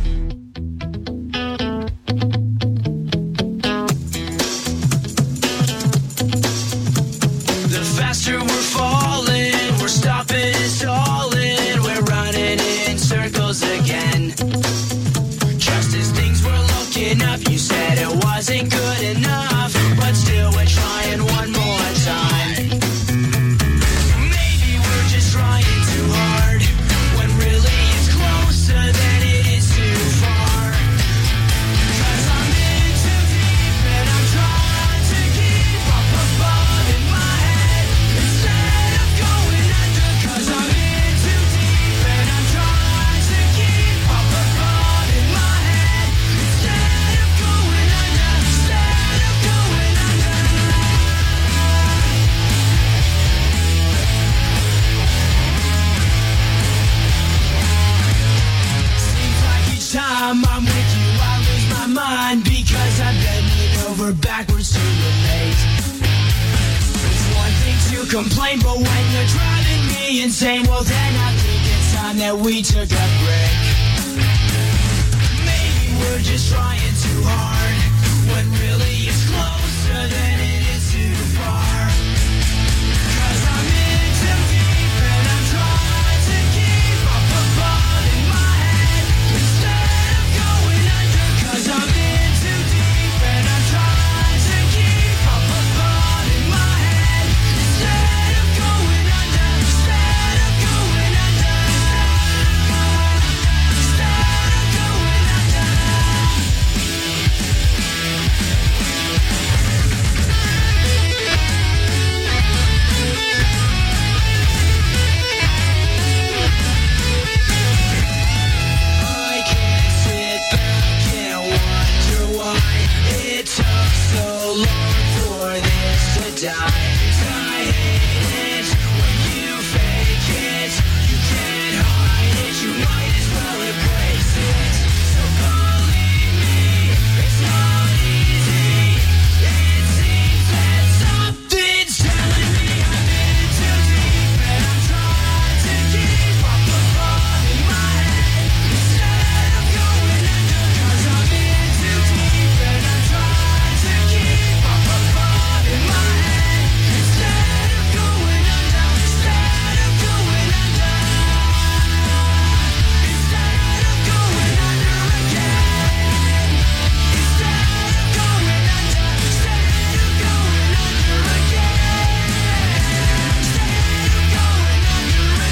The faster we're falling, we're stopping and stalling, we're running in circles again. Just as things were looking up, you said it wasn't good enough, but still we're trying one more time. Maybe we're just trying too hard, when really it's closer than it is to complain, but when you're driving me insane, well then I think it's time that we took a break. Maybe we're just trying too hard, when really it's closer than it is too far. Cause I'm in too deep and I'm trying to keep up above in my head instead of going under. Cause I'm in too deep and I'm trying to keep up above in my head instead of going under. Instead of going under. Instead of going under. I can't sit back and wonder why it took so long for this to die. I hate it when you fake it. You can't hide it. You might as well embrace it. So believe me, it's not easy. It seems that something's telling me I'm in too deep and I'm trying to keep up above in my head instead of going under. Cause I'm in too deep and I'm trying to keep up above in my head instead of going under. Instead of going under. Instead of going under again. Instead of going under. Instead of going under again. Instead of going under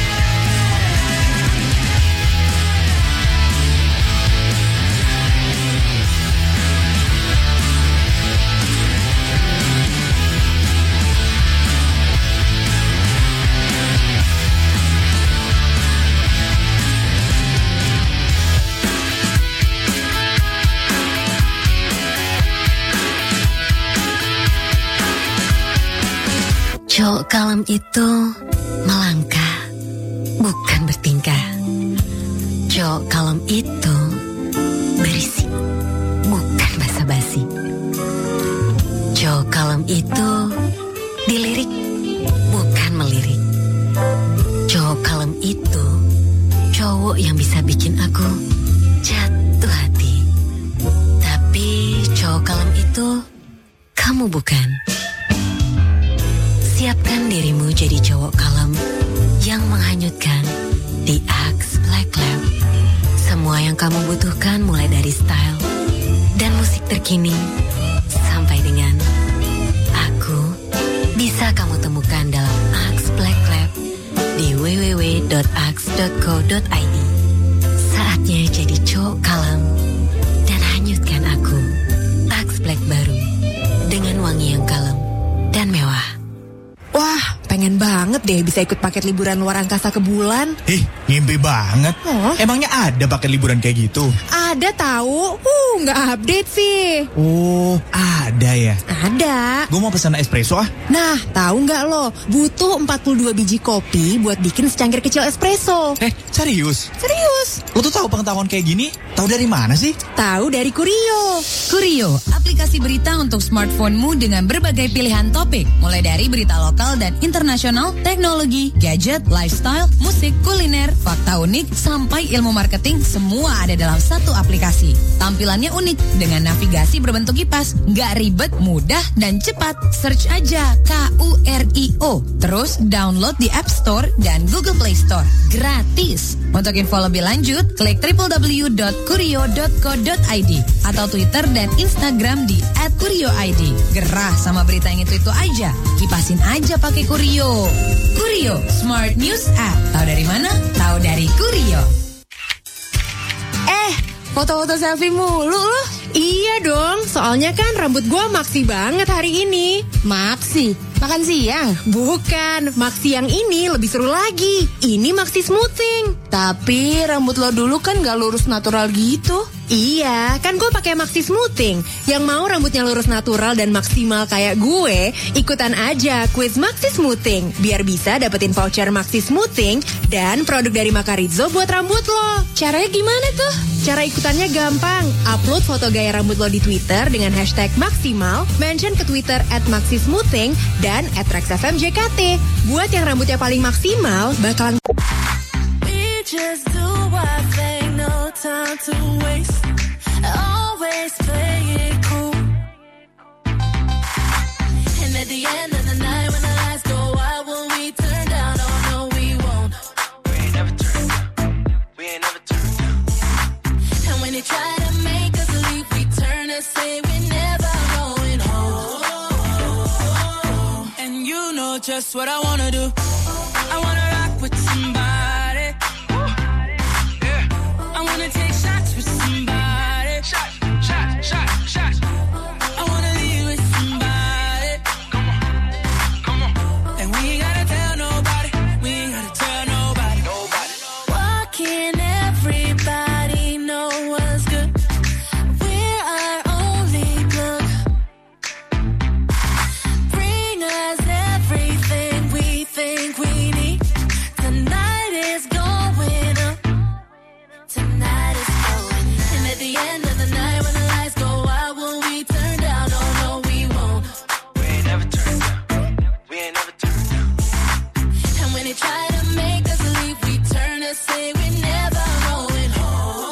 Cowok kalem itu melangkah, bukan bertingkah. Cowok kalem itu berisi, bukan basa-basi. Cowok kalem itu dilirik, bukan melirik. Cowok kalem itu cowok yang bisa bikin aku jatuh hati. Tapi cowok kalem itu kamu bukan. Siapkan dirimu jadi cowok kalem yang menghanyutkan di Axe Black Lab. Semua yang kamu butuhkan mulai dari style dan musik terkini sampai dengan aku bisa kamu temukan dalam Axe Black Lab di w w w dot axe dot co dot i d. Saatnya jadi cowok kalem dan hanyutkan aku. Axe Black baru dengan wangi yang kalem dan mewah. Wah, pengen banget deh bisa ikut paket liburan luar angkasa ke bulan. Ih, ngimpi banget. Oh. Emangnya ada paket liburan kayak gitu? Ada tahu? Uh, nggak update sih. Oh, ada ya? Ada. Gue mau pesan espresso ah. Nah, tahu nggak lo? Butuh empat puluh dua biji kopi buat bikin secangkir kecil espresso. Eh, serius? Serius. Lo tuh tahu pengetahuan kayak gini? Tahu dari mana sih? Tahu dari Kurio. Kurio, aplikasi berita untuk smartphone-mu dengan berbagai pilihan topik. Mulai dari berita lokal dan internasional, teknologi, gadget, lifestyle, musik, kuliner, fakta unik, sampai ilmu marketing, semua ada dalam satu aplikasi. Tampilannya unik dengan navigasi berbentuk kipas, nggak ribet, mudah, dan cepat. Search aja K U R I O. Terus download di App Store dan Google Play Store. Gratis. Untuk info lebih lanjut, klik w w w dot kurio dot co dot i d atau Twitter dan Instagram di at kurio i d. Gerah sama berita yang itu-itu aja. Kipasin aja pakai Kurio. Kurio, Smart News App. Tahu dari mana? Tahu dari Kurio. Eh, foto-foto selfie mulu loh. Iya dong, soalnya kan rambut gua maksi banget hari ini. Maksi? Makan siang? Bukan, maksi yang ini lebih seru lagi. Ini maksi smoothing. Tapi rambut lo dulu kan gak lurus natural gitu. Iya, kan gue pakai Maxi Smoothing. Yang mau rambutnya lurus natural dan maksimal kayak gue, ikutan aja kuis Maxi Smoothing. Biar bisa dapetin voucher Maxi Smoothing dan produk dari Makarizo buat rambut lo. Caranya gimana tuh? Cara ikutannya gampang. Upload foto gaya rambut lo di Twitter dengan hashtag maksimal, mention ke Twitter at Maxi Smoothing, dan dan at Trax F M J K T. Buat yang rambutnya paling maksimal, bakalan We just do our thing, no time to waste. Always play it cool. And at the end of the night, when the lights go out, will we turn down? Oh no, we won't. We ain't never turn down. We ain't never turn down. And when they try to make us leave, we turn and say we're never going home. And you know just what I wanna do. I wanna rock with somebody. Yeah. I wanna take shots with somebody. Shots, shots, shots, shots. I wanna leave with somebody. Come on, come on. And we ain't gotta tell nobody. We ain't gotta tell nobody. Nobody. Why can't everybody know what's good? We're our only plug. Bring us everything we think we need. Tonight is going up. Tonight is going up. And at the end of the night, when the lights go out, will we turn down? Oh no, we won't. We ain't never turn down. We ain't never turn down. And when they try to make us leave, we turn and say we're never going home.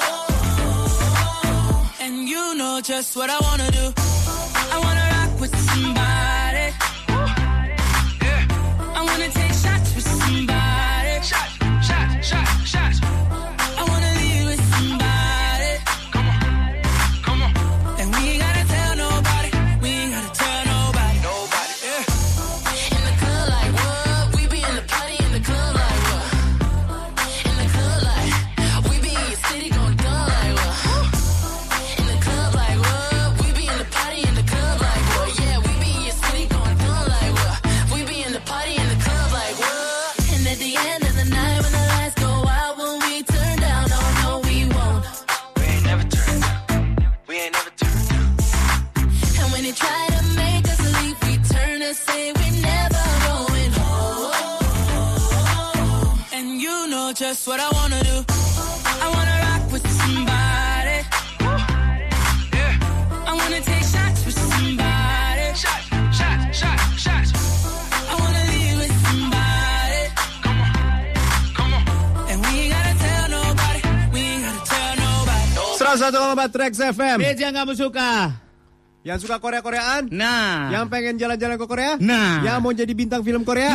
And you know just what I wanna do. I wanna rock with somebody. Yeah. I wanna take shots with somebody. Shots, shots, shots, shots. I wanna leave with somebody. Come on, come on. And we ain't gotta tell nobody. We ain't gotta tell nobody. Nobody. Yeah. In the club like what? We be in the party in the club like what? In the club like we be in your city gon' dumb like what? In the club like what? We be in the party in the club like what? Yeah, we be in your city gon' dumb like what? We be in the party in the club like what? And at the end of the night when the lights go out, will we turn down? Oh no, we won't. We ain't never turn down. We ain't never turn down. And when they try to make us leave, we turn and say we're never going home. And you know just what I wanna do. I wanna rock with somebody. Yeah. I wanna take shots with somebody. Shots, shots, shots, shots. I wanna leave with somebody. Come on, come on. And we ain't gotta tell nobody. We ain't gotta tell nobody. seratus satu koma empat Trax F M. Beats yang kamu suka. Yang suka Korea-Koreaan? Nah. Yang pengen jalan-jalan ke Korea? Nah. Yang mau jadi bintang film Korea?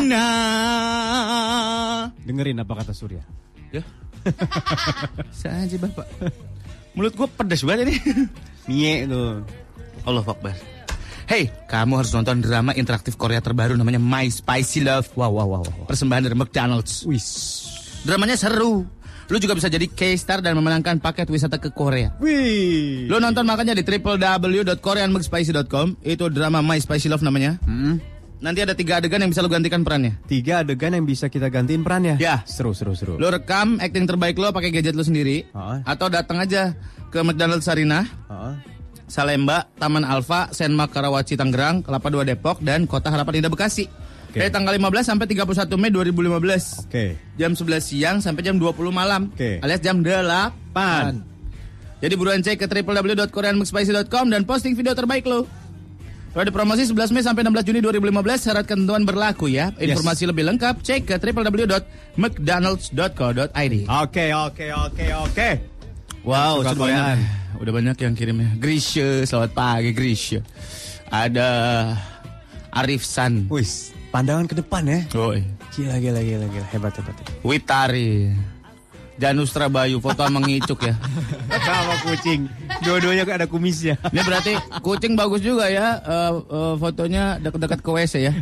Nah. Dengerin apa kata Surya. Ya. Saja bapak. Mulut gue pedas banget ini. Mie tuh. Allah Akbar. Hey, kamu harus nonton drama interaktif Korea terbaru namanya My Spicy Love. Wow, wow, wow. wow. Persembahan dari McDonald's. Wis. Dramanya seru. Lu juga bisa jadi K-Star dan memenangkan paket wisata ke Korea. Wih. Lu nonton makanya di w w w dot korean mcspicy dot com. Itu drama My Spicy Love namanya. Hmm. Nanti ada tiga adegan yang bisa lu gantikan perannya. Tiga adegan yang bisa kita gantiin perannya. Ya. Seru, seru, seru. Lu rekam acting terbaik lu pakai gadget lu sendiri. Ha? Atau datang aja ke McDonald's Sarinah, Ha? Salemba, Taman Alfa, Senmak Karawaci Tangerang, Kelapa Dua Depok, dan Kota Harapan Indah Bekasi. Okay. Dari tanggal lima belas sampai tiga puluh satu Mei dua ribu lima belas. Oke. Okay. Jam sebelas siang sampai jam dua puluh malam. Oke. Okay. Alias jam delapan. Jadi buruan cek ke w w w dot korean mcspicy dot com dan posting video terbaik lo. Periode promosi sebelas Mei sampai enam belas Juni dua ribu lima belas. Syarat ketentuan berlaku ya. Informasi yes. lebih lengkap cek ke w w w dot mcdonalds dot co dot i d. Oke, oke, oke, oke. Wow, sudah banyak. Udah banyak yang kirimnya. Grisha, selamat pagi Grisha. Ada Arif San. Wis, pandangan ke depan ya. Oi. Gila, gila, gila, gila. Hebat, hebat. Witari. Janus Trabayu, foto mengicuk ya. Sama kucing. Dua-duanya ada kumisnya. Ini berarti kucing bagus juga ya. Uh, uh, fotonya dekat-dekat ke W C ya.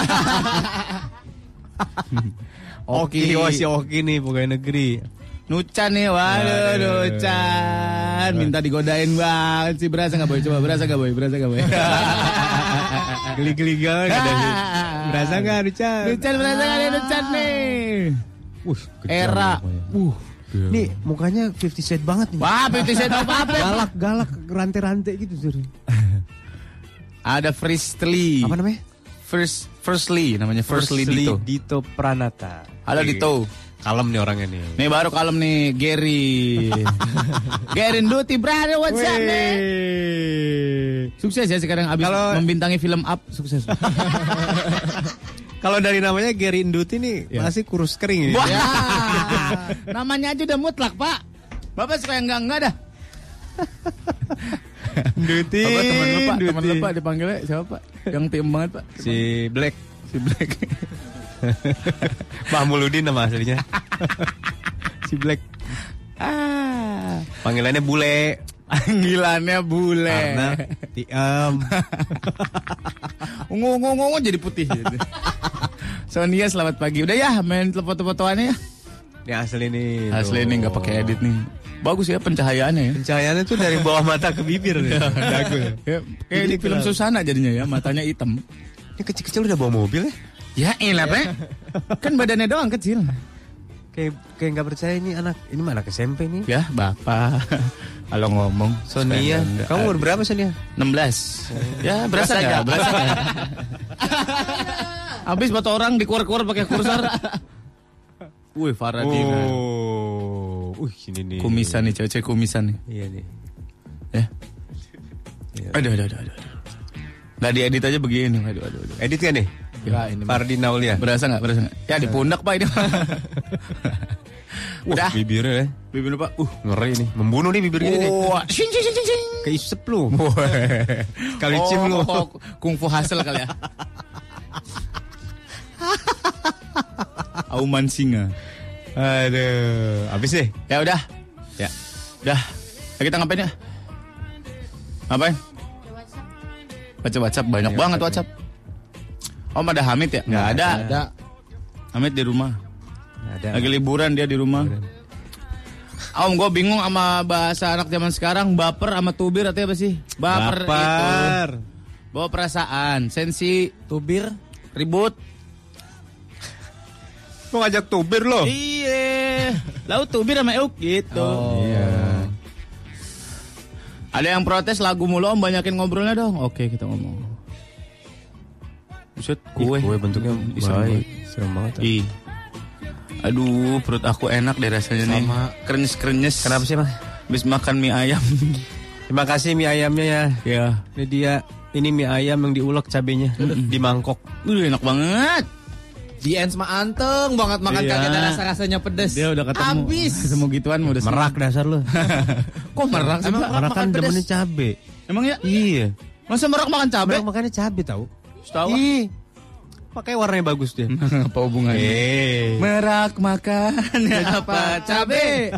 Oki, wah si Oki nih pegawai negeri. Nucan nih, waduh Nucan. Minta digodain banget sih. Berasa gak boy? Coba berasa gak boy? Berasa gak boy? Geli-geli gak ada nih. Berasa gak Nucan? Nucan berasa gak nih Nucan nih? Uh, Era. Uh. Nih mukanya fifty Cent banget nih. Wah, fifty Cent apa-apa. Galak, galak, rantai-rantai gitu sih. Ada Firstly. Apa namanya? First Firstly namanya Firstly Dito. Dito Pranata. Halo Dito. Kalem nih orangnya nih. Nih baru kalem nih, Gary. Gary Duty, brother, what's up, man? Sukses ya sekarang abis Kalau- membintangi film Up, sukses. Kalau dari namanya Gary Induti nih Ya. masih kurus kering Wah, ya. namanya aja udah mutlak, Pak. Bapak suka yang enggak-enggak dah. Induti. Apa teman lu, Pak? Teman Induti. lu, Pak, dipanggilnya siapa, Pak? Yang tim banget, Pak. Si Black. Si Black. Mahmududin nama aslinya. Si Black. Ah, Panggilannya bule. panggilannya bule. Karena Tiam. Ungu-ungu jadi putih gitu. Sonia selamat pagi. Udah ya main foto-fotoannya ya. Ini asli nih. Asli ini nggak pakai edit nih. Bagus ya pencahayaannya ya. Pencahayaannya tuh dari bawah mata ke bibir nih. Dagu ya. Ya, kayak di film Susana jadinya ya, matanya hitam. Ini kecil-kecil udah bawa mobil ya? Ya elah, Pak. Kan badannya doang kecil. Kayak kayak nggak percaya ini anak ini mana S M P nih? Ya, Bapak. Kalau ngomong Sonia, kamu umur berapa Sonia? enam belas. Ya, berasa enggak? Berasa enggak? Habis foto orang dikuar-kuar pakai kursor. Wih, Faradina. Oh. Uh, sini nih. Kumisan nih, cewek-cewek kumisan nih. Iya nih. Ya. Iya. Aduh, aduh, aduh, aduh. Nggak diedit aja begini. Aduh, aduh, aduh. Edit kan nih? Ya, ini Fardi Naulia. berasa nggak? Berasa nggak? Ya di pundak, Pak, ini. Udah. Wah, bibirnya ya. Bibir Pak. Uh, Ngeri nih. Membunuh nih bibir gini nih. wah, sing sing sing sing. Keisep lu. Kali Oh, cium lu. oh, kungfu hasil kali ya. Auman singa. Aduh. Habis deh. Ya udah. Ya. Udah. Ya, kita ngapain ya? Ngapain? Baca WhatsApp banyak Ya, banget WhatsApp. WhatsApp. Om ada Hamid ya? Nggak ada. ada. Hamid di rumah. Ada. Lagi liburan dia di rumah. Om, gue bingung sama bahasa anak zaman sekarang. Baper sama tubir artinya apa sih? Baper, Baper. itu bawa perasaan. Sensi, tubir, ribut. Mau ngajak tubir lo? Iya. Lalu tubir sama euk gitu. Oh. Iya. Ada yang protes lagu mulu, Om, banyakin ngobrolnya dong. Oke, kita ngomong. Buset, kue. Ih, kue bentuknya Ih, serem baik. banget. Serem banget. Ih. Aduh, perut aku enak deh rasanya nih. Sama. Krenyes-krenyes. Kenapa sih, Mas? Habis makan mie ayam. Terima kasih mie ayamnya ya. Ya. Ini dia, ini mie ayam yang diulek cabenya di mangkok. Udah enak banget. Di Ens mah anteng banget makan Iya. kagak ada rasa-rasanya pedes. Dia udah ketemu. Abis. Ketemu gituan udah seneng. Merak dasar lu. Kok merak sih, Emang Pak? merak Merak kan makan pedes? demennya cabe. Emang ya? Iya. Masa merak makan cabai? Merak makannya cabe tahu. Tahu. Ih. Pakai warnanya bagus dia. Apa hubungannya? Eh. Merak makannya apa? Cabe.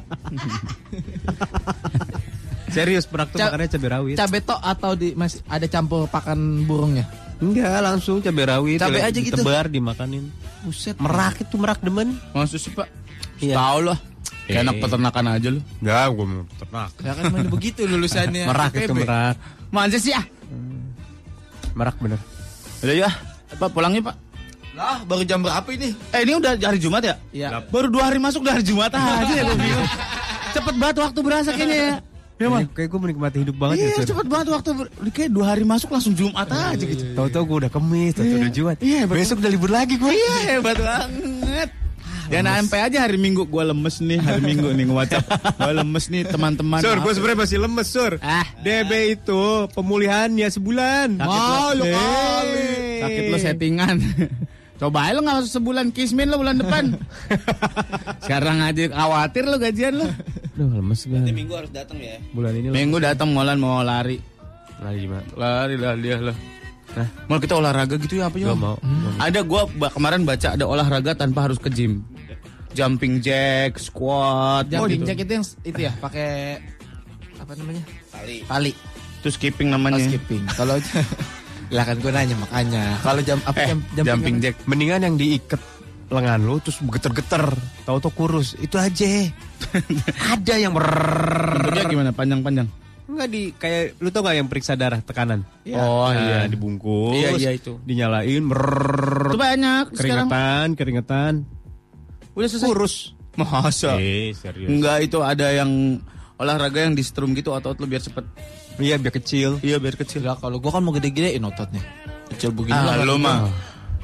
Serius merak tuh Ca- makannya cabe rawit. Cabe tok atau di masih ada campur pakan burungnya? Enggak, langsung cabe rawit. Cabe Dile- aja gitu? Ditebar dimakanin. Buset. Merak itu merak demen. Maksud sih, Pak? Iya. Tahu loh. Kayak Eh. anak peternakan aja lu. Enggak, gua mau ternak. Ya kan mana begitu lulusannya. Merak I P B. itu merak. Manja sih ah. Merak bener. Udah ya. Pak pulangnya, Pak. Lah, baru jam berapa ini? Eh, ini udah hari Jumat ya? Iya. Baru dua hari masuk udah hari Jumat aja ya gue bingung. Cepet banget waktu berasa kayaknya ya. Ya, Mas? Kayak gue menikmati hidup banget ya. Iya, Sur. cepet banget waktu ber- kayak dua hari masuk langsung Jumat aja gitu. Tahu-tahu gue udah kemis, tahu-tahu Iya. udah Jumat. Iya, hebat Besok udah libur lagi gue. Iya, hebat banget. Dan sampai aja hari Minggu gue lemes nih, hari Minggu nih nge-WhatsApp. Gue lemes nih teman-teman. Sur, gue Maaf. sebenarnya masih lemes, Sur. Ah. D B itu pemulihannya sebulan. Sakit lo. Malu Eh. kali. Sakit lo settingan. Coba aja lo gak masuk sebulan kismin lo bulan depan. Sekarang aja khawatir lo gajian lo. Duh, lemes gue. Nanti minggu harus datang ya. Bulan ini Minggu datang Molan mau lari. lagi gimana? Lari lah dia lo. Nah, mau kita olahraga gitu ya apa ya? Gak mau. Ada gua ba- kemarin baca ada olahraga tanpa harus ke gym. Jumping jack, squat, Jumping gitu. jack itu yang itu ya pakai apa namanya? Tali. Tali. Itu skipping Oh, namanya. skipping. Kalau lah kan gue nanya makanya. Kalau jam apa Eh, jam jumping jack. Mendingan yang diikat lengan lo terus geter-geter. Tahu-tahu kurus. Itu aja. Ada yang Bentuknya gimana? Panjang-panjang. Enggak di kayak lu tau gak yang periksa darah tekanan? Oh, iya. dibungkus. Iya, iya, itu. Dinyalain brrrr, Itu banyak sekarang. keringetan, keringetan. Udah selesai. Kurus. Masa? Eh, serius. Enggak, itu ada yang olahraga yang di strum gitu otot lu biar cepet. Iya, biar kecil. Iya, biar kecil. Lah kalau gue kan mau gede-gedein ototnya. Kecil begini Ah, lah. lu mah.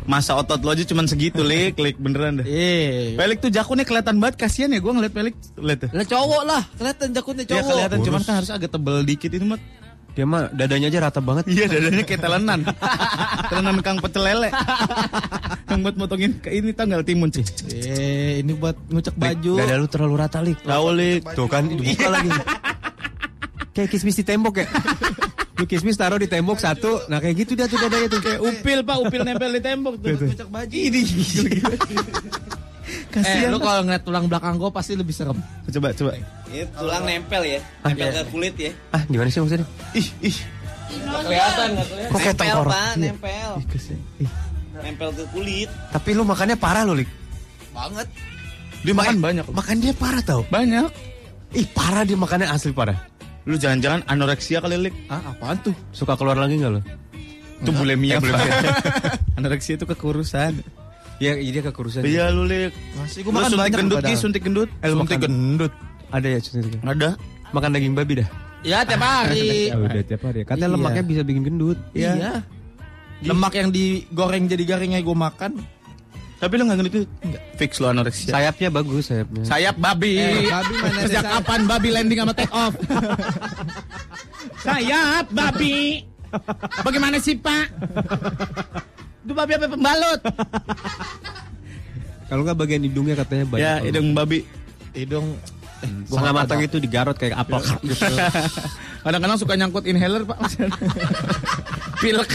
Masa otot lo aja cuman segitu, Lik, Lik beneran dah. Iya. Pelik tuh jakunnya kelihatan banget, kasihan ya gue ngeliat Pelik, lihat tuh. Lah cowok lah, kelihatan jakunnya cowok. Ya kelihatan, cuman kan harus agak tebel dikit ini mah. Dia mah dadanya aja rata banget. Iya, dadanya kayak telenan. Telenan Kang Pecel Lele. Yang buat motongin ke ini tanggal timun sih. Eh, ini buat ngucek baju. Dada lu terlalu rata, Lik. Tahu, Lik. Tuh kan dibuka lagi. Kayak kismis di tembok ya. Lu kismis taruh di tembok satu, nah kayak gitu dah tuh dadanya tuh. Kayak upil, Pak, upil nempel di tembok tuh. Ngucek baju. Ini. Eh, lu kalau ngeliat tulang belakang gua pasti lebih serem. Coba, coba. Ini tulang nempel ya, nempel ke kulit ya. Ah, gimana sih maksudnya? Ih, ih. Nggak kelihatan, nggak kelihatan. Kok kayak Nempel, tengkorak? Pak, Iya. nempel. Ih, kesian. Ih. Nempel ke kulit. Tapi lu makannya parah lu, Lik. Banget. Dia makan banyak. Makan dia parah tau. Banyak. Ih, parah dia makannya asli parah. Lu jangan-jangan anoreksia kali, Lik. Ah, apaan tuh? Suka keluar lagi enggak lu? Itu bulimia, Pak. Anoreksia itu kekurusan. Ya, dia kekurusan. Iya lu, Lik. Masih Lu gua makan suntik banyak gendut, padahal. Ki, suntik gendut. Eh, lu Suntik makan- gendut. Ada ya suntik? Ada. Makan daging babi dah. Ya tiap hari. Ya udah tiap hari. Katanya Iya. lemaknya bisa bikin gendut. Iya. Lemak yang digoreng jadi garingnya gue makan. Tapi lu enggak gendut itu? Enggak. Fix lu anoreksia. Sayapnya bagus sayapnya. Sayap babi. Eh, babi mana ada Sejak sayap? kapan babi landing sama take off? Sayap babi. Bagaimana sih, Pak? Itu babi apa pembalut? Kalau nggak bagian hidungnya katanya banyak. Ya, hidung babi. Hidung Eh, setengah matang itu digarot kayak apel gitu. Kadang-kadang suka nyangkut inhaler, Pak. Pilek.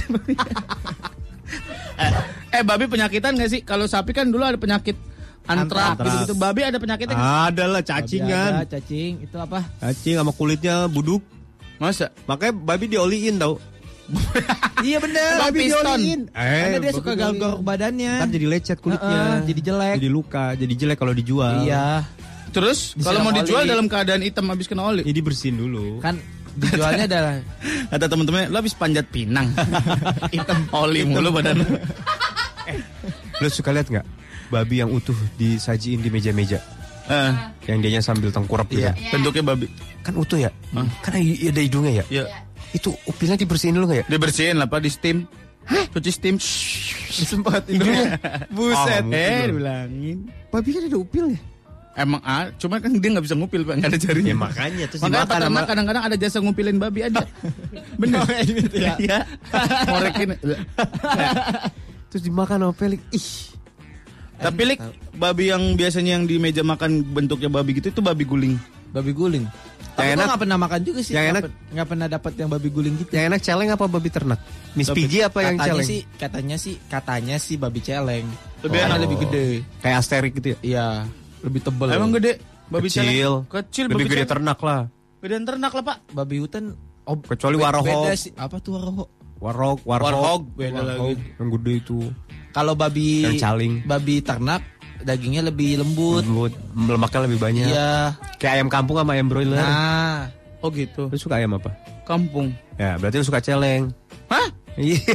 eh, eh, babi penyakitan gak sih? Kalau sapi kan dulu ada penyakit antrak Antrak. gitu-gitu. Babi ada penyakitnya nggak? Ada lah cacingan. Ada, cacing. Itu apa? Cacing sama kulitnya buduk. Masa? Makanya babi dioliin tau. Iya bener. Babi piston. Karena dia babi suka dioliin. galgor badannya. Ntar jadi lecet kulitnya. Heeh, jadi jelek. Jadi luka, jadi jelek kalau dijual. Iya. Terus Disiram kalau mau dijual oli. dalam keadaan hitam habis kena oli. Jadi bersihin dulu. Kan dijualnya adalah Kata temen-temennya, lo habis panjat pinang. Hitam oli mulu badan. Lo suka lihat nggak babi yang utuh disajiin di meja-meja? Eh, Yang dianya sambil tengkurap gitu. iya, bentuknya babi. Kan utuh ya? Hah? Kan ada hidungnya ya? Iya. Itu upilnya dibersihin dulu nggak ya? Dibersihin lah, Pak, di steam. Cuci steam. sempat hidungnya. Buset. Ah, eh, mungkin. dibilangin. Babi kan ada upilnya. Emang ah, cuma kan dia nggak bisa ngupil, Pak, nggak ada jarinya. Ya makanya terus Makanya dimakan peternak sama kadang-kadang ada jasa ngupilin babi aja. Bener. ya. Iya. Ngorekin. terus dimakan sama pelik. Ih. Tapi Lik, babi yang biasanya yang di meja makan bentuknya babi gitu itu babi guling. Babi guling. Tapi Yang gua enak- nggak pernah makan juga sih. yang Nggak enak- pen- nggak pernah dapat yang babi guling gitu. Yang enak celeng apa babi ternak? Miss Babi- Piggy apa yang katanya celeng? sih, katanya sih, katanya sih babi celeng. Lebih Karena enak. lebih gede. Kayak asterik gitu ya? Iya, lebih tebel. Emang gede? Babi Kecil. celeng? Kecil Lebih babi gede celeng. ternak lah. Gedean ternak lah, Pak. Babi hutan. Oh, Kecuali be- warhog. Beda sih. Apa tuh warhog? Warhog, warhog. Warhog beda Warhog. lagi. Yang gede itu. Kalau babi Yang caling. babi ternak dagingnya lebih lembut. Lembut. Lemaknya lebih banyak. Iya. Kayak ayam kampung sama ayam broiler. Nah, Oh gitu. Lu suka ayam apa? Kampung. Ya, berarti lu suka celeng. Hah? Iya.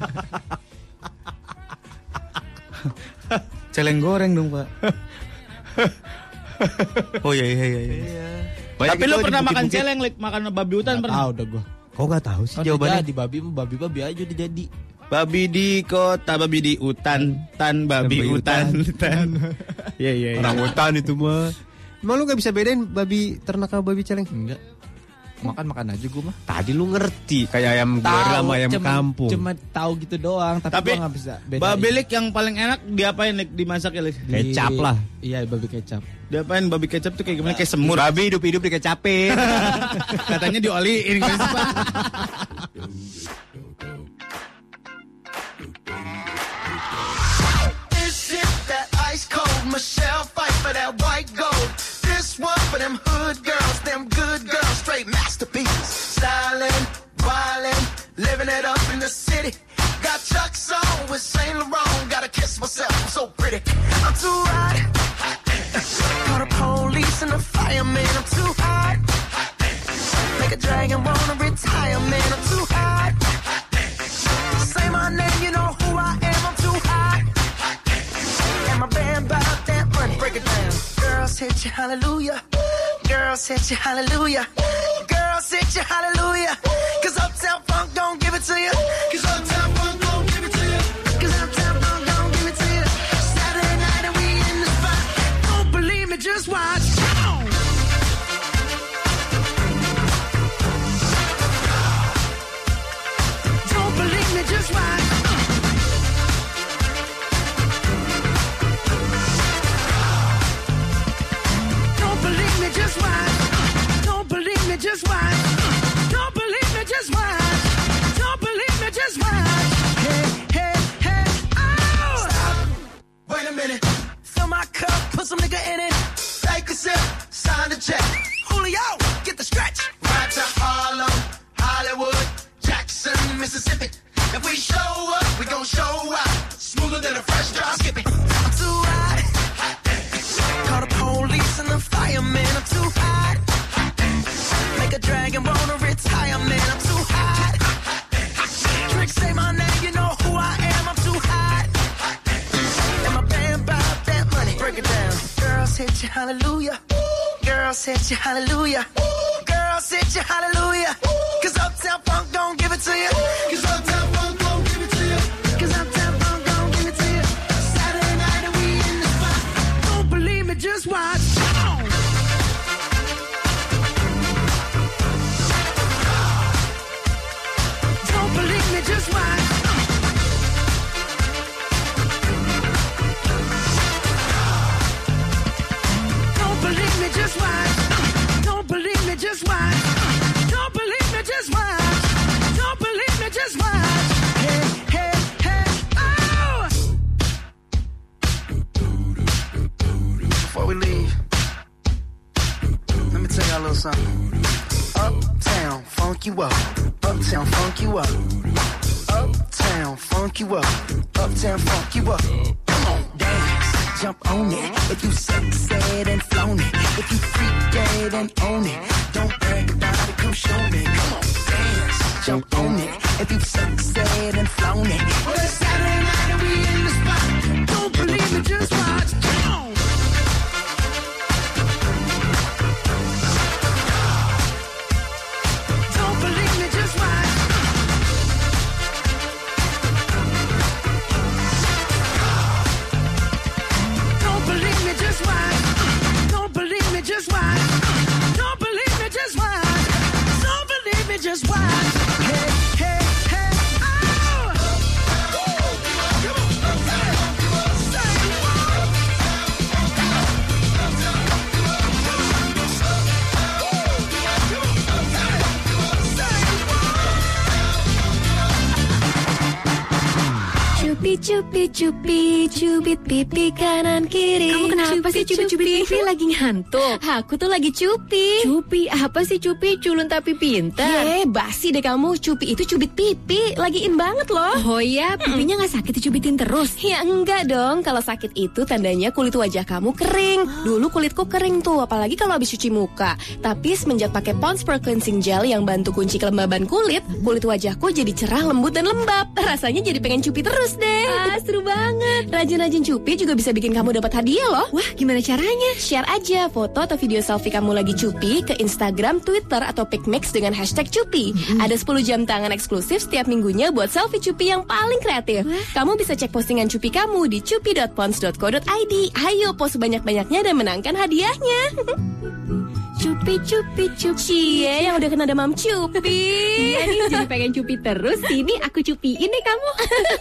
Celeng goreng dong, Pak. Oh iya iya iya. iya. Banyak Tapi itu lu di pernah makan bukit-bukit. celeng, Lik? Makan babi hutan pernah? tahu dah gua. Kok nggak tahu sih Kan jawabannya? di babi babi babi aja udah jadi. Babi di kota, babi di hutan, tan babi Babi hutan, tan. Iya iya iya. Orang hutan itu mah. Emang lu gak bisa bedain babi ternak sama babi celeng? Enggak. Makan makan aja gua mah. Tadi lu ngerti kayak ayam goreng sama ayam cuma, kampung. Cuma tahu gitu doang, tapi, Tapi gua nggak bisa bedain. babi Lik yang paling enak diapain, Lik? Dimasak ya, Lik? Di- Kecap lah. Iya, babi kecap. Diapain babi kecap tuh kayak gimana? Kayak semur. Babi hidup-hidup dikecapin. Katanya dioliin gimana sih, Pak? Is it that ice cold Michelle fight for that white gold? This one for them hood girls, them good girls, straight masterpieces. Styling, wildin', living it up in the city. Got Chuck's on with Saint Laurent, gotta kiss myself, I'm so pretty. I'm too hot. Call the police and the fireman, I'm too hot. Make a dragon wanna retire, man, I'm too hot. Say my name, you know who I am, I'm too hot. And my band about that money, break it down. Girls hit you, hallelujah. Girls hit you, hallelujah. Girls hit you, hallelujah. Cause Uptown Funk don't give it to you. Cause Uptown Funk don't give it to you. Cause Uptown Funk just watch. Don't believe me, just watch. Don't believe me, just watch. Hey, hey, hey, oh! Stop. Wait a minute. Fill my cup, put some nigga in it. Take a sip, sign the check. Julio, get the stretch. Right to Harlem, Hollywood, Jackson, Mississippi. If we show up, we gon' show out. Smoother than a fresh drop. Skip it. I'm too hot. Hot dance. Call the police and the fireman. I'm too hot. Hot dance. Make a dragon wanna retire, man. I'm too hot. Hot dance. Trick say my name, you know who I am. I'm too hot. Hot dance. And my band bout that money. Break it down. Girls hit you, hallelujah. Girls hit you, hallelujah. Girls hit you, hallelujah. Cause Uptown Funk don't give it to you. Cause Uptown Funk don't give it to you. Cause Uptown Funk don't give it to you. Saturday night and we in the spot. Don't believe me, just watch. Don't believe me, just watch. Don't believe me, just watch. Don't believe me, just watch. Don't believe me, just watch. Don't believe me, just watch. Hey, hey, hey, oh! Before we leave, let me tell y'all a little something. Uptown, funk you up. Uptown, funk you up. Uptown, funk you up. Uptown, funk you up. Come on, dance, jump on it. If you sexed and flown it. If you freak dead and own it. Don't brag about it, come show me. Come on, dance, jump on it. If you sexed and flown it. Well, it's Saturday night and we in the spot. Don't believe me, just watch. Come on. Don't believe me, just watch. Don't believe me, just watch. Don't believe me, just watch. Don't believe me, just watch. Don't believe me, just watch. Hey, hey, hey, oh! Cupi cupi cupi cubit pipi kanan kiri. Kamu kenapa sih cubit-cubit pipi lagi ngantuk? Aku tuh lagi cupi. Cupi apa sih cupi? Culun tapi pintar. Ye, basi deh kamu. Cupi itu cubit pipi, lagi in banget loh. Oh iya, pipinya nggak sakit dicubitin terus? Ya enggak dong. Kalau sakit itu tandanya kulit wajah kamu kering. Dulu kulitku kering tuh, apalagi kalau habis cuci muka. Tapi semenjak pakai Pond's Pro Cleansing Gel yang bantu kunci kelembaban kulit, kulit wajahku jadi cerah, lembut dan lembab. Rasanya jadi pengen cupi terus deh. Ah, seru banget. Rajin-rajin cupi juga bisa bikin kamu dapat hadiah loh. Wah, gimana caranya? Share aja foto atau video selfie kamu lagi cupi ke Instagram, Twitter, atau PicMix dengan hashtag cupi. Mm-hmm. Ada sepuluh jam tangan eksklusif setiap minggunya buat selfie cupi yang paling kreatif. Wah. Kamu bisa cek postingan cupi kamu di cupi dot pons dot co dot i d. Ayo post sebanyak-banyaknya dan menangkan hadiahnya. Cupi cupi cupi. Cie yang udah kena demam cupi. Iya nih, jadi pengen cupi terus. Sini aku cupiin deh kamu.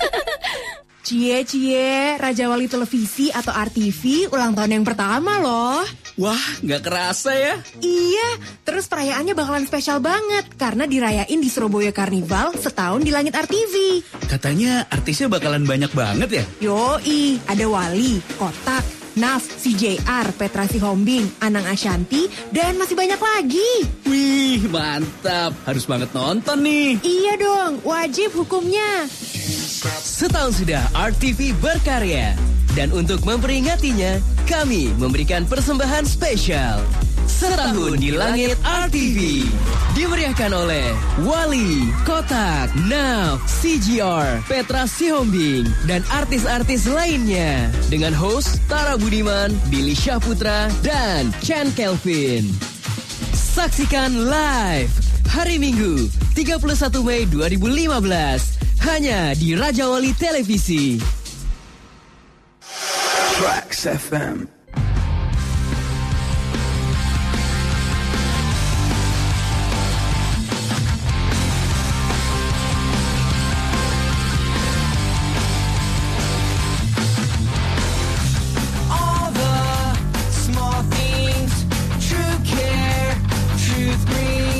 Cie cie, Raja Wali Televisi atau R T V ulang tahun yang pertama loh. Wah, nggak kerasa ya? Iya, terus perayaannya bakalan spesial banget karena dirayain di Surabaya Carnival setahun di langit R T V. Katanya artisnya bakalan banyak banget ya? Yoi, ada Wali, Kotak, Naf, C J R, Petra Sihombing, Anang Ashanti, dan masih banyak lagi. Wih, mantap. Harus banget nonton nih. Iya dong, wajib hukumnya. Setahun sudah R T V berkarya. Dan untuk memperingatinya, kami memberikan persembahan spesial. Setahun di Langit R T V. Dimeriahkan oleh Wali, Kotak, Naf, C J R, Petra Sihombing, dan artis-artis lainnya. Dengan host Tara Budiman, Billy Syahputra, dan Chan Kelvin. Saksikan live hari Minggu, tiga puluh satu Mei dua ribu lima belas. Hanya di Raja Wali Televisi. Tracks F M. All the small things, true care, truth brings.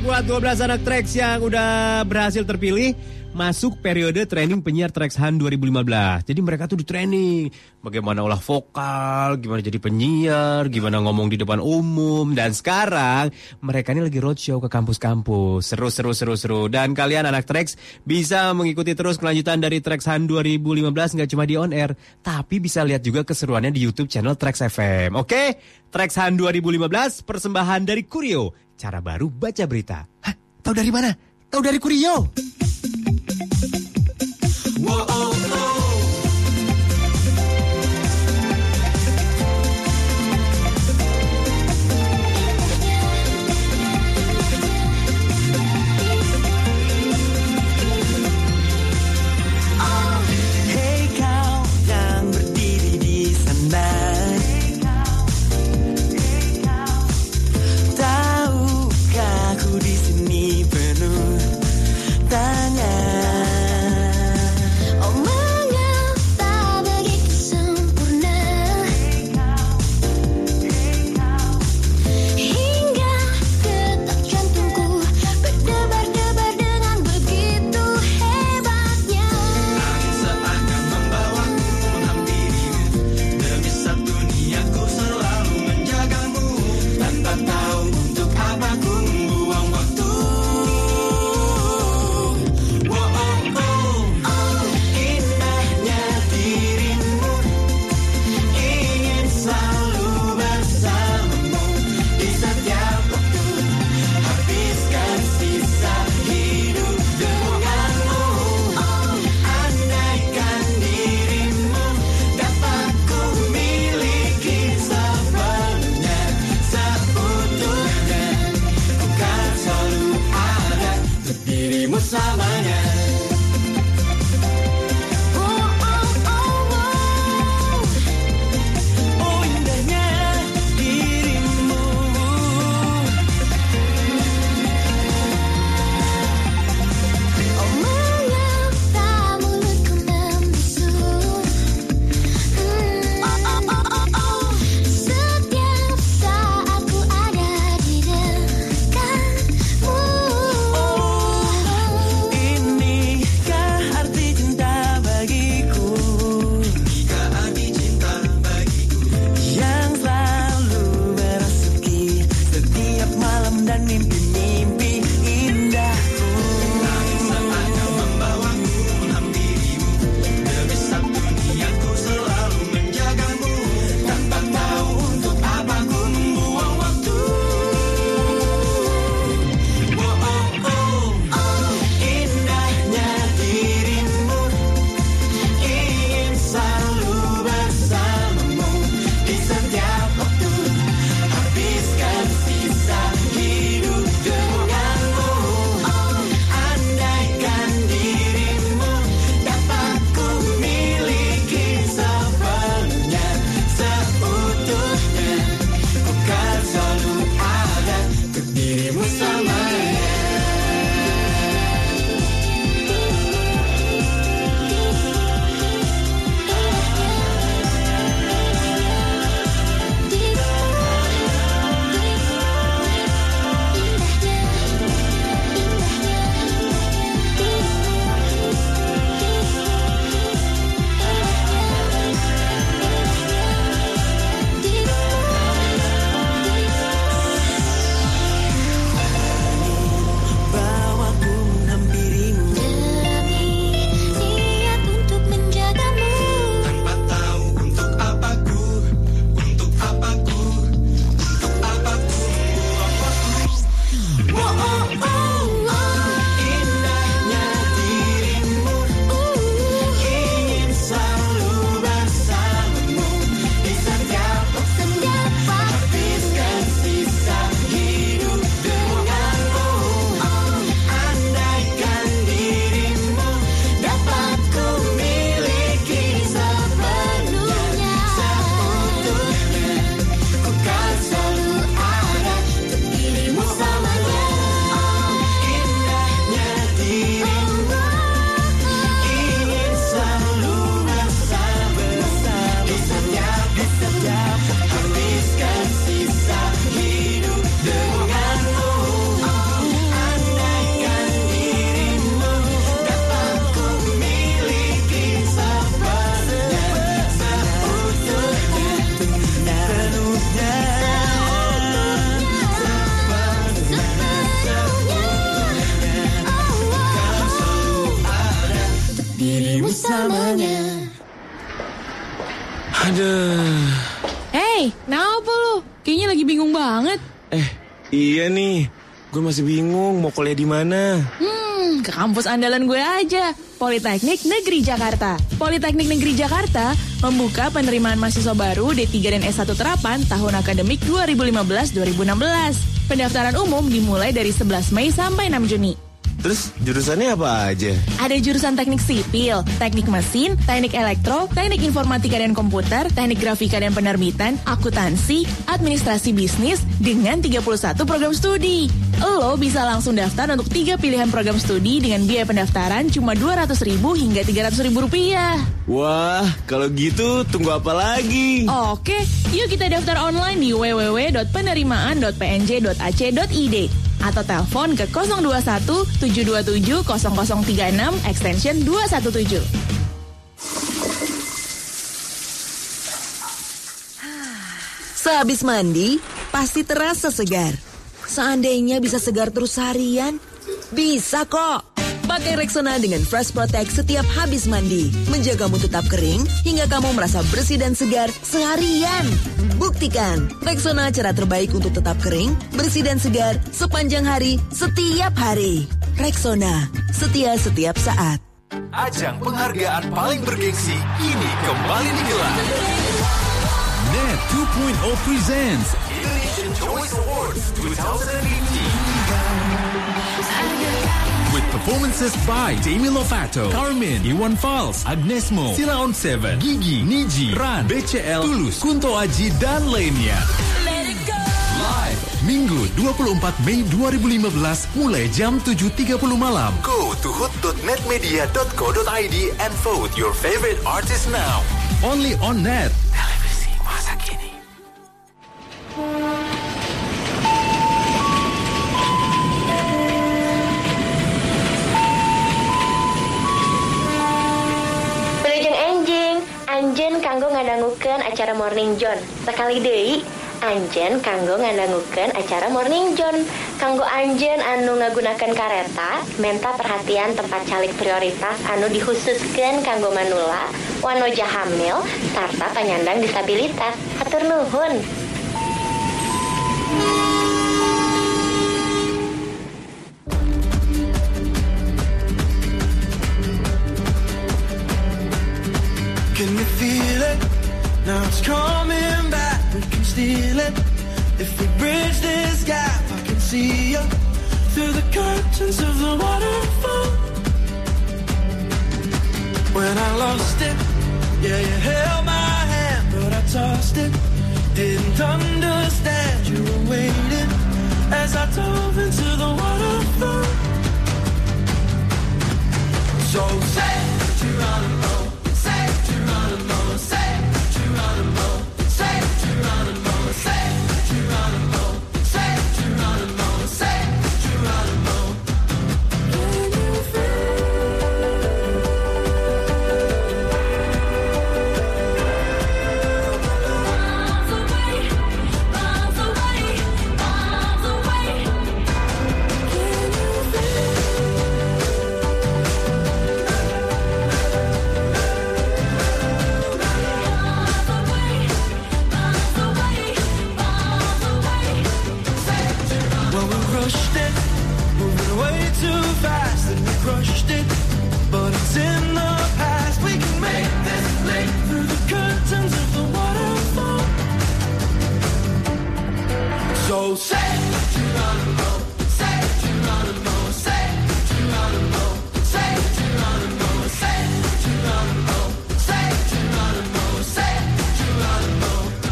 buat dua belas anak Trax yang udah berhasil terpilih masuk periode training penyiar Trax Hunt dua ribu lima belas. Jadi mereka tuh di training bagaimana olah vokal, gimana jadi penyiar, gimana ngomong di depan umum. Dan sekarang mereka ini lagi roadshow ke kampus-kampus. Seru, seru, seru, seru. Dan kalian anak Trax bisa mengikuti terus kelanjutan dari Trax Hunt dua ribu lima belas nggak cuma di on air, tapi bisa lihat juga keseruannya di YouTube channel Trax F M. Oke? Trax Hunt dua ribu lima belas persembahan dari Kurio. Cara baru baca berita. Hah? Tahu dari mana? Tahu dari Kurio. Whoa, oh, oh. Hey kau yang berdiri di sana, tahukah aku di sini penuh tanya Aduh. Hey, kenapa lu? Kayaknya lagi bingung banget. Eh, iya nih. Gue masih bingung mau kuliah di mana. Hmm, ke kampus andalan gue aja. Politeknik Negeri Jakarta. Politeknik Negeri Jakarta membuka penerimaan mahasiswa baru D tiga dan S satu terapan tahun akademik dua ribu lima belas dua ribu enam belas. Pendaftaran umum dimulai dari sebelas Mei sampai enam Juni. Terus jurusannya apa aja? Ada jurusan teknik sipil, teknik mesin, teknik elektro, teknik informatika dan komputer, teknik grafika dan penerbitan, akuntansi, administrasi bisnis, dengan tiga puluh satu program studi. Lo bisa langsung daftar untuk tiga pilihan program studi dengan biaya pendaftaran cuma dua ratus ribu hingga tiga ratus ribu rupiah. Wah, kalau gitu tunggu apa lagi? Oke, yuk kita daftar online di w w w dot penerimaan dot p n j dot a c dot i d atau telepon ke nol dua satu tujuh dua tujuh nol nol tiga enam extension dua satu tujuh. Sehabis mandi, pasti terasa segar. Seandainya bisa segar terus harian, bisa kok. Pakai Rexona dengan Fresh Protect setiap habis mandi. Menjagamu tetap kering hingga kamu merasa bersih dan segar seharian. Buktikan, Rexona cara terbaik untuk tetap kering, bersih dan segar sepanjang hari, setiap hari. Rexona, setia setiap saat. Ajang penghargaan paling bergengsi kini kembali digelar. Net dua titik nol presents Indonesian Choice Awards dua ribu delapan belas. With performances by Demi Lovato, Carmen, Iwan Fals, Agnesmo, Sila on Seven, Gigi, Niji, Ran, B C L, Tulus, Kunto Aji, dan lainnya. Live, Minggu dua puluh empat Mei dua ribu lima belas mulai jam tujuh tiga puluh malam. Go to hood dot netmedia dot co dot i d and vote your favorite artist now. Only on Net. Televisi masa kini. Anjen kanggo ngadangukeun acara Morning John. Sekali deui, Anjen kanggo ngadangukeun acara Morning John. Kanggo Anjen anu ngagunakeun kareta, menta perhatian tempat calik prioritas anu dikhususkeun kanggo manula, wanoja hamil, sarta penyandang disabilitas. Hatur nuhun. Can you feel it? Now it's coming back. We can steal it. If we bridge this gap, I can see you through the curtains of the waterfall. When I lost it, yeah, you held my hand, but I tossed it. Didn't understand you were waiting as I dove into the waterfall. So say Geronimo. Geronimo, say Geronimo, say Geronimo, say Geronimo, say Geronimo, say Geronimo. Can you miles away, miles away, miles away. Can you rushed it, moving way too fast, and we crushed it, but it's in the past. We can make this leap through the curtains of the waterfall. So say Geronimo, say Geronimo, say Geronimo, say Geronimo, say Geronimo, say Geronimo, say Geronimo.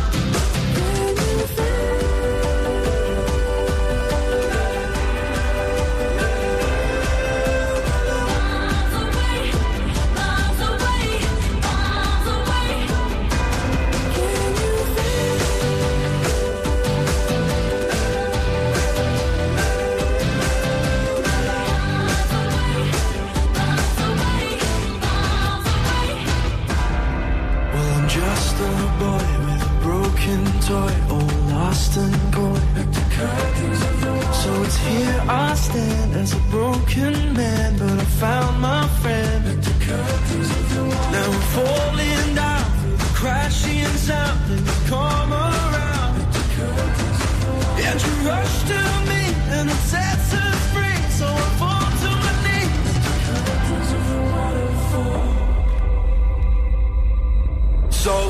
Toy, all lost and gone. So it's here I stand as a broken man, but I found my friend. Now I'm falling down through the crashing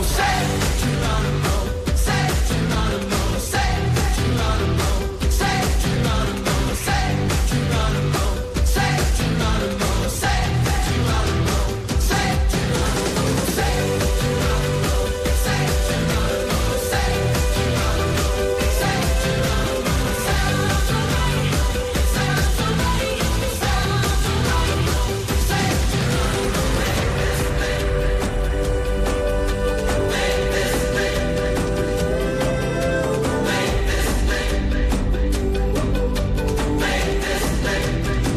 say Geronimo, say Geronimo, say Geronimo, say Geronimo, say Geronimo, say Geronimo, say Geronimo, say Geronimo, say Geronimo, say Geronimo, say Geronimo, say Geronimo, sounds alright, sounds alright, sounds alright, say Geronimo, make this thing, make this thing, make this thing, make this thing.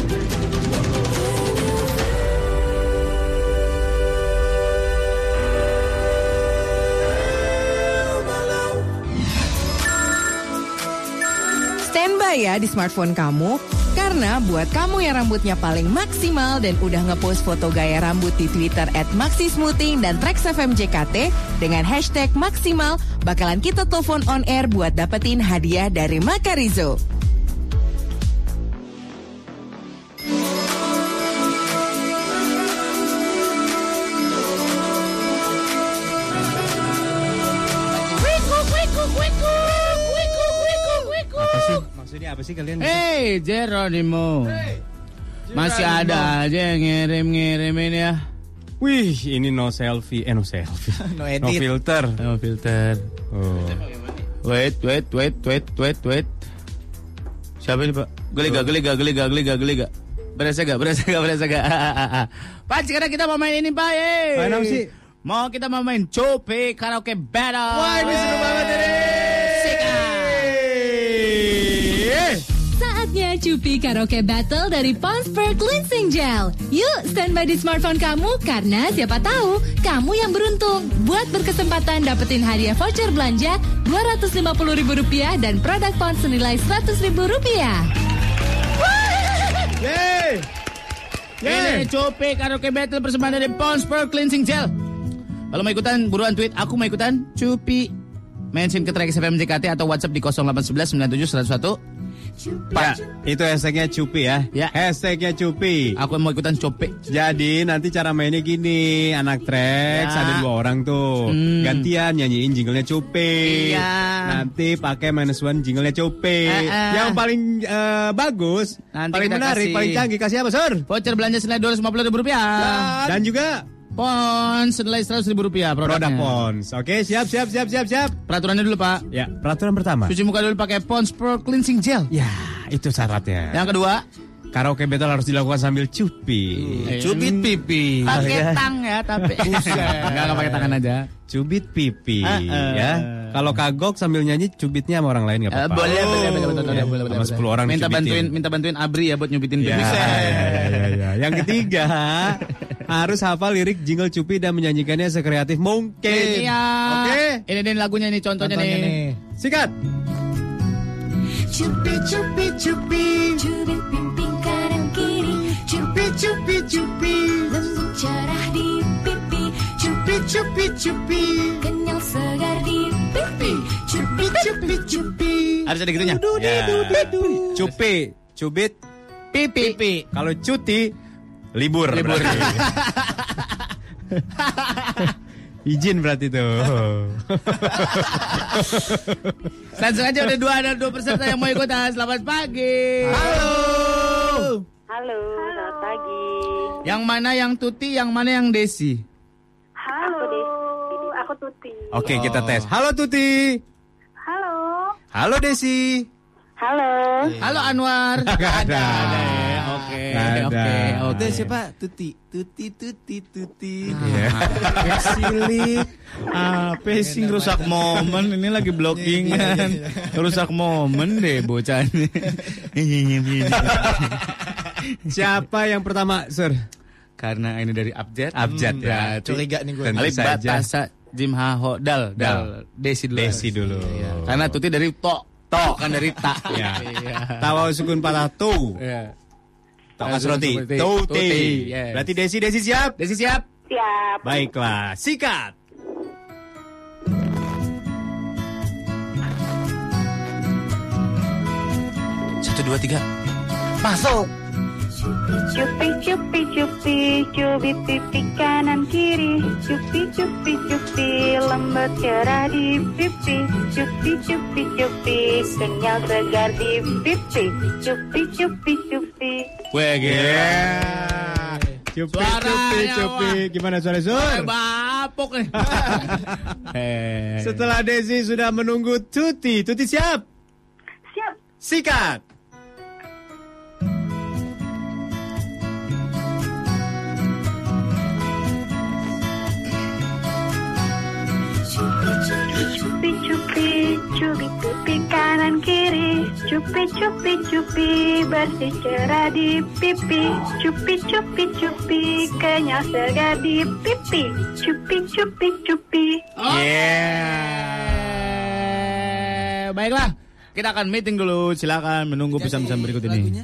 Standby ya di smartphone kamu, karena buat kamu yang rambutnya paling maksimal dan udah ngepost foto gaya rambut di Twitter at maxismoothing dan Trax F M J K T dengan hashtag maksimal, bakalan kita telepon on air buat dapetin hadiah dari Makarizo. Apa sih? Maksudnya apa sih kalian? Hey, Geronimo. Masih ada aja yang ngirim-ngirimin ya. Wih, ini no selfie, eh no selfie, No no edit. filter. No filter. Oh. Wait, wait, wait, wait, wait, wait. Siapa ini, Pak? Gelega, gelega, gelega, gelega, gelega. Berasa gak? Berasa gak? Berasa gak? Pak, sekarang kita mau main ini, Pak. Yeay. Main apa sih? Mau kita mau main Cope Karaoke Battle. Wah, ini seru banget ini. Saatnya Cupi Karaoke Battle dari Pond's Pearl Cleansing Gel. Yuk, standby di smartphone kamu karena siapa tahu kamu yang beruntung buat berkesempatan dapetin hadiah voucher belanja dua ratus lima puluh ribu rupiah dan produk Pond senilai seratus ribu rupiah. Yeay. Ini Cope Karaoke Battle persembahan dari Pond's Pearl Cleansing Gel. Kalau mau ikutan, buruan tweet aku mau ikutan Cupi. Mention ke Trax F M J K T atau WhatsApp di nol delapan satu satu sembilan tujuh satu nol satu. Ya, itu hashtagnya Cupi ya. Ya. Hashtagnya Cupi. Aku mau ikutan Cope. Jadi nanti cara mainnya gini, anak Trax Ya. ada dua orang tuh, Hmm. gantian nyanyiin jinglenya Cupi. Iya. Nanti pakai minus one jinglenya Cupi. Eh, eh. Yang paling eh, bagus, Nanti paling kita menarik, kasih. paling canggih kasih apa, Sur? Voucher belanja senilai dua ratus lima puluh ribu rupiah. Dan juga Pons senilai seratus ribu rupiah produknya. produk Pons. Oke, siap, siap, siap, siap, siap. Peraturannya dulu, Pak. Ya, peraturan pertama. Cuci muka dulu pakai Pons Pearl Cleansing Gel. Ya, itu syaratnya. Yang kedua, Karaoke battle harus dilakukan sambil cupi. cubit pipi. Pakai tang ya, tapi enggak enggak pakai tangan aja. Cubit pipi, Ah, ah. ya. Kalau kagok sambil nyanyi cubitnya sama orang lain nggak Eh, apa-apa. boleh, boleh, boleh, boleh, boleh, Ya, boleh, sama boleh. sepuluh orang Minta dicubitin. bantuin, minta bantuin Abri ya buat nyubitin Ya, pipi. ya, ya, ya. Yang ketiga, harus hafal lirik jingle Cupi dan menyanyikannya sekreatif mungkin. Iya. Oke. Ini nih lagunya nih, contohnya, Contohnya nih. nih. Sikat. Cupi cupi cupi cubit pimping kanan kiri cupi cupi cupi lembut cerah di pipi cupi cupi cupi kenyal segar di pipi cupi cupi cupi Harus ada gitunya. Ya. Cupi, cubit, Pipi. kalau cuti libur. Libur. berarti. Izin berarti tuh. Langsung aja udah dua ada dua peserta yang mau ikutan. Selamat pagi. Halo. Halo, selamat pagi. Yang mana yang Tuti, yang mana yang Desi? Halo, aku Tuti. Oke, kita tes. Halo Tuti. Halo. Halo Desi. Halo. Halo Anwar. Gak ada. Oke, Nggak ada. oke, oke. Udah siapa? Tuti, tuti, tuti, tuti. Iya. Silik. Apa sih rusak momen? Ini lagi blockingan. Rusak momen deh bocah ini. Siapa yang pertama, Sur? Karena ini dari Abjad. Abjad ya. Berarti Curiga nih gue. Tentu Alif saja. Batasa Jim Haho Dal Dal Desi dulu. Desi dulu. Karena Tuti dari To. To kan dari Ta. Ya. Tawa sukun patah tu. Iya. Tokas roti. Tuti. Tuti. Tuti, yes. Berarti Desi, Desi siap? Desi siap? Siap. Baiklah, sikat. Satu dua tiga. Masuk. Cupi cupi cupi, cubit pipi kanan kiri. Cupi cupi cupi, lembut cerah di pipi. Cupi cupi cupi, kenyal segar di pipi. Cupi cupi cupi. Weh, gila. Cupi, cupi, cupi. Gimana suara Sur? Bapok nih. Setelah Desi sudah menunggu Tuti. Tuti siap? Siap. Sikat. Cupi cupi, cubit pipi kanan kiri. Cupi cupi cupi, bersih cerah di pipi. Cupi cupi cupi, kenyal segar di pipi. Cupi cupi cupi. Yeah. Baiklah, kita akan meeting dulu. Silakan menunggu pesan-pesan berikut ini.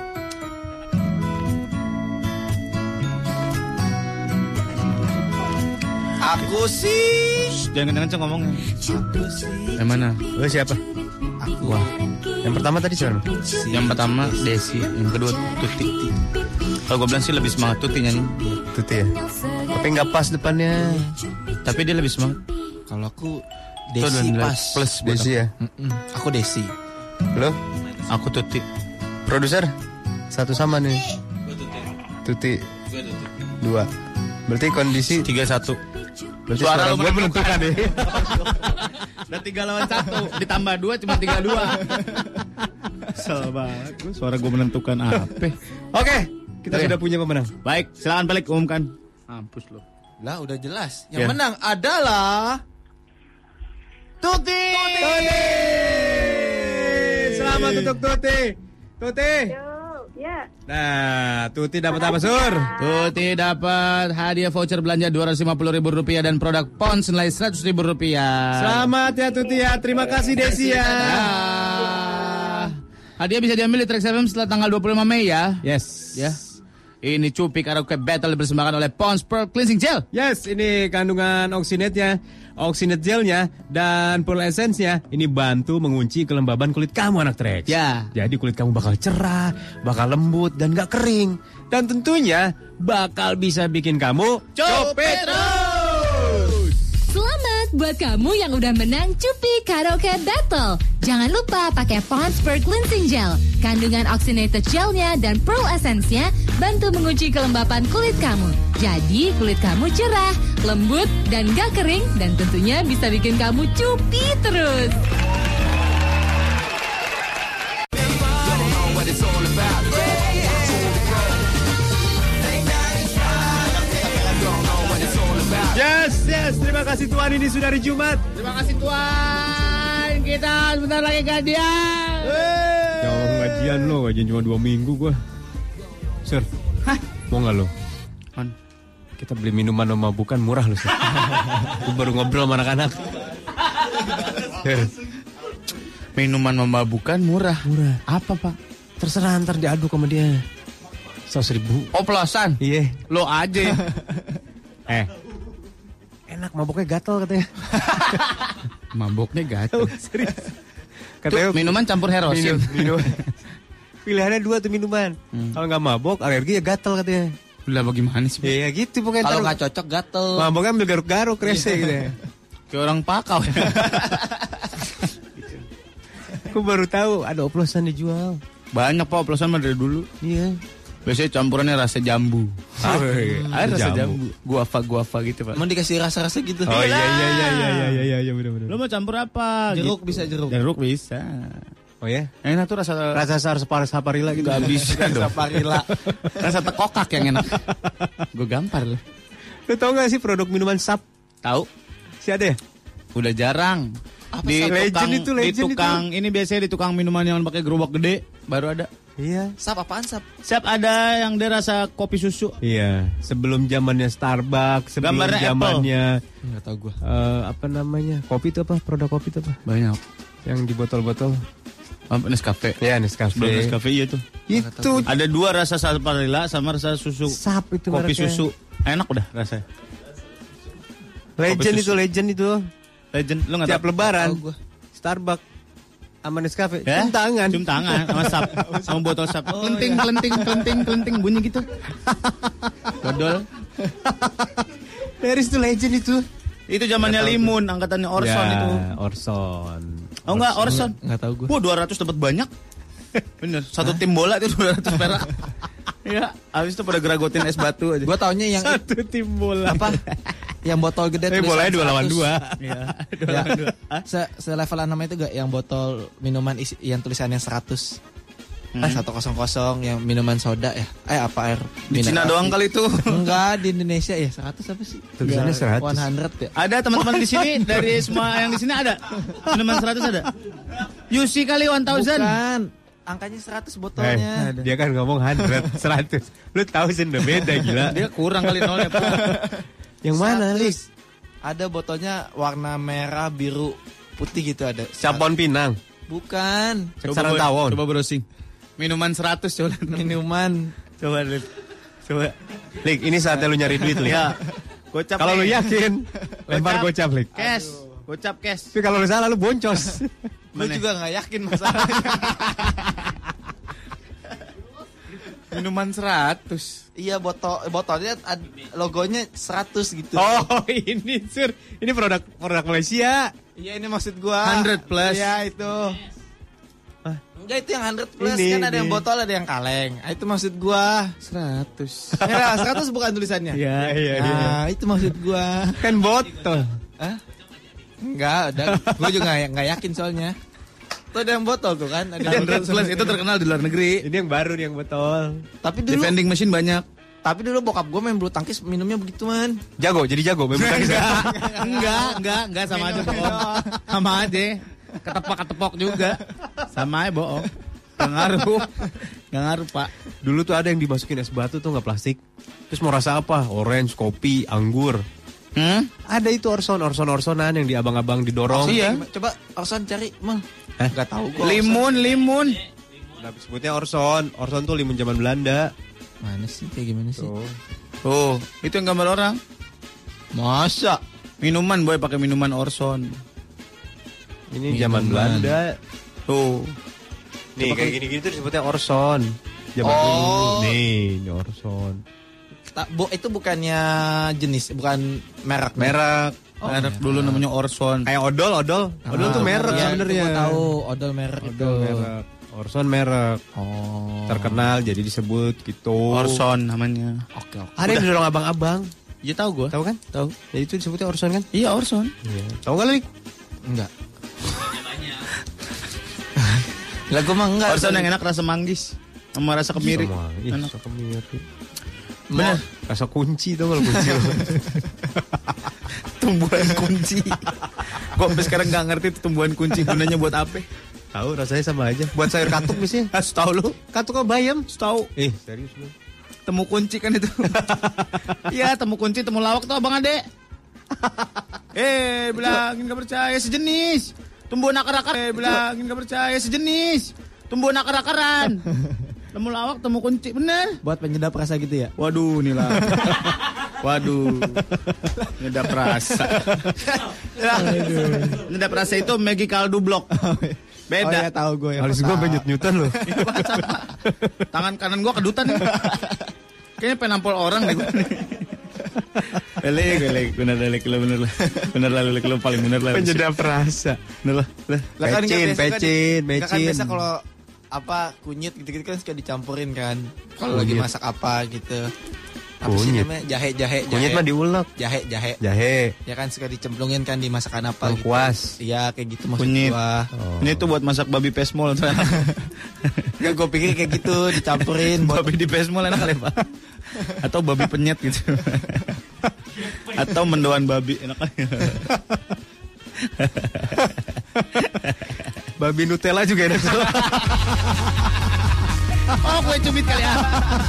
Aku sih. Shh, jangan kenceng-kenceng ngomongnya. Yang mana? Lo siapa? Aku. Wah. Yang pertama tadi siapa? Yang pertama Desi, yang kedua Tuti. Kalau gue bilang sih lebih semangat Tuti nyanyi. Tuti ya. Tapi nggak pas depannya. Tapi dia lebih semangat. Kalau aku Desi pas. Plus Desi ya. Mm-mm. Aku Desi. Lo? Aku Tuti. Produser? Satu sama nih. Tuti. Dua. Berarti kondisi tiga satu. Berarti suara, suara gue menentukan deh. Dan tiga lawan satu ditambah dua cuma tiga dua. Kesel banget. Suara gue menentukan apa? Oke, kita Oke. sudah punya pemenang. Baik, silakan balik umumkan. Mampus lo. Lah udah jelas. Yang Ya. menang adalah Tuti. Tuti. Selamat untuk Tuti. Tuti. Ya. Nah, Tuti dapat apa, Sur? Tuti dapat hadiah voucher belanja dua ratus lima puluh ribu rupiah dan produk Pons senilai seratus ribu rupiah. Selamat ya Tuti ya. Terima kasih Desi ya. Hadiah bisa diambil di Trax F M setelah tanggal dua puluh lima Mei ya. Yes. Ya. Ini Cupi Karaoke Battle dipersembahkan oleh Pons Pearl Cleansing Gel. Yes, ini kandungan oxinate-nya, oxinate gelnya dan pearl essence-nya ini bantu mengunci kelembaban kulit kamu anak Trax. Ya. Jadi kulit kamu bakal cerah, bakal lembut dan gak kering. Dan tentunya bakal bisa bikin kamu Cupi terus. Selamat buat kamu yang udah menang Cupi Karaoke Battle. Jangan lupa pakai Pond's Pearl Cleansing Gel. Kandungan oxygenated gelnya dan pearl essence-nya bantu mengunci kelembapan kulit kamu. Jadi kulit kamu cerah, lembut, dan gak kering. Dan tentunya bisa bikin kamu cupi terus. Yes, yes. Terima kasih Tuhan, ini sudah hari Jumat. Terima kasih Tuhan. Kita sebentar lagi gajian. Jangan gajian lo, gajian cuma dua minggu gua. Sir, hah? Mau nggak lo? Man. Kita beli minuman memabukan murah lo, Sir. Gua baru ngobrol sama anak-anak. Sir. Minuman memabukan murah. Murah. Apa Pak? Terserah, ntar diaduk sama dia. Seratus ribu. Oplosan. Iya. Lo aja. Eh, enak mabuknya gatel katanya. Mabuknya gatel. Oh, serius. Katanya minuman campur herosin. Minum, minum. Pilihannya dua tuh minuman. Hmm. Kalau nggak mabuk, alergi ya gatel katanya. Lah bagaimana sih? Ya, ya gitu pokoknya. Kalau nggak cocok gatel. Mabuknya ambil garuk-garuk rese gitu ya. Kayak orang pakau. Aku baru tahu ada oplosan dijual. Banyak Pak oplosan dari dulu. Iya. Biasanya campurannya rasa jambu. Ah, ada rasa jambu. Guava guava gitu Pak. Emang dikasih rasa-rasa gitu. Oh iya iya iya iya iya iya iya benar-benar. Lo mau campur apa? Jeruk gitu. bisa jeruk. Jeruk bisa. Oh ya? Enak tuh rasa rasa sar saparilla gitu. Gak bisa dong. Saparilla. Rasa tekokak yang enak. Gue gampar loh. Lo tau gak sih produk minuman sap? Tahu? Si ada ya? Udah jarang. Apa di sap? tukang, Legend itu, legend di tukang itu. ini biasanya di tukang minuman yang pakai gerobak gede baru ada. Iya. Sap apaan sap? Sap ada yang dia rasa kopi susu. Iya. Sebelum zamannya Starbucks, sebelum Gambarnya zamannya Enggak tahu gua. Uh, apa namanya? Kopi itu apa? Produk kopi itu apa? Banyak. Yang di botol-botol. Oh, Nescafe. Ya, Nescafe. Sebelum Nescafe iya tuh. Itu ada dua rasa saparilla sama rasa susu. Sap itu kopi mereknya. susu. Enak udah rasanya. Legend Kopi itu, susu. legend itu. Legend. Lu enggak Tiap tahu? lebaran. Tahu gua. Starbucks Sama Nescafe. Ya? Cium tangan. Cium tangan sama sap, sama botol sap. Kelenting, kelenting, kelenting, kelenting bunyi gitu. Dodol. Paris itu legend itu. Itu zamannya Limun, angkatannya Orson ya, itu. Orson. Oh enggak, Orson. Enggak tahu gue. Wah, dua ratus dapat banyak. Bener, satu tim bola itu dua ratus perak. Iya, habis itu pada geragotin es batu aja. Gue taunya yang satu tim bola. Apa? Yang botol gede tulisan bolanya dua lawan dua. Iya, dua lawan dua. Se selevelan nama itu gak yang botol minuman isi, yang tulisannya seratus. Hmm. Eh seratus yang minuman soda ya. Eh apa air? Di Cina doang kali itu. Enggak, di Indonesia ya seratus apa sih? Tulisannya seratus. seratus ya. Ada teman-teman di sini dari semua yang di sini ada. Minuman seratus ada. Yusi kali seribu. Bukan. Angkanya seratus botolnya. Eh, dia kan ngomong seratus, seratus. Lu tahu sih udah beda gila. Dia kurang kali nolnya. Yang mana, Lis? Ada botolnya warna merah, biru, putih gitu ada. Capon Pinang. Bukan. Coba tawon. Coba browsing. Minuman seratus coba. Minuman. Coba Lik. Coba. Lik, ini saatnya lu nyari duit, Lik. Ya. Gocap. Kalau lu yakin, lempar gocap, Lik. Cash. Gocap cash. Tapi kalau lu salah lu boncos. Lu juga enggak yakin masalahnya. Minuman seratus. Iya, botol botolnya logonya seratus gitu. Oh, ini sur. Ini produk produk Malaysia. Iya, ini maksud gua. seratus plus. Iya, itu. Ah. Enggak, itu yang seratus plus ini, kan ada ini. yang botol, ada yang kaleng. Ah, itu maksud gua. seratus. Ya, seratus bukan tulisannya. Iya, iya, nah, iya. itu maksud gua. Kan botol. Hah? Enggak, udah. Gua juga enggak yakin soalnya. Tuh ada yang botol tuh kan. Ada seratus plus itu terkenal di luar negeri. Ini yang baru nih yang botol. Tapi dulu di vending machine banyak. Tapi dulu bokap gue main bulu tangkis minumnya begituan. Jago, jadi jago main bulu tangkis. Enggak, enggak, enggak sama aja bohong. Sama aja. Ketepok-ketepok juga. Sama aja bohong. Enggak ngaruh. Enggak ngaruh, Pak. Dulu tuh ada yang dimasukin es batu tuh enggak plastik. Terus mau rasa apa? Orange, kopi, anggur. Hmm? Ada itu Orson, Orson-Orsonan yang di abang-abang didorong. Oh, iya. Coba Orson cari, Mang. Eh? Enggak tahu gua. Limun, limun. Nah, sebutnya Orson. Orson tuh limun zaman Belanda. Mana sih? Kayak gimana sih? Tuh. Oh, itu yang gambar orang. Masa? Minuman boy pakai minuman Orson. Ini minuman zaman Belanda. Tuh. Nih kayak gini-gini tuh disebutnya Orson. Zaman oh. dulu. Nih, ini Orson. Ta- bu, itu bukannya jenis, bukan merek. Merek. Oh, merek merek. dulu namanya Orson. Kayak odol, odol. Ah, odol tuh merek ya, sebenarnya. Gue tahu, odol merek odol itu. merek. Orson merek. Oh. Terkenal jadi disebut gitu. Orson namanya. Oke, oke. Ada yang didorong abang-abang. Iya tahu gue. Tahu kan? Tahu. Jadi itu disebutnya Orson kan? Iya Orson. Iya. Tahu enggak, Lik? Enggak. Lah gue mah enggak. Orson yang enak rasa manggis sama rasa kemiri. Iya, rasa kemiri. Bener. Rasa kunci tuh kalau kunci. Tumbuhan kunci. Gue sampai sekarang nggak ngerti itu tumbuhan kunci gunanya buat apa. Tahu rasanya sama aja. Buat sayur katuk biasanya. Ah, tahu lu? Katuk apa bayam? Tahu. Eh, serius lu. Temu kunci kan itu. Iya, temu kunci, temu lawak tuh Abang Ade. Eh, bilangin gak percaya sejenis. Tumbuhan akar-akar. Eh, bilangin gak percaya sejenis. Tumbuhan akar-akaran. Temu lawak, temu kunci, bener. Buat penyedap rasa gitu ya? Waduh, nih lah. Waduh. Nyedap rasa. Nyedap rasa itu Maggi kaldu blok. Beda. Oh iya, tahu gue ya. Alis gue benyut-nyutan loh. Tangan kanan gue kedutan. Kayaknya penampol orang deh gue. Lek, lek, bener lek, bener lah. Bener lah, lek, lu paling bener lah. Penyedap rasa. Bener lah. Pecin, pecin, Kan pecin. biasa kalau apa kunyit gitu-gitu kan suka dicampurin kan. Kalau lagi masak apa gitu. Apa sih namanya? Jahe, jahe, jahe. Kunyit mah diulek. Jahe, jahe. Jahe. Ya kan suka dicemplungin kan di masakan apa gitu. Lengkuas. Iya, kayak gitu maksud Kunyit. gua. Oh. Ini tuh buat masak babi pesmol. Enggak, gue pikir kayak gitu dicampurin buat Babi di pesmol enak kali Pak. Atau babi penyet gitu. Atau mendoan babi enak kali. Babi Nutella juga enak tuh. Oh, kue cubit kali ya.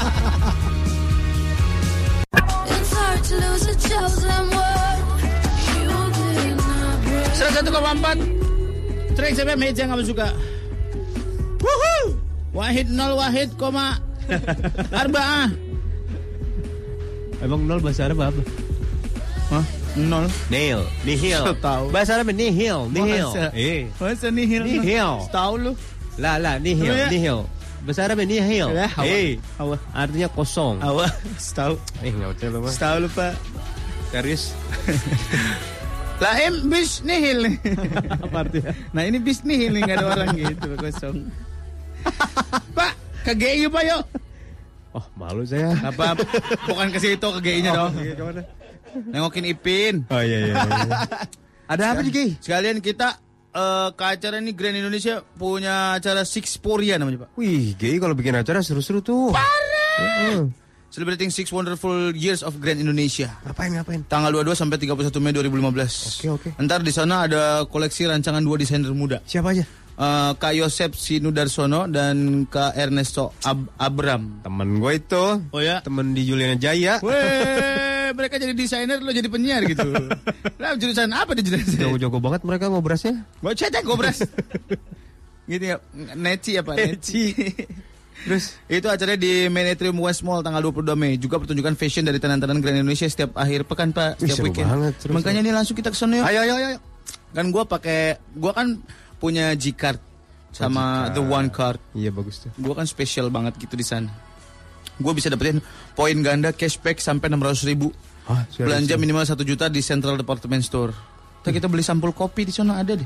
seratus satu koma empat Trax F M hits yang kamu suka. Wuhuu. Wahid nol wahid koma Arba'ah. Emang nol bahasa Arab apa? Hah? Nol. Nihil. Nihil. So tahu. Bahasa Arab nihil. Nihil. Masa? Eh. Masa nihil? Nihil. Tahu lu? Lah lah nihil. Oh, ya? Nihil. Bahasa Arab nihil. Ya, hawa. Eh. Hawa. Artinya kosong. Hawa. Tahu. Eh nggak betul lu. Tahu lu Pak. Serius. Lah em bis nihil. Apa artinya? Nah ini bis nihil nih, nggak ada orang gitu kosong. Pak, ke G I Pak yuk. Oh malu saya. Apa? Bukan ke situ, ke G I-nya dong. Iya, kemana? Nengokin Ipin. Oh iya iya. iya. Ada apa nih Ki? Sekalian kita uh, ke acara ini Grand Indonesia punya acara Sixporia namanya Pak. Wih, G I kalau bikin acara seru-seru tuh. Parah. Uh. Celebrating six wonderful years of Grand Indonesia. Ngapain ngapain? Tanggal dua puluh dua sampai tiga puluh satu Mei dua ribu lima belas. Oke oke. Ntar di sana ada koleksi rancangan dua desainer muda. Siapa aja? Uh, Kak Yosep Sinudarsono dan Kak Ernesto Ab- Abram. Temen gue itu. Oh ya? Temen di Juliana Jaya. Weh, mereka jadi desainer, lo jadi penyiar gitu. Lah jurusan apa di jurusan? Jago-jago banget mereka ngobrasnya. Gue cetek ngobras. Gitu ya, Neci apa? Neci. Terus itu acaranya di Main Atrium West Mall tanggal dua puluh dua Mei. Juga pertunjukan fashion dari tenan-tenan Grand Indonesia setiap akhir pekan Pak, setiap Wih, weekend. Banget, terus, Makanya ini langsung kita ke sana yuk. Ayo ayo ayo. Kan gue pakai, gue kan punya G-card sama The One Card. Iya bagus tuh. Gue kan spesial banget gitu di sana. Gue bisa dapetin poin ganda cashback sampai enam ratus ribu. Hah, belanja minimal satu juta di Central Department Store. Kita kita beli sampul kopi di sana ada deh.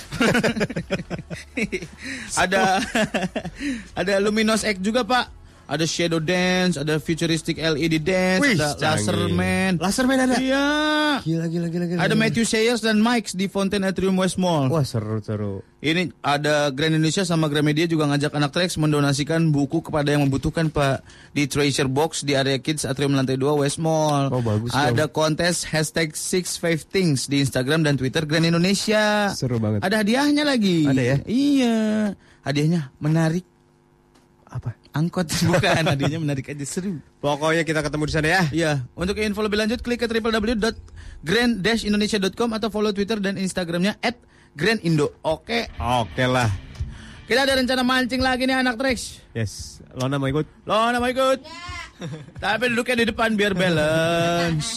ada ada Luminous X juga Pak. Ada Shadow Dance, ada Futuristic L E D Dance, Wih, ada Laserman. Laserman ada? Iya. Gila, gila, gila, gila. Ada Matthew Sayers dan Mike's di Fountain Atrium West Mall. Wah, seru-seru. Ini ada Grand Indonesia sama Gramedia juga ngajak anak Trax mendonasikan buku kepada yang membutuhkan Pak. Di Treasure Box di area Kids Atrium lantai dua West Mall. Oh, bagus. Ada dong. kontes hashtag six five things di Instagram dan Twitter Grand Indonesia. Seru banget. Ada hadiahnya lagi. Ada ya? Iya. Hadiahnya menarik. Apa? Angkot. Bukan, hadiahnya menarik aja, seru. Pokoknya kita ketemu di sana ya. Iya. Untuk info lebih lanjut klik ke w w w dot grand dash indonesia dot com atau follow Twitter dan Instagramnya at grandindo. Oke. Oke lah. Kita ada rencana mancing lagi nih anak Trax. Yes. Lona mau ikut? Lona mau ikut? Tapi duduknya di depan biar balance.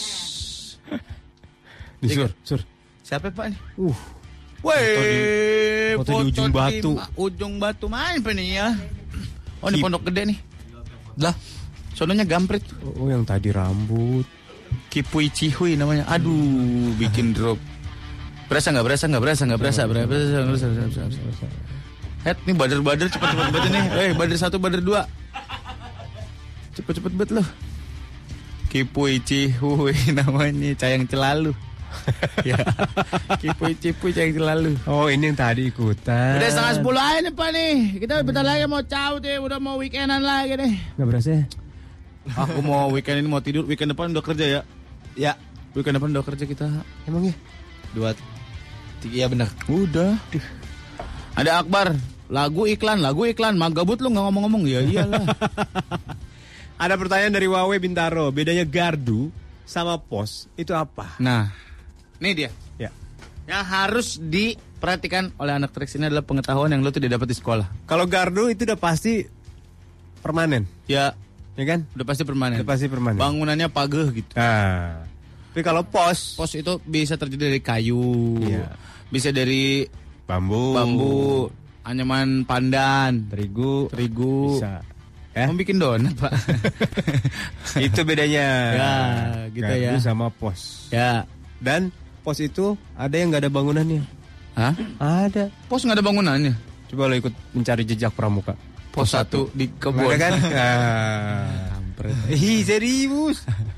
Di sur, sur. Siapa Pak nih? Uh. Weh, foto di ujung batu. Ma- ujung batu main apa nih ya? Oh, ini Kip. Pondok Gede nih. Lah, sononya Gamprit. Oh, yang tadi rambut. Kipui Cihui namanya. Aduh, bikin drop. Berasa nggak? Berasa nggak? Berasa nggak? Berasa? Berasa? Berasa? Berasa? Berasa? Berasa? Head nih bader-bader cepat-cepat banget nih. Eh, bader satu, bader dua. Cepet-cepet banget loh. Kipui Cihui namanya, Cayang Celalu. Ya. Kipui Cihui Cayang Celalu. Oh, ini yang tadi ikutan. Udah setengah sepuluh aja nih Pak nih. Kita bentar lagi mau caut ya. Udah mau weekendan lagi deh. Gak berasa ya? Aku mau weekend ini mau tidur. Weekend depan udah kerja ya? Ya. Weekend depan udah kerja kita. Emang ya? Dua tiga, iya benar. Udah. Ada Akbar. Lagu iklan, lagu iklan. Magabut lu gak ngomong-ngomong. Ya iyalah. Ada pertanyaan dari Wawe Bintaro. Bedanya gardu sama pos itu apa? Nah, ini dia. Ya. Yang harus diperhatikan oleh anak Trax ini adalah pengetahuan yang lo tidak dapat di sekolah. Kalau gardu itu udah pasti permanen. Ya. Ya kan? Udah pasti permanen. Udah pasti permanen. Bangunannya pageh gitu. Nah. Tapi kalau pos, pos itu bisa terjadi dari kayu. Iya. Bisa dari bambu. Bambu, anyaman pandan, terigu, terigu. Bisa. Eh? Mau bikin donat, Pak. Itu bedanya. Ya, gitu gardu ya. sama pos. Ya. Dan pos itu ada yang nggak ada bangunannya. Hah? Ada. Pos nggak ada bangunannya. Coba lo ikut mencari jejak pramuka. Pos, pos satu di kebun. Ada kan? Kampret. Ih, serius.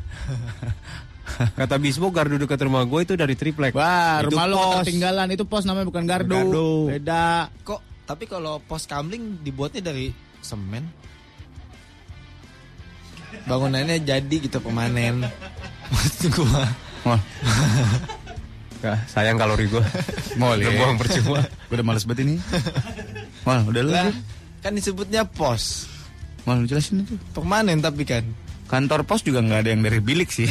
Kata Bismo gardu dekat rumah gue itu dari triplek. Wah, itu rumah lo pos. ketinggalan. Itu pos namanya bukan gardu. Gardu. Beda. Kok tapi kalau pos kamling dibuatnya dari semen? Bangunannya jadi gitu pemanen. Maksud gua. Wah. Gak, sayang kalori gua. Boleh. Udah buang percuma. Gua udah males banget ini. Wah, udah lah. Kan disebutnya pos. Mau jelasin itu. Permanen tapi kan. Kantor pos juga nggak ada yang dari bilik sih.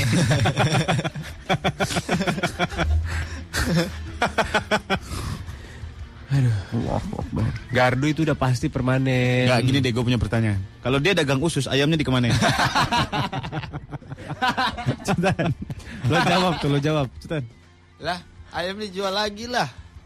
Aduh, gardu itu udah pasti permanen. Gak, gini deh, gue punya pertanyaan. Kalau dia dagang usus, ayamnya dikemanain? Cetan, lo jawab tuh, lo jawab, Cetan. Lah, ayam dijual lagi lah.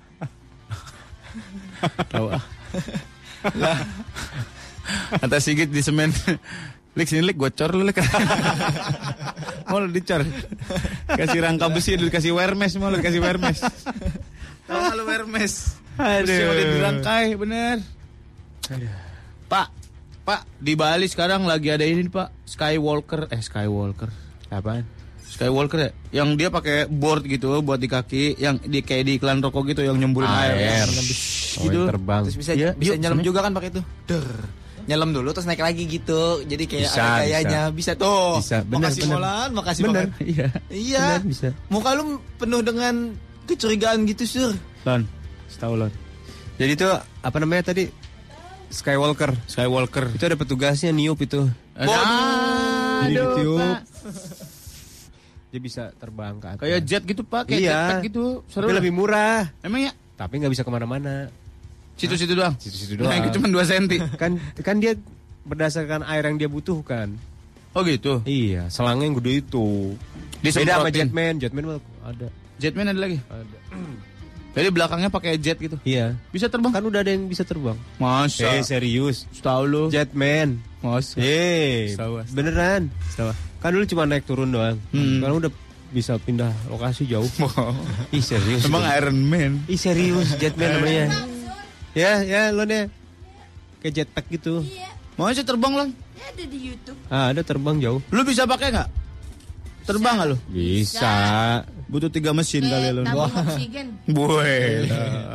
Tahu ah. Lah. Kata Sigit di semen. Lik sini lik, gocor lu lik. Mau lu dicor. Kasih rangka besi, lu kasih wermes, mau lu kasih wermes. Tahu lu wermes. Aduh. Besi udah dirangkai, bener. Aduh. Pak, Pak, di Bali sekarang lagi ada ini Pak, Skywalker, eh Skywalker. Apaan? Skywalker ya? Yang dia pakai board gitu buat di kaki, yang di kayak di iklan rokok gitu yang nyembulin air. Air. Gitu. Oh, terbang. Terus bisa Ya, bisa yuk, nyelam sebenernya. juga kan pakai itu. Der. Nyelam dulu terus naik lagi gitu. Jadi kayak Bisa, ada gayanya. Bisa, bisa. tuh. Bisa, bener, makasih bener. Molan, makasih Bener, banget. Iya. Iya. Bener, bisa. Muka lu penuh dengan kecurigaan gitu, Sur. Lon, setahu Lon. Jadi itu apa namanya tadi? Skywalker. Skywalker. Itu ada petugasnya niup itu. Aduh, Jadi ditiup. Pak. Dia bisa terbang ke atas. Kayak jet gitu Pak, kayak Iya. jetpack gitu. Seru. Tapi lebih murah. Emang ya? Tapi nggak bisa kemana-mana. Situ-situ doang. Situ-situ doang. Nah, itu cuma dua senti. Kan kan dia berdasarkan air yang dia butuhkan. Oh gitu. Iya, selangnya yang gede itu. Disemprotin. Beda sama Jetman. Jetman mah ada. Jetman ada lagi. Ada. Jadi belakangnya pakai jet gitu. Iya. Bisa terbang? Kan udah ada yang bisa terbang. Masa? Eh serius. Tahu lu. Jetman. Masa? Eh, Tahu. beneran. Tahu. Kan dulu cuma naik turun doang. Hmm. Sekarang udah bisa pindah lokasi jauh. Ih serius. Emang Iron Man. Ih serius Jetman namanya. Ya, ya lo nih. Kayak jetpack gitu. Mau aja terbang Lon? Ya ada di YouTube. Ah, ada terbang jauh. Lu bisa pakai nggak? Terbang nggak lu? Bisa. Butuh tiga mesin kali lu. Tabung oksigen. Buat.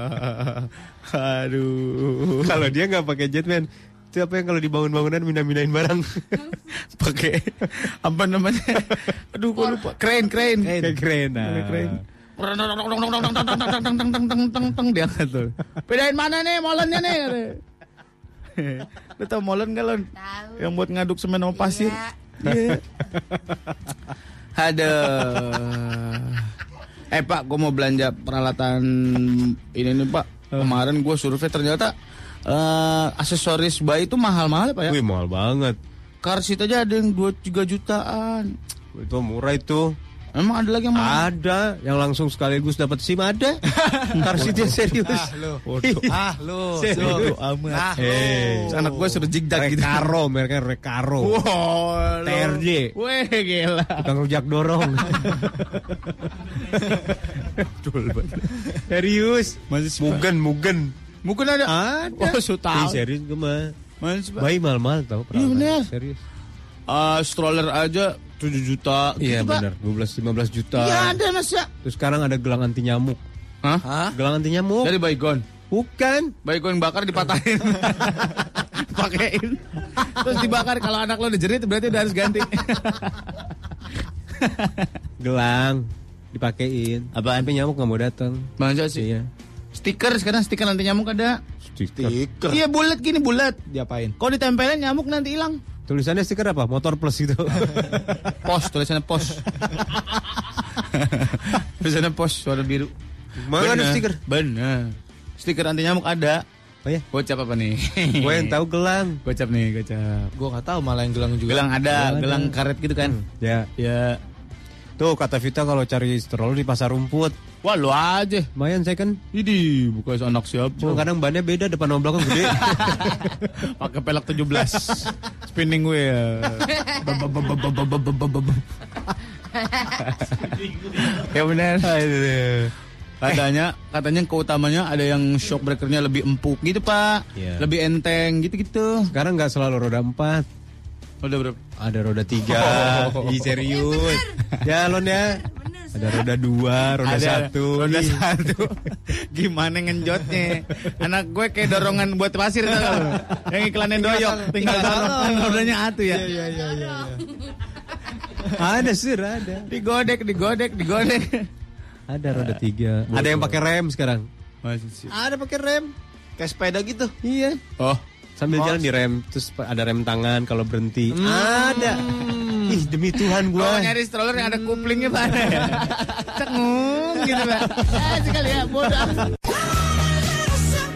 Aduh. Kalau dia nggak pakai Jetman, itu apa yang kalau dibangun bangunan mina-minain barang? Pakai apa namanya? Aduh, gua lupa. Crane, crane. Kayak keren. Pakai crane. Diangkat tuh. Bedain mana nih molennya nih? Lu tau molen gak Lon? Tahu. Yang buat ngaduk semen sama pasir. Iya. Aduh. Eh Pak, gue mau belanja peralatan ini nih Pak. Kemarin gue survei ternyata uh, aksesoris bayi itu mahal-mahal ya Pak ya? Wih mahal banget. Car seat aja ada yang dua puluh tiga jutaan. Itu murah itu. Emang ada lagi yang mahal? Ada yang langsung sekaligus dapat SIM ada. Car seat yang serius. Ah lu. Ah lu. Serius. Amat. Ah, Eh, Anak gue suruh jigdak gitu. Recaro, mereknya Recaro. Wow, T R J. Weh gila. Tukang rujak dorong. Serius. Masih Mugen, Mugen. Mungkin ada. Ada. Oh, so tahu. Ih, serius gue mah. Masih Pak. Bayi mahal-mahal tau. Iya bener. Serius. Uh, stroller aja tujuh juta. Iya gitu, Pak. benar, dua belas lima belas juta. Iya ada Mas ya. Terus sekarang ada gelang anti nyamuk. Hah? Hah? Gelang anti nyamuk. Dari Baygon. Bukan. Baygon bakar dipatahin. Pakein. Terus dibakar, kalau anak lo udah jerit berarti udah harus ganti. Gelang dipakein. Apaan? Tapi nyamuk nggak mau datang. Masa sih? Iya. Stiker sekarang, stiker anti nyamuk ada. Stiker. Iya bulat gini, bulat. Diapain? Kalau ditempelin nyamuk nanti hilang. Tulisannya stiker apa? Motor plus itu. Pos, tulisannya pos. Tulisannya pos, warna biru. Mana ada stiker? Bener. Stiker anti nyamuk ada. Oh ya? Gocap apa nih? Gue yang tahu gelang. Gocap nih, gocap. Gua nggak tahu malah yang gelang juga. Gelang ada, Gelang gelang ada. karet gitu kan. Ya. Ya. Tuh kata Vita kalau cari stroller di pasar rumput. Wah, lu aja. Lumayan saya kan. Ini bukan anak siapa. Cuma kadang bannya beda, depan sama belakang gede. Pakai pelek tujuh belas. Spinning wheel. Ya benar. Katanya, katanya keutamanya ada yang shock breakernya lebih empuk gitu Pak, Iya. lebih enteng gitu-gitu. Sekarang nggak selalu roda empat. Udah berapa? Ada roda tiga. Ih serius. Ya Lon ya. Ada roda dua, roda Ada satu. roda Ih. satu. Gimana ngenjotnya? Anak gue kayak dorongan buat pasir tuh. Yang iklannya doyok, tinggal dorong. Kan rodanya atu ya. Iya iya iya. Ada sih, ada. Digodek, digodek, digodek. Ada roda tiga. Ada yang pakai rem sekarang. Ada pakai rem. Kayak sepeda gitu. Iya. Oh, Sambil Oh. jalan di rem, terus ada rem tangan kalau berhenti. Ada. Ih demi Tuhan gua gua. nyari stroller yang ada kuplingnya Pak. Cengung gitu Pak. Ah sekali ya bodoh.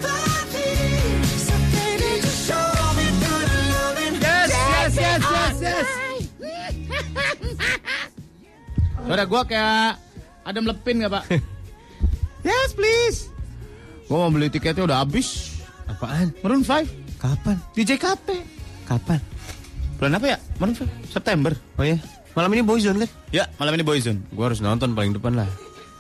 Suara gue kayak ada melepin nggak Pak? Yes please. Gue mau beli tiketnya udah habis. Apaan? Maroon five. Kapan? Di J K T. Kapan? Bulan apa ya? Maroon five. September. Oh ya. Malam ini Boyzone kan? Ya, malam ini Boyzone. Gue harus nonton paling depan lah.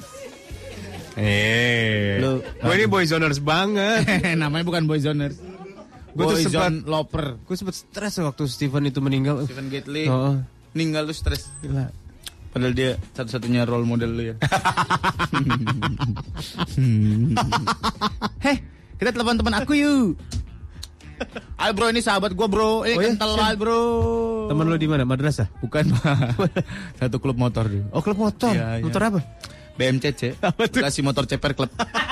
Eh, Lu, gue ini Boyzoners banget. Namanya bukan Boyzoners. Gue tuh sempat Boyzone loper. Gue sempat stres waktu Steven itu meninggal. Stephen Gately. Oh. Meninggal tuh stres. Gila. Padahal dia satu-satunya role model lu ya. Heh, kita telepon teman aku yuk. Ayo bro, ini sahabat gue bro. Ini Oh, ya? kental banget bro. Temen lu di mana? Madrasah? Bukan Pak. Satu klub motor dia. Oh, klub motor. Iya, iya. Motor apa? B M C C. Kasih motor ceper klub.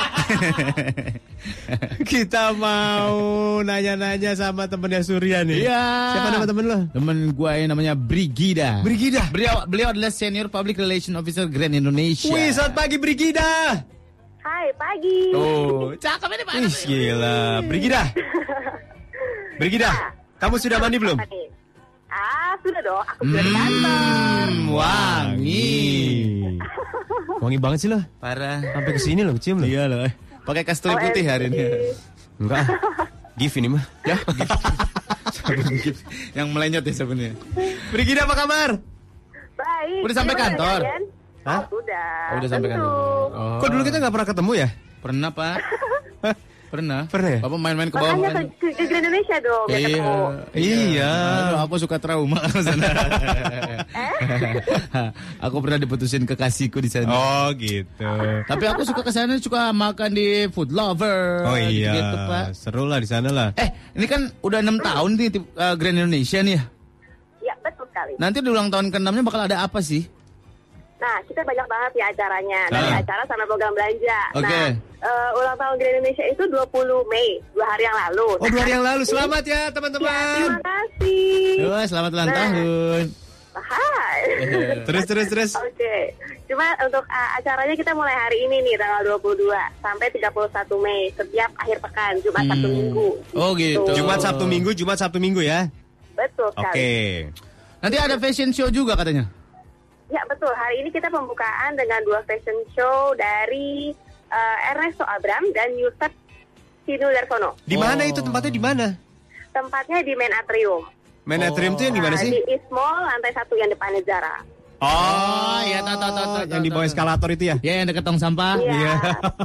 Kita mau nanya-nanya sama temennya Surya nih. Iya. Siapa nama temen lo? Temen gue yang namanya Brigida. Brigida. Beliau, beliau adalah Senior Public Relation Officer Grand Indonesia. Wih, selamat pagi Brigida. Hai, pagi. Oh, cakep ini Pak. Wih, gila. Brigida. Brigida, kamu sudah mandi belum? Ah, sudah dong. Aku sudah di kantor. Hmm, wangi. Wangi banget sih lo. Parah. Sampai kesini lo, cium lo. Iya loh. Pakai kasturi O M G. putih hari ini. Enggak. Gif ini mah. Ya. Sabun gif. Yang melenyot ya sabunnya. Brigida apa kabar? Baik. Udah sampai Gimana kantor? kalian? Hah? Oh, sudah. Oh, udah sampai Tentu. kantor. Oh. Kok dulu kita nggak pernah ketemu ya? Pernah Pak. Pernah. Pernah ya? Bapak main-main ke bawah. Makanya ke, ke, ke Indonesia dong. biar Iya. ketemu. Iya. Aduh, aku suka trauma ke sana. Aku pernah diputusin kekasihku di sana. Oh gitu. Tapi aku suka ke sana, suka makan di Food Lover. Oh iya. Gitu, Pak. Seru lah di sana lah. Eh, ini kan udah enam tahun nih uh, Grand Indonesia nih ya. Ya, betul sekali. Nanti di ulang tahun ke-enamnya bakal ada apa sih? Nah, kita banyak banget ya acaranya. Dari Ah. acara sama program belanja. Oke. Nah, eh, ulang tahun Grand Indonesia itu dua puluh Mei, dua hari yang lalu. Oh, dua hari yang lalu. Selamat ya, Ya, teman-teman. terima kasih. Wah, selamat ulang Nah. tahun. Hai. Terus, terus, terus. Oke. Cuma untuk uh, acaranya kita mulai hari ini nih, tanggal dua puluh dua sampai tiga puluh satu Mei, setiap akhir pekan, Jumat, Sabtu, Minggu. Oh gitu. Jumat, Sabtu, Minggu, Jumat, Sabtu, Minggu ya. Betul Oke. sekali. Nanti ada fashion show juga katanya. Ya, betul. Hari ini kita pembukaan dengan dua fashion show dari uh, Ernesto Abram dan Yusuf Sinu Darsono. Di mana itu tempatnya di mana? Tempatnya di Main Atrium. Main Atrium tuh yang di mana Nah, sih? Di East Mall, lantai satu yang depannya Zara. Oh, iya tahu tahu tahu tahu. Yang di bawah eskalator itu ya? Ya, yang dekat tong sampah. Iya.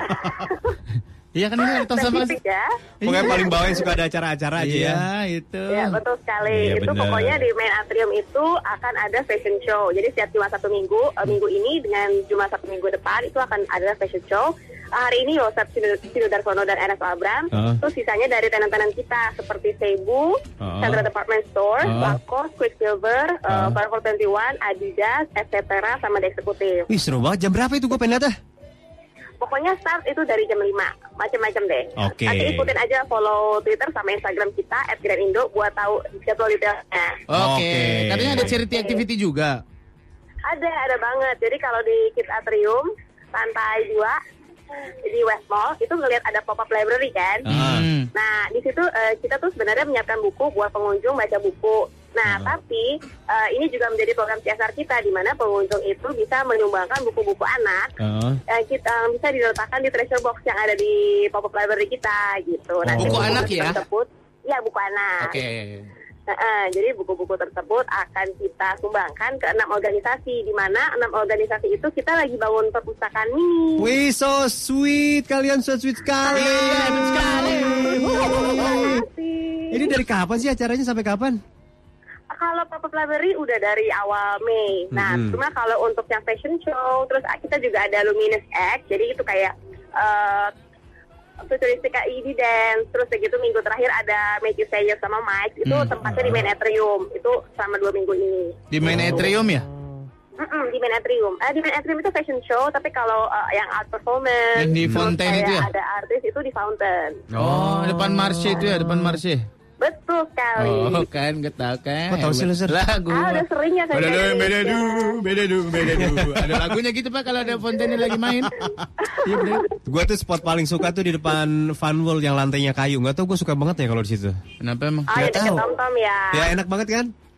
Iya kan ini ada tong sampah. Spesifik ya. Pokoknya paling bawah yang suka ada acara-acara aja ya. Iya, itu. Ya, betul sekali. Iya, itu benar. pokoknya di Main Atrium itu akan ada fashion show. Jadi setiap Jumat satu minggu, eh, minggu ini dengan Jumat satu minggu depan itu akan ada fashion show. Eh, hari ini Yosef Sinu Darsono dan Ernesto Abram. Uh. Terus sisanya dari tenan-tenan kita seperti Cebu, Uh. Central Department Store, Uh. Lacoste, Quicksilver, uh. Uh. Forever twenty one, Adidas, et cetera sama The Executive. Wih, seru banget. Jam berapa itu gue pengen lihat ah? Pokoknya start itu dari jam lima, macam-macam deh. Oke. Nanti ikutin aja follow Twitter sama Instagram kita at Grand Indo buat tahu jadwal detailnya. Oke. Oke. Katanya ada charity activity juga. Ada, ada banget. Jadi kalau di Kids Atrium, lantai dua, di West Mall, itu ngelihat ada pop-up library kan. Hmm. Nah, di situ eh, kita tuh sebenarnya menyiapkan buku buat pengunjung baca buku. Nah, tapi eh, ini juga menjadi program C S R kita, di mana pengunjung itu bisa menyumbangkan buku-buku anak. Uh. Eh, kita eh, bisa diletakkan di treasure box yang ada di pop-up library kita gitu. Nanti Buku buku-buku anak ya? Tersebut, ya, buku anak. Oke. Nah, eh, jadi buku-buku tersebut akan kita sumbangkan ke enam organisasi, di mana enam organisasi itu kita lagi bangun perpustakaan mini. Wih, so sweet. Kalian so sweet sekali. Iya, betul sekali. Ini dari kapan sih acaranya sampai kapan? Kalau pop-up library udah dari awal Mei. Nah, Mhm. cuma kalau untuk yang fashion show, terus kita juga ada Luminous X, jadi itu kayak uh, futuristik I D dance, terus begitu minggu terakhir ada Matthew Sayer sama Mike, itu Hmm. tempatnya di Main Atrium, itu selama dua minggu ini. Di main atrium ya? Mm-mm, di Main Atrium. Eh, di Main Atrium itu fashion show, tapi kalau uh, yang art performance, Yang di terus fountain kayak itu ya? ada artis itu di fountain. Oh, depan Marshe itu ya, depan Marshe. Betul sekali. Oh, kan, gue tahu kan. Kok tahu sih lu, Sir? Lagu. Ah, udah sering ya saya Beda jadi du, beda du, Indonesia. beda du, beda du. Ada lagunya gitu Pak kalau ada fountainnya lagi main. Iya bener. Gue tuh spot paling suka tuh di depan Fun World yang lantainya kayu. Nggak tau gue suka banget ya kalau di situ. Kenapa emang? Ah, ya Nggak deket tahu. Tom-Tom ya. Ya enak banget kan?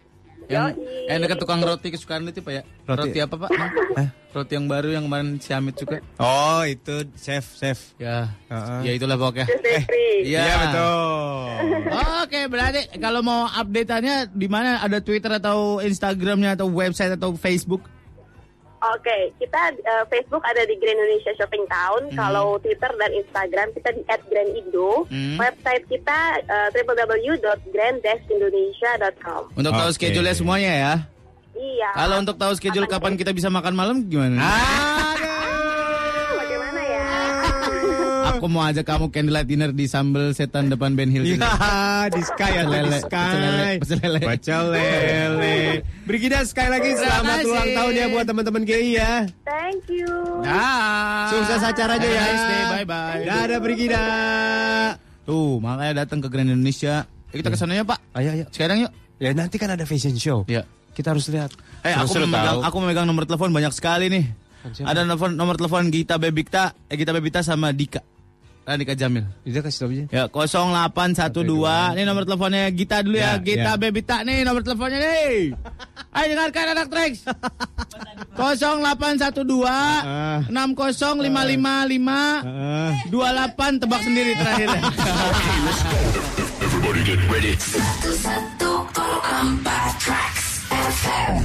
Yang Yoi. eh dekat tukang roti kesukaan lu itu Pak ya? Roti- Roti, apa Pak? Roti yang baru yang kemarin si Amit juga. Oh, itu chef, chef. Ya. Heeh. Ya itulah pokoknya. Eh, Iya Iya, betul. Oke, berarti kalau mau update-annya di mana? Ada Twitter atau Instagramnya atau website atau Facebook? Oke, kita eh, Facebook ada di Grand Indonesia Shopping Town. Hmm. Kalau Twitter dan Instagram kita di at grand indo. Hmm. Website kita eh, w w w dot grand dash indonesia dot com. Untuk tahu Oke. schedule-nya semuanya ya. Iya. Kalau untuk tahu schedule kapan kita bisa makan malam gimana? Bagaimana ya? Aku mau ajak kamu candlelight dinner di Sambal Setan depan Ben Hill. Iya, di Sky atau di Lele, Sky. pecel lele, pecel lele. Pecel lele. Brigida sekali lagi selamat Terima kasih. ulang tahun ya buat teman-teman G I ya. Thank you. Ah. Sukses acaranya ya. Nice day, bye-bye. Dadah Brigida. Tuh, makanya datang ke Grand Indonesia. Ya, kita ke sana ya, Pak. Ayo, ayo. Sekarang yuk. Ya nanti kan ada fashion show. Ya. Kita harus lihat. Eh, aku Seru-seru memegang, tahu. aku memegang nomor telepon banyak sekali nih. Siapa? Ada nomor nomor telepon Gita Bebita, eh, Gita Bebita sama Dika. Ah, Dika Jamil. Dia kasih tahu aja. Ya, nol delapan satu dua. Ini nomor teleponnya Gita dulu ya. Ya, Gita ya. Bebita nih nomor teleponnya nih. Ayo dengarkan anak Trax. nol delapan satu dua enam nol lima lima lima dua delapan tebak sendiri terakhir. Everybody get ready. seratus satu koma empat Trax F M.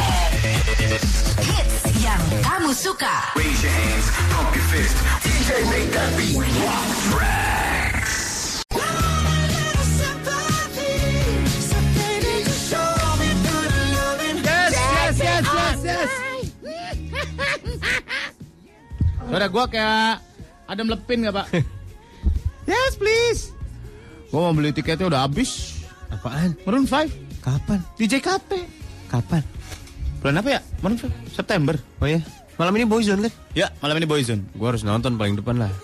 Hits yang kamu suka. Raise your hands, pump your fist. D J make that beat rock. Trax. Yes, yes, yes, yes, yes. Suara gua kayak ada melepin gak, Pak? Yes, please. Gua mau beli tiketnya udah habis. Apaan? Maroon five. Kapan? D J K P. Kapan? Bulan apa ya? Maroon five. September. Oh ya. Malam ini Boyzone kan? Ya, malam ini Boyzone. Gua harus nonton paling depan lah.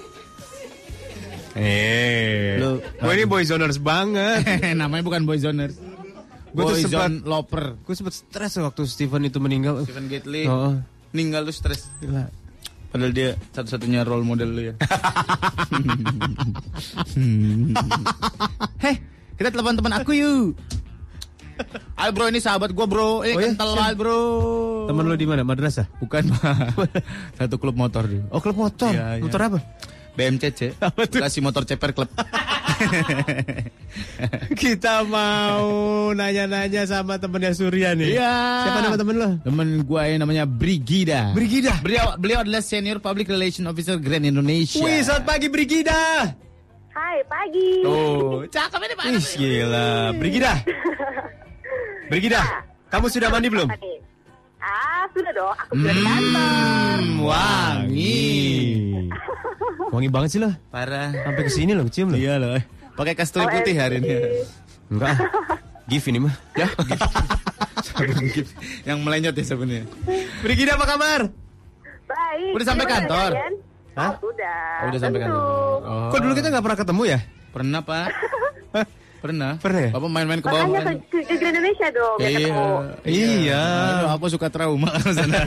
Eh, Lu- gue ini boyzoners banget. Namanya bukan Boyzoners. Gue tuh sempat Boyzone loper. gue sempat stres waktu Steven itu meninggal. Stephen Gately. Oh, Ninggal lu stres. gila. Padahal dia satu-satunya role model lu ya. Heh, kita telepon teman aku yuk. Ayo bro, ini sahabat gua bro. Ini Oh, iya? kental Siap. banget bro. Temen lu di mana? Madrasah? Bukan, Pak. Satu klub motor dia. Oh, klub motor. Iya, iya. Motor apa? B M C C. Kasih motor ceper klub. Kita mau nanya-nanya sama temennya Surya nih. Iya. Siapa nama temen lo? Temen gua ini namanya Brigida. Brigida. Beliau beliau adalah Senior Public Relation Officer Grand Indonesia. Wih, selamat pagi Brigida. Hai, pagi. Oh, cakep ini Pak. Ih, gila. Brigida. Brigida, kamu sudah mandi belum? Apa nih? Ah, sudah dong. Aku sudah di kantor. Hmm, wangi. Wangi banget sih lo. Parah. Sampai ke sini lo, cium lo. Iya loh. Pakai kasturi O M G. putih hari ini. Enggak. Gif ini mah. Ya. Sabun gift. Yang melenyot ya sabunnya. Brigida apa kabar? Baik. Udah sampai Gimana kantor? kalian? Hah? Oh, sudah. Oh, udah sampai Tentu. kantor. Oh. Kok dulu kita nggak pernah ketemu ya? Pernah, Pak. Pernah. Pernah ya? Bapak main-main ke bawah. Makanya ke, ke, ke Grand Indonesia dong. biar Iya. ketemu. Iya. Aduh, aku suka trauma ke sana.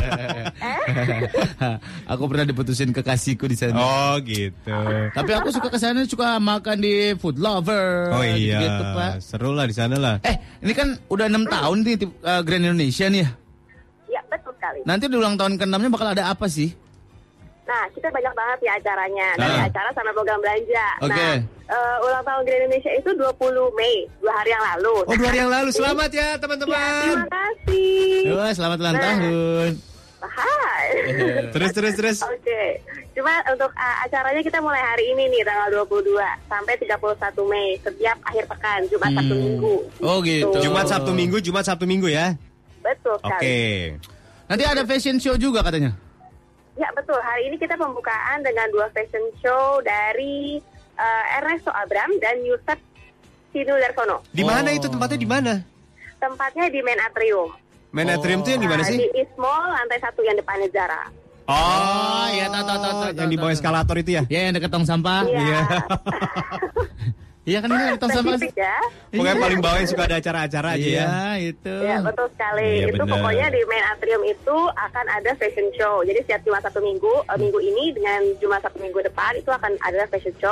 Aku pernah diputusin kekasihku di sana. Oh gitu. Tapi aku suka ke sana suka makan di Food Lover. Oh iya. Gitu, Pak. Seru lah di sana lah. Eh, ini kan udah enam tahun nih uh, Grand Indonesia nih ya. Ya, betul sekali. Nanti di ulang tahun ke-enamnya bakal ada apa sih? Nah, kita banyak banget ya acaranya. Dari Ah. acara sama program belanja. Oke. Nah, eh, ulang tahun Grand Indonesia itu dua puluh Mei, dua hari yang lalu. Oh, dua hari yang lalu. Selamat ya teman-teman. Ya, terima kasih. Wah, selamat ulang Nah. tahun. Hai. Terus terus terus. Oke. Cuma untuk uh, acaranya kita mulai hari ini nih tanggal dua puluh dua sampai tiga puluh satu Mei setiap akhir pekan, Jumat Sabtu Minggu. Oh gitu. Jumat Sabtu Minggu, Jumat Sabtu Minggu ya. Betul Oke. sekali. Nanti ada fashion show juga katanya. Ya betul. Hari ini kita pembukaan dengan dua fashion show dari uh, Ernesto Abram dan Yusuf Sinu Darsono. Di mana itu tempatnya di mana? Tempatnya di Main Atrium. Main Atrium tuh yang di mana Nah, sih? Di East Mall lantai satu yang depannya Zara. Oh, iya tahu tahu tahu. Yang di bawah eskalator itu ya? Ya, yang dekat tong sampah. Iya. Iya kan ini tong sampah. Spesifik ya. Pokoknya paling bawah yang suka ada acara-acara aja ya. Iya, itu. Ya betul sekali. Iya, itu benar. pokoknya di Main Atrium itu akan ada fashion show. Jadi setiap Jumat satu minggu, eh, minggu ini dengan Jumat satu minggu depan itu akan ada fashion show.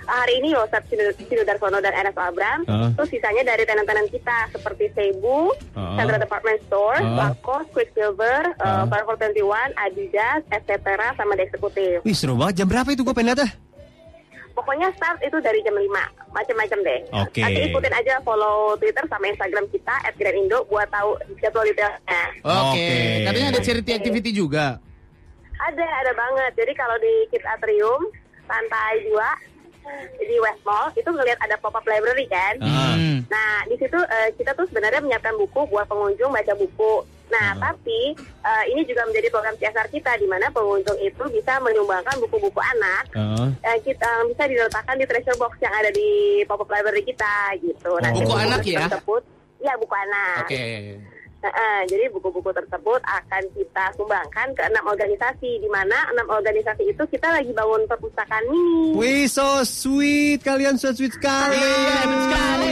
hari ini Yosef Sinu Darsono dan Enes Abram. Uh. Terus sisanya dari tenan-tenan kita seperti Seibu, Uh. Central Department Store, Uh. Lacoste, Quicksilver, uh. Uh. Forever twenty one, Adidas, et cetera sama The Executive. Wih seru banget. Jam berapa itu gue pengen datang? Pokoknya start itu dari jam lima, macam-macam deh. Oke. Nanti ikutin aja follow Twitter sama Instagram kita at Grand Indo buat tahu jadwal detailnya. Oke. Katanya ada charity activity juga. Ada, ada banget. Jadi kalau di Kids Atrium, lantai dua, di West Mall, itu ngelihat ada pop-up library kan. Hmm. Nah, di situ uh, kita tuh sebenarnya menyiapkan buku buat pengunjung baca buku. Nah, tapi uh, ini juga menjadi program C S R kita, di mana pengunjung itu bisa menyumbangkan buku-buku anak. Uh. Uh, kita uh, bisa diletakkan di treasure box yang ada di pop-up library kita, gitu. Nanti Buku anak ya? Tersebut, ya, buku anak. Oke. Uh, uh, jadi buku-buku tersebut akan kita sumbangkan ke enam organisasi, di mana enam organisasi itu kita lagi bangun perpustakaan mini. Wih, so sweet. Kalian so sweet sekali. Iya, sekali.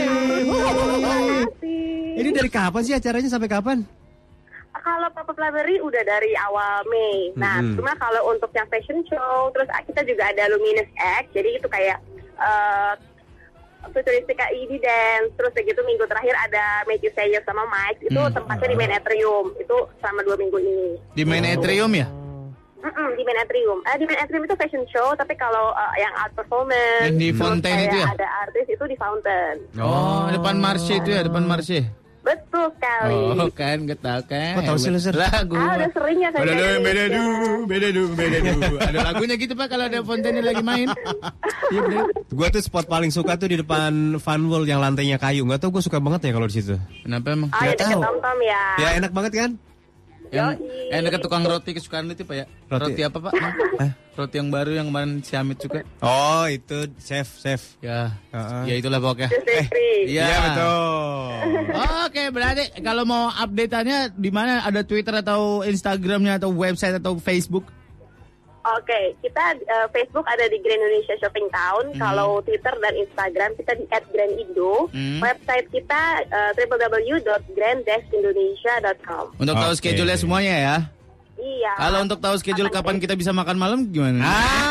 Ini dari kapan sih acaranya sampai kapan? Kalau pop-up library udah dari awal Mei. Nah, Mm-hmm. cuma kalau untuk yang fashion show, terus kita juga ada Luminous X. Jadi itu kayak uh, futuristik I D dance. Terus begitu minggu terakhir ada Make You Say Yes sama Mike. Itu Hmm. tempatnya di Main Atrium. Itu selama dua minggu ini. Di main atrium ya? Mm-mm, di Main Atrium. Eh, di Main Atrium itu fashion show, tapi kalau uh, yang art performance, Yang di terus Fountain kayak itu ya? ada artis itu di Fountain. Oh, depan Marche itu ya, depan Marche. Betul sekali. Oh, kan, gue tahu kan. Kok tahu sih lu, Sir? Lagu. Ah, udah sering ya saya Beda jadi du, beda du, Indonesia. beda du, beda du. Ada lagunya gitu Pak kalau ada Fountain lagi main. Iya bener. Gue tuh spot paling suka tuh di depan Fun World yang lantainya kayu. Nggak tau gue suka banget ya kalau di situ. Kenapa emang? Ah, ya Nggak deket tahu. Tom-Tom ya. Ya enak banget kan? Yang Yoi. eh dekat tukang roti kesukaan lu itu Pak ya? Roti. Roti, apa Pak? Eh? Roti yang baru yang kemarin si Amit suka. Oh itu chef chef. Ya. Uh-uh. Ya itulah pokoknya. Just Eh, free. Iya. Iya betul. Oke, berarti kalau mau update-annya di mana? Ada Twitter atau Instagramnya atau website atau Facebook? Oke, kita uh, Facebook ada di Grand Indonesia Shopping Town. Hmm. Kalau Twitter dan Instagram kita di at Grand Indo. Hmm. Website kita uh, w w w dot grand dash indonesia dot com. Untuk tahu Oke. schedule-nya semuanya ya. Iya. Kalau untuk tahu schedule kapan kita bisa makan malam gimana?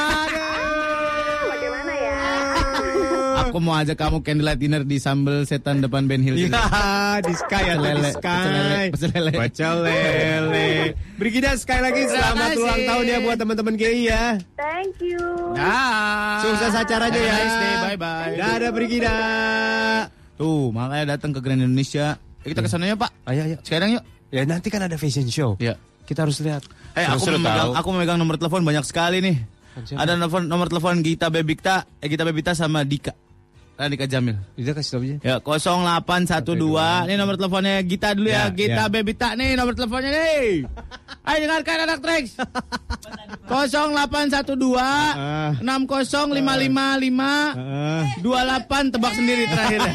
Bagaimana ya? Aku mau ajak kamu candlelight dinner di Sambal Setan depan Ben Hill. Iya di Sky ya Pecel di lele, Sky. pecel lele, pecel lele. Pecel lele. Brigida sekali lagi selamat kasih. ulang tahun ya buat teman-teman G I ya. Thank you. Ah. Sukses acaranya ya. Nice day, bye-bye. Dadah Brigida. Tuh, makanya datang ke Grand Indonesia. Eh, kita ke sana yuk, Pak. Ayo ayo. Sekarang yuk. Ya nanti kan ada fashion show. Ya. Kita harus lihat. Eh, aku Seru-seru memegang, tahu. aku memegang nomor telepon banyak sekali nih. Siapa? Ada nomor nomor telepon Gita Bebikta, eh Gita Bebita sama Dika. Ah, Dika Jamil. Dia kasih tahu aja. Ya, nol delapan satu dua. Ini nomor teleponnya Gita dulu ya. Ya, Gita ya. Bebita nih nomor teleponnya nih. Ayo dengarkan anak Trax. nol delapan satu dua enam nol lima lima lima dua delapan tebak sendiri terakhirnya.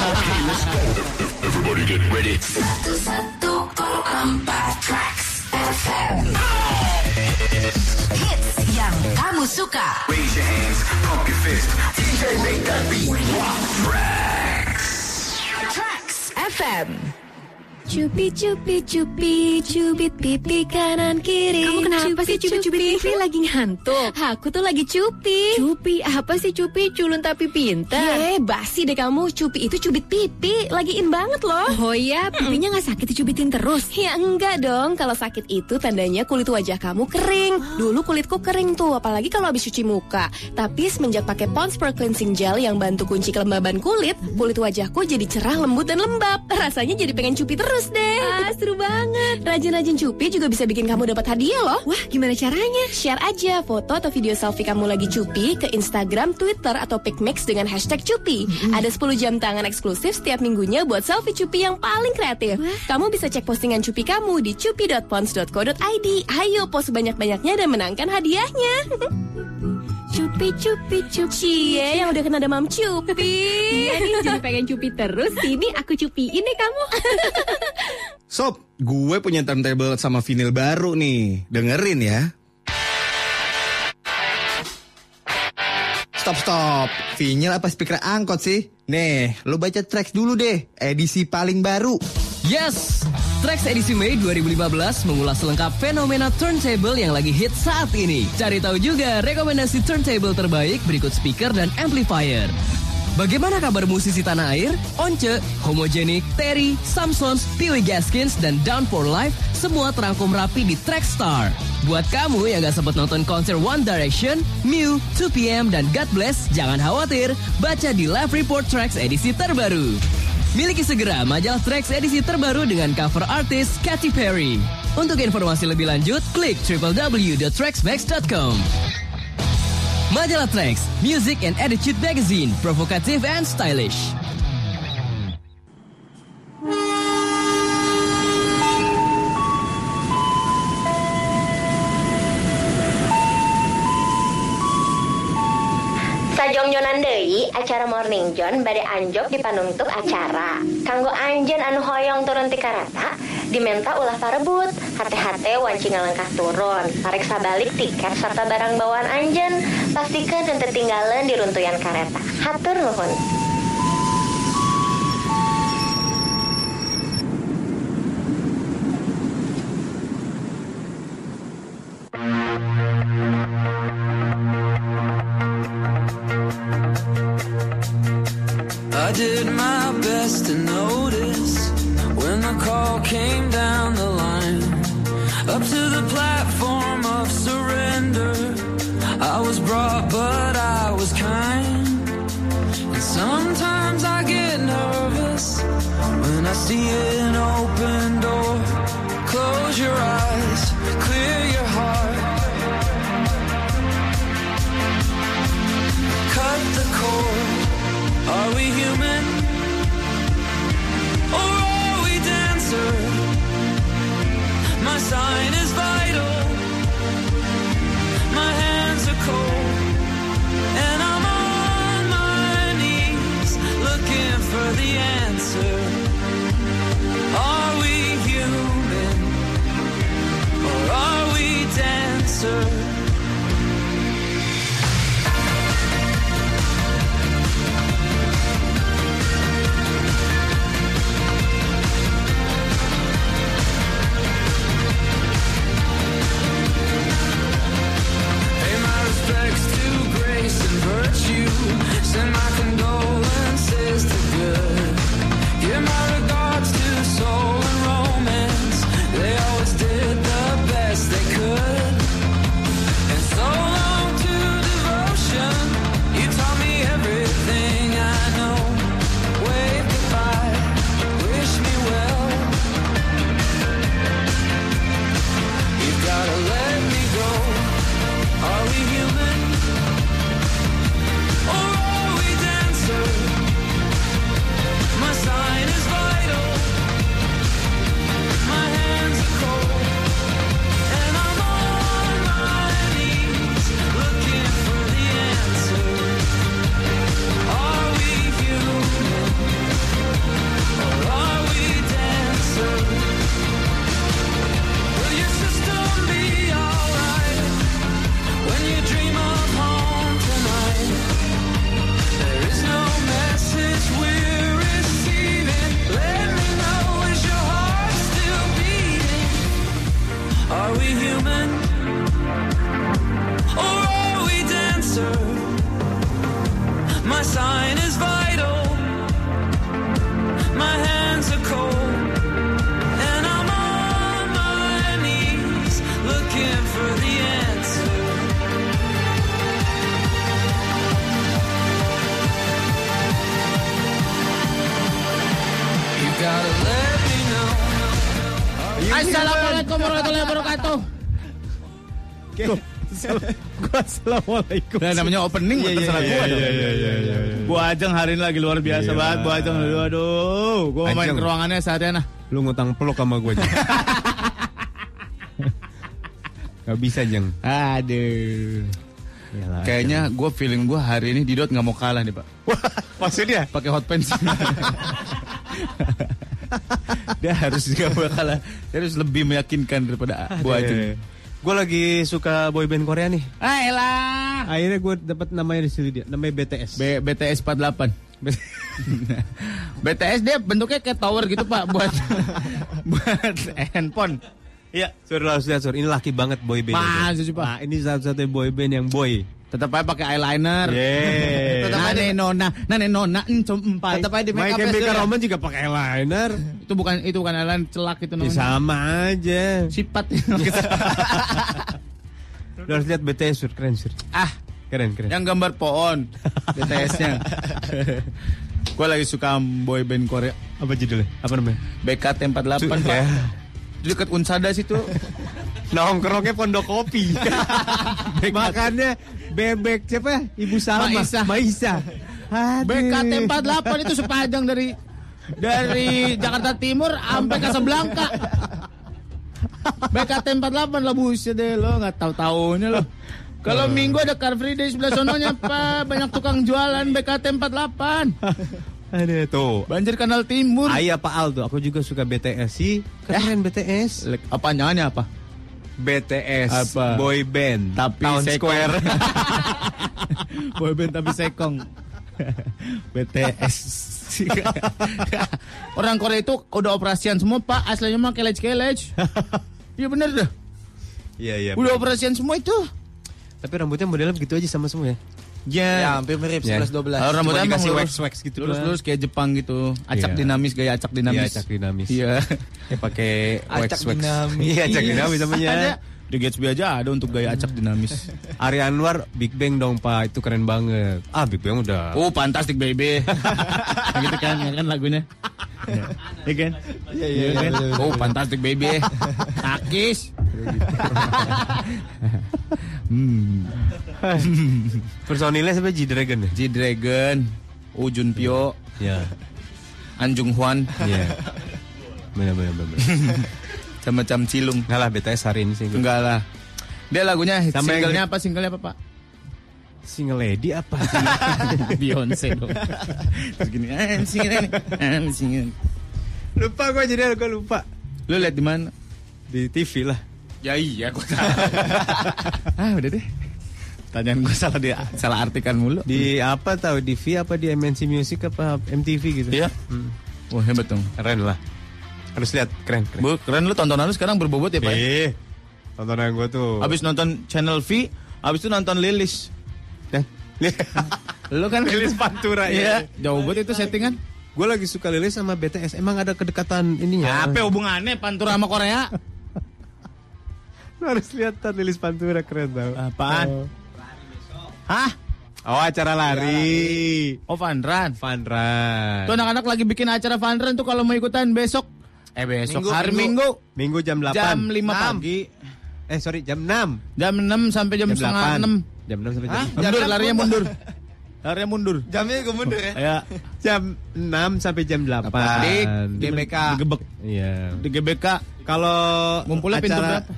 Everybody get ready. satu koma empat Trax F M. Hits yang kamu suka. Raise your hands, pump your fist. D J make that beat rock. Trax. Trax F M. Cupi cupi cupi cubit pipi kanan kiri. Kamu kenapa sih cubit-cubit pipi lagi ngantuk? Aku tuh lagi cupi. Cupi apa sih cupi? Culun tapi pintar. Ye, basi deh kamu. Cupi itu cubit pipi, lagi in banget loh. Oh iya, pipinya nggak sakit dicubitin terus? Ya enggak dong. Kalau sakit itu tandanya kulit wajah kamu kering. Dulu kulitku kering tuh, apalagi kalau habis cuci muka. Tapi semenjak pakai Pond's Pearl Cleansing Gel yang bantu kunci kelembaban kulit, kulit wajahku jadi cerah, lembut dan lembab. Rasanya jadi pengen cupi terus deh. Ah, seru banget. Rajin-rajin cupi juga bisa bikin kamu dapat hadiah loh. Wah, gimana caranya? Share aja foto atau video selfie kamu lagi cupi ke Instagram, Twitter, atau PicMix dengan hashtag cupi. Ada sepuluh jam tangan eksklusif setiap minggunya buat selfie cupi yang paling kreatif. Wah. Kamu bisa cek postingan cupi kamu di cupi dot pons dot co dot i d. Ayo post sebanyak-banyaknya dan menangkan hadiahnya. Cupi cupi cupi. Cie yang udah kena demam cupi. Iya nih jadi pengen cupi terus. Sini aku cupiin deh kamu. Sob, gue punya turntable sama vinyl baru nih. Dengerin ya. Stop stop. Vinyl apa speaker angkot sih? Nih, lo baca tracks dulu deh. Edisi paling baru. Yes, Tracks edisi Mei dua ribu lima belas mengulas lengkap fenomena turntable yang lagi hit saat ini. Cari tahu juga rekomendasi turntable terbaik berikut speaker dan amplifier. Bagaimana kabar musisi tanah air? Once, Homogenic, Terry, Samsons, Pee-wee Gaskins, dan Down for Life semua terangkum rapi di Trackstar. Buat kamu yang gak sempat nonton konser One Direction, Mew, two P M, dan God Bless, jangan khawatir, baca di Live Report Tracks edisi terbaru. Miliki segera majalah Tracks edisi terbaru dengan cover artis Katy Perry. Untuk informasi lebih lanjut, klik w w w dot tracksmax dot com. Majalah Tracks, Music and Attitude Magazine, provokatif and stylish. Sajongjonan deui acara Morning John bade anjog di panungtuk acara. Kanggo anjeun anu hoyong turun ti kareta, dimenta ulah parebut. Hate-hate wanci ngalangkah turun. Pareksa balik tiket serta barang bawaan anjeun. Pastikeun teu ketinggalan di runtuyan kareta. Hatur nuhun. I did my best to notice when the call came down the line. Up to the platform of surrender, I was brought but I was kind. And sometimes I get nervous when I see an open door. Close your eyes, clear your heart, cut the cord. Are we human, or are we dancer? My sign is vital, my hands are cold, and I'm on my knees looking for the answer. Are we human, or are we dancer? Send my condolences to good. Give my regards to soul and romance. They always did the best they could. And so long to devotion. You taught me everything I know. Wave goodbye, wish me well. You've gotta let me go. Are we human? My sign is vital, my hands are cold, and I'm on my knees looking for the answer. Are we human, or are we dancer? Will your system be alright when you dream of home tonight? There is no message we're receiving. Let me know, is your heart still beating? Are we human, or are we dancer? My sign is vital, my hands are cold, and I'm on my knees looking for the answer. Assalamualaikum warahmatullahi wabarakatuh. Gua assalamualaikum. Nah, namanya opening Iya, terserah iya, gua iya, dong. iya, iya, iya, iya. Bu Ajeng hari ini lagi luar biasa Iya. banget. Bu Ajeng, aduh, aduh. Gua mau main Ajeng. ke ruangannya seharian ah. Lu ngutang peluk sama gue. Gak bisa, Jeng. Aduh. Yalah, Kayaknya gue feeling gue hari ini Didot nggak mau kalah nih Pak. Maksudnya? Pakai hot pants. Dia harus nggak mau kalah. Dia harus lebih meyakinkan daripada Bu Ajeng. Gue lagi suka boyband Korea nih. Ah, elah. Akhirnya gue dapat namanya di situ dia. Namanya B T S. B- BTS empat puluh delapan. B T S dia bentuknya kayak tower gitu Pak buat buat handphone. Iya, Sur harus lihat Sur. Ini laki banget boyband. Masa sih Pak? Nah, ini satu-satunya boyband yang boy. Tetap aja pakai eyeliner. Yeah. Nane nona, nane nona, encom empai. Tetap aja di make up. My Chemical Romance juga pakai eyeliner. Itu bukan itu bukan eyeliner, celak itu namanya. Ya, sama aja. Sifat. Lu harus lihat B T S Sur, keren Sur. Ah, keren keren. Yang gambar pohon B T S-nya. Gue lagi suka boyband Korea. Apa judulnya? Apa namanya? B K T empat puluh delapan Pak. Ya. Dekat Unsada situ. Nongkrongnya Pondok Kopi. Makannya bebek siapa? Ibu Salma. Maisa. Maisa. B K T empat puluh delapan itu sepanjang dari dari Jakarta Timur sampai Casablanca. B K T empat puluh delapan lah buset deh lo, nggak tahu-tahunya lo. Kalau Minggu ada Car Free Day sebelah sononya Pak, banyak tukang jualan B K T empat puluh delapan. Ada tuh. Banjir Kanal Timur. Ayah Pak Al tuh, aku juga suka B T S sih. Keren B T S. Apa nyanyi apa? B T S. Apa? Boy band. Tapi Town sekong. Square. Boy band tapi sekong. B T S. Orang Korea itu udah operasian semua Pak, aslinya mah kelej-kelej. Iya bener dah. Iya iya. Udah operasian semua itu. Tapi rambutnya modelnya begitu aja sama semua ya. Ya, ya hampir mirip sebelas dua belas. Kalau rambutnya dikasih emang wax-wax gitu. Lurus-lurus kayak Jepang gitu. Acak Iya. dinamis, gaya acak dinamis. Iya, acak dinamis. Iya. Kayak pakai Acak wax-wax. dinamis. Iya, acak dinamis namanya. Ada. Di Gatsby aja ada untuk gaya acak dinamis. Ari Anwar Big Bang dong Pak, itu keren banget. Ah Big Bang udah. Oh, fantastic baby. Gitu kan, ya kan lagunya. Iya kan? Iya iya. kan? Oh, fantastic baby. Takis. hmm. Personilnya siapa? G-Dragon ya? G-Dragon, Oh Jun Pyo, Iya. An Jung Hwan, Iya. Benar benar benar. sama Cam Cilung. Enggak lah B T S hari ini sih. Enggak lah. Dia lagunya Sama yang- singlenya apa? Singlenya apa, Pak? Single Lady apa? Beyonce dong. Terus gini, ah, single ini. Ah, single. Lupa gue jadi gue lupa. Lu lihat di mana? Di T V lah. Ya iya, gue Ah, udah deh. Tanyaan gue salah dia, salah artikan mulu. Di apa tahu di V apa di M N C Music apa M T V gitu. Iya. Hmm. Wah, hebat dong. Keren lah. Harus lihat, keren keren. Bu, keren lu tontonan lu sekarang berbobot ya, Pak? Eh, tontonan gue tuh. Abis nonton Channel V, abis itu nonton Lilis. Dan Lu kan Lilis Pantura ya. Iya, jauh banget itu settingan. Gue lagi suka Lilis sama B T S. Emang ada kedekatan ininya. Apa hubungannya Pantura sama Korea? Lu harus lihat kan Lilis Pantura keren tau. Apaan? Oh. Hah? Oh, acara lari. Oh, Fun Run. Fun Run. Tuh anak-anak lagi bikin acara Fun Run tuh kalau mau ikutan besok. Eh besok Minggu, hari minggu. Minggu. Minggu jam delapan. Jam lima enam. pagi. Eh sorry jam enam. Jam enam sampai jam, setengah delapan. enam. Jam enam sampai jam. Hah? Mundur, Jam larinya enam mundur. Larinya mundur. Jamnya gue mundur ya. Ya. Jam enam sampai jam delapan. Di G B K. Digebek. Iya. Di G B K. Kalau Ngumpulnya pintu acara- berapa?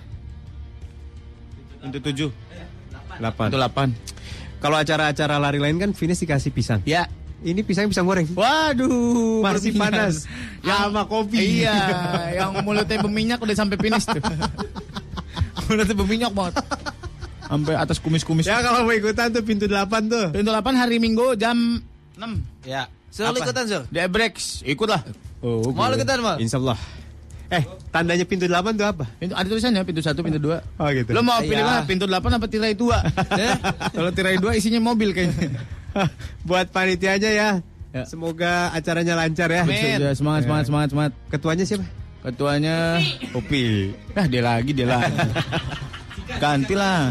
Pintu tujuh. delapan. Pintu delapan. Kalau acara-acara lari lain kan finish dikasih pisang. Ya. Ini pisang pisang goreng. Waduh, Masih berminyak. panas. Ya sama kopi. Iya, yang mulutnya berminyak udah sampai finish tuh. Mulutnya berminyak banget. Sampai atas kumis-kumis. Ya kalau mau ikutan tuh pintu delapan tuh. Pintu delapan hari Minggu jam enam. Ya. Sur, lu Apa? ikutan, Sur? Dia breaks, ikutlah. Oh, Mau lu ikutan, Mal? Insya Allah. Eh, tandanya pintu delapan tuh apa? Pintu, ada tulisannya pintu satu, pintu dua. Oh gitu. Lo mau pilih Iya. mana? Pintu delapan apa tirai dua? Eh, Kalau tirai dua isinya mobil kayaknya. Buat panitianya ya. Ya. Semoga acaranya lancar ya. Amin. Sudah, semangat, semangat, semangat, semangat. Ketuanya siapa? Ketuanya Opi. Nah, dia lagi, dia lagi. Gantilah.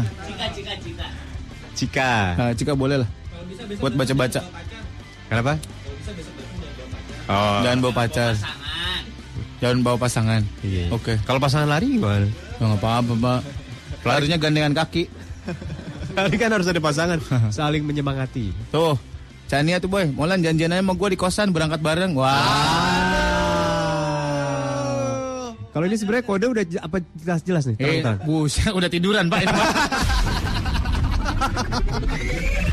Cika. Nah, Cika boleh lah. Buat baca-baca. Kenapa? Oh. Jangan bawa pacar. Jangan bawa pasangan. Iya. Oke. Kalau pasangan lari gimana? Ya, nggak apa-apa, Pak. Larinya gandengan kaki. Lari kan harus ada pasangan. Saling menyemangati. Tuh. Chania tuh boy, Molan janjian aja sama gue di kosan berangkat bareng. Wah. Kalau ini sebenarnya kode udah j- apa jelas-jelas nih? Eh, Terang-terang. buset, udah tiduran, Pak.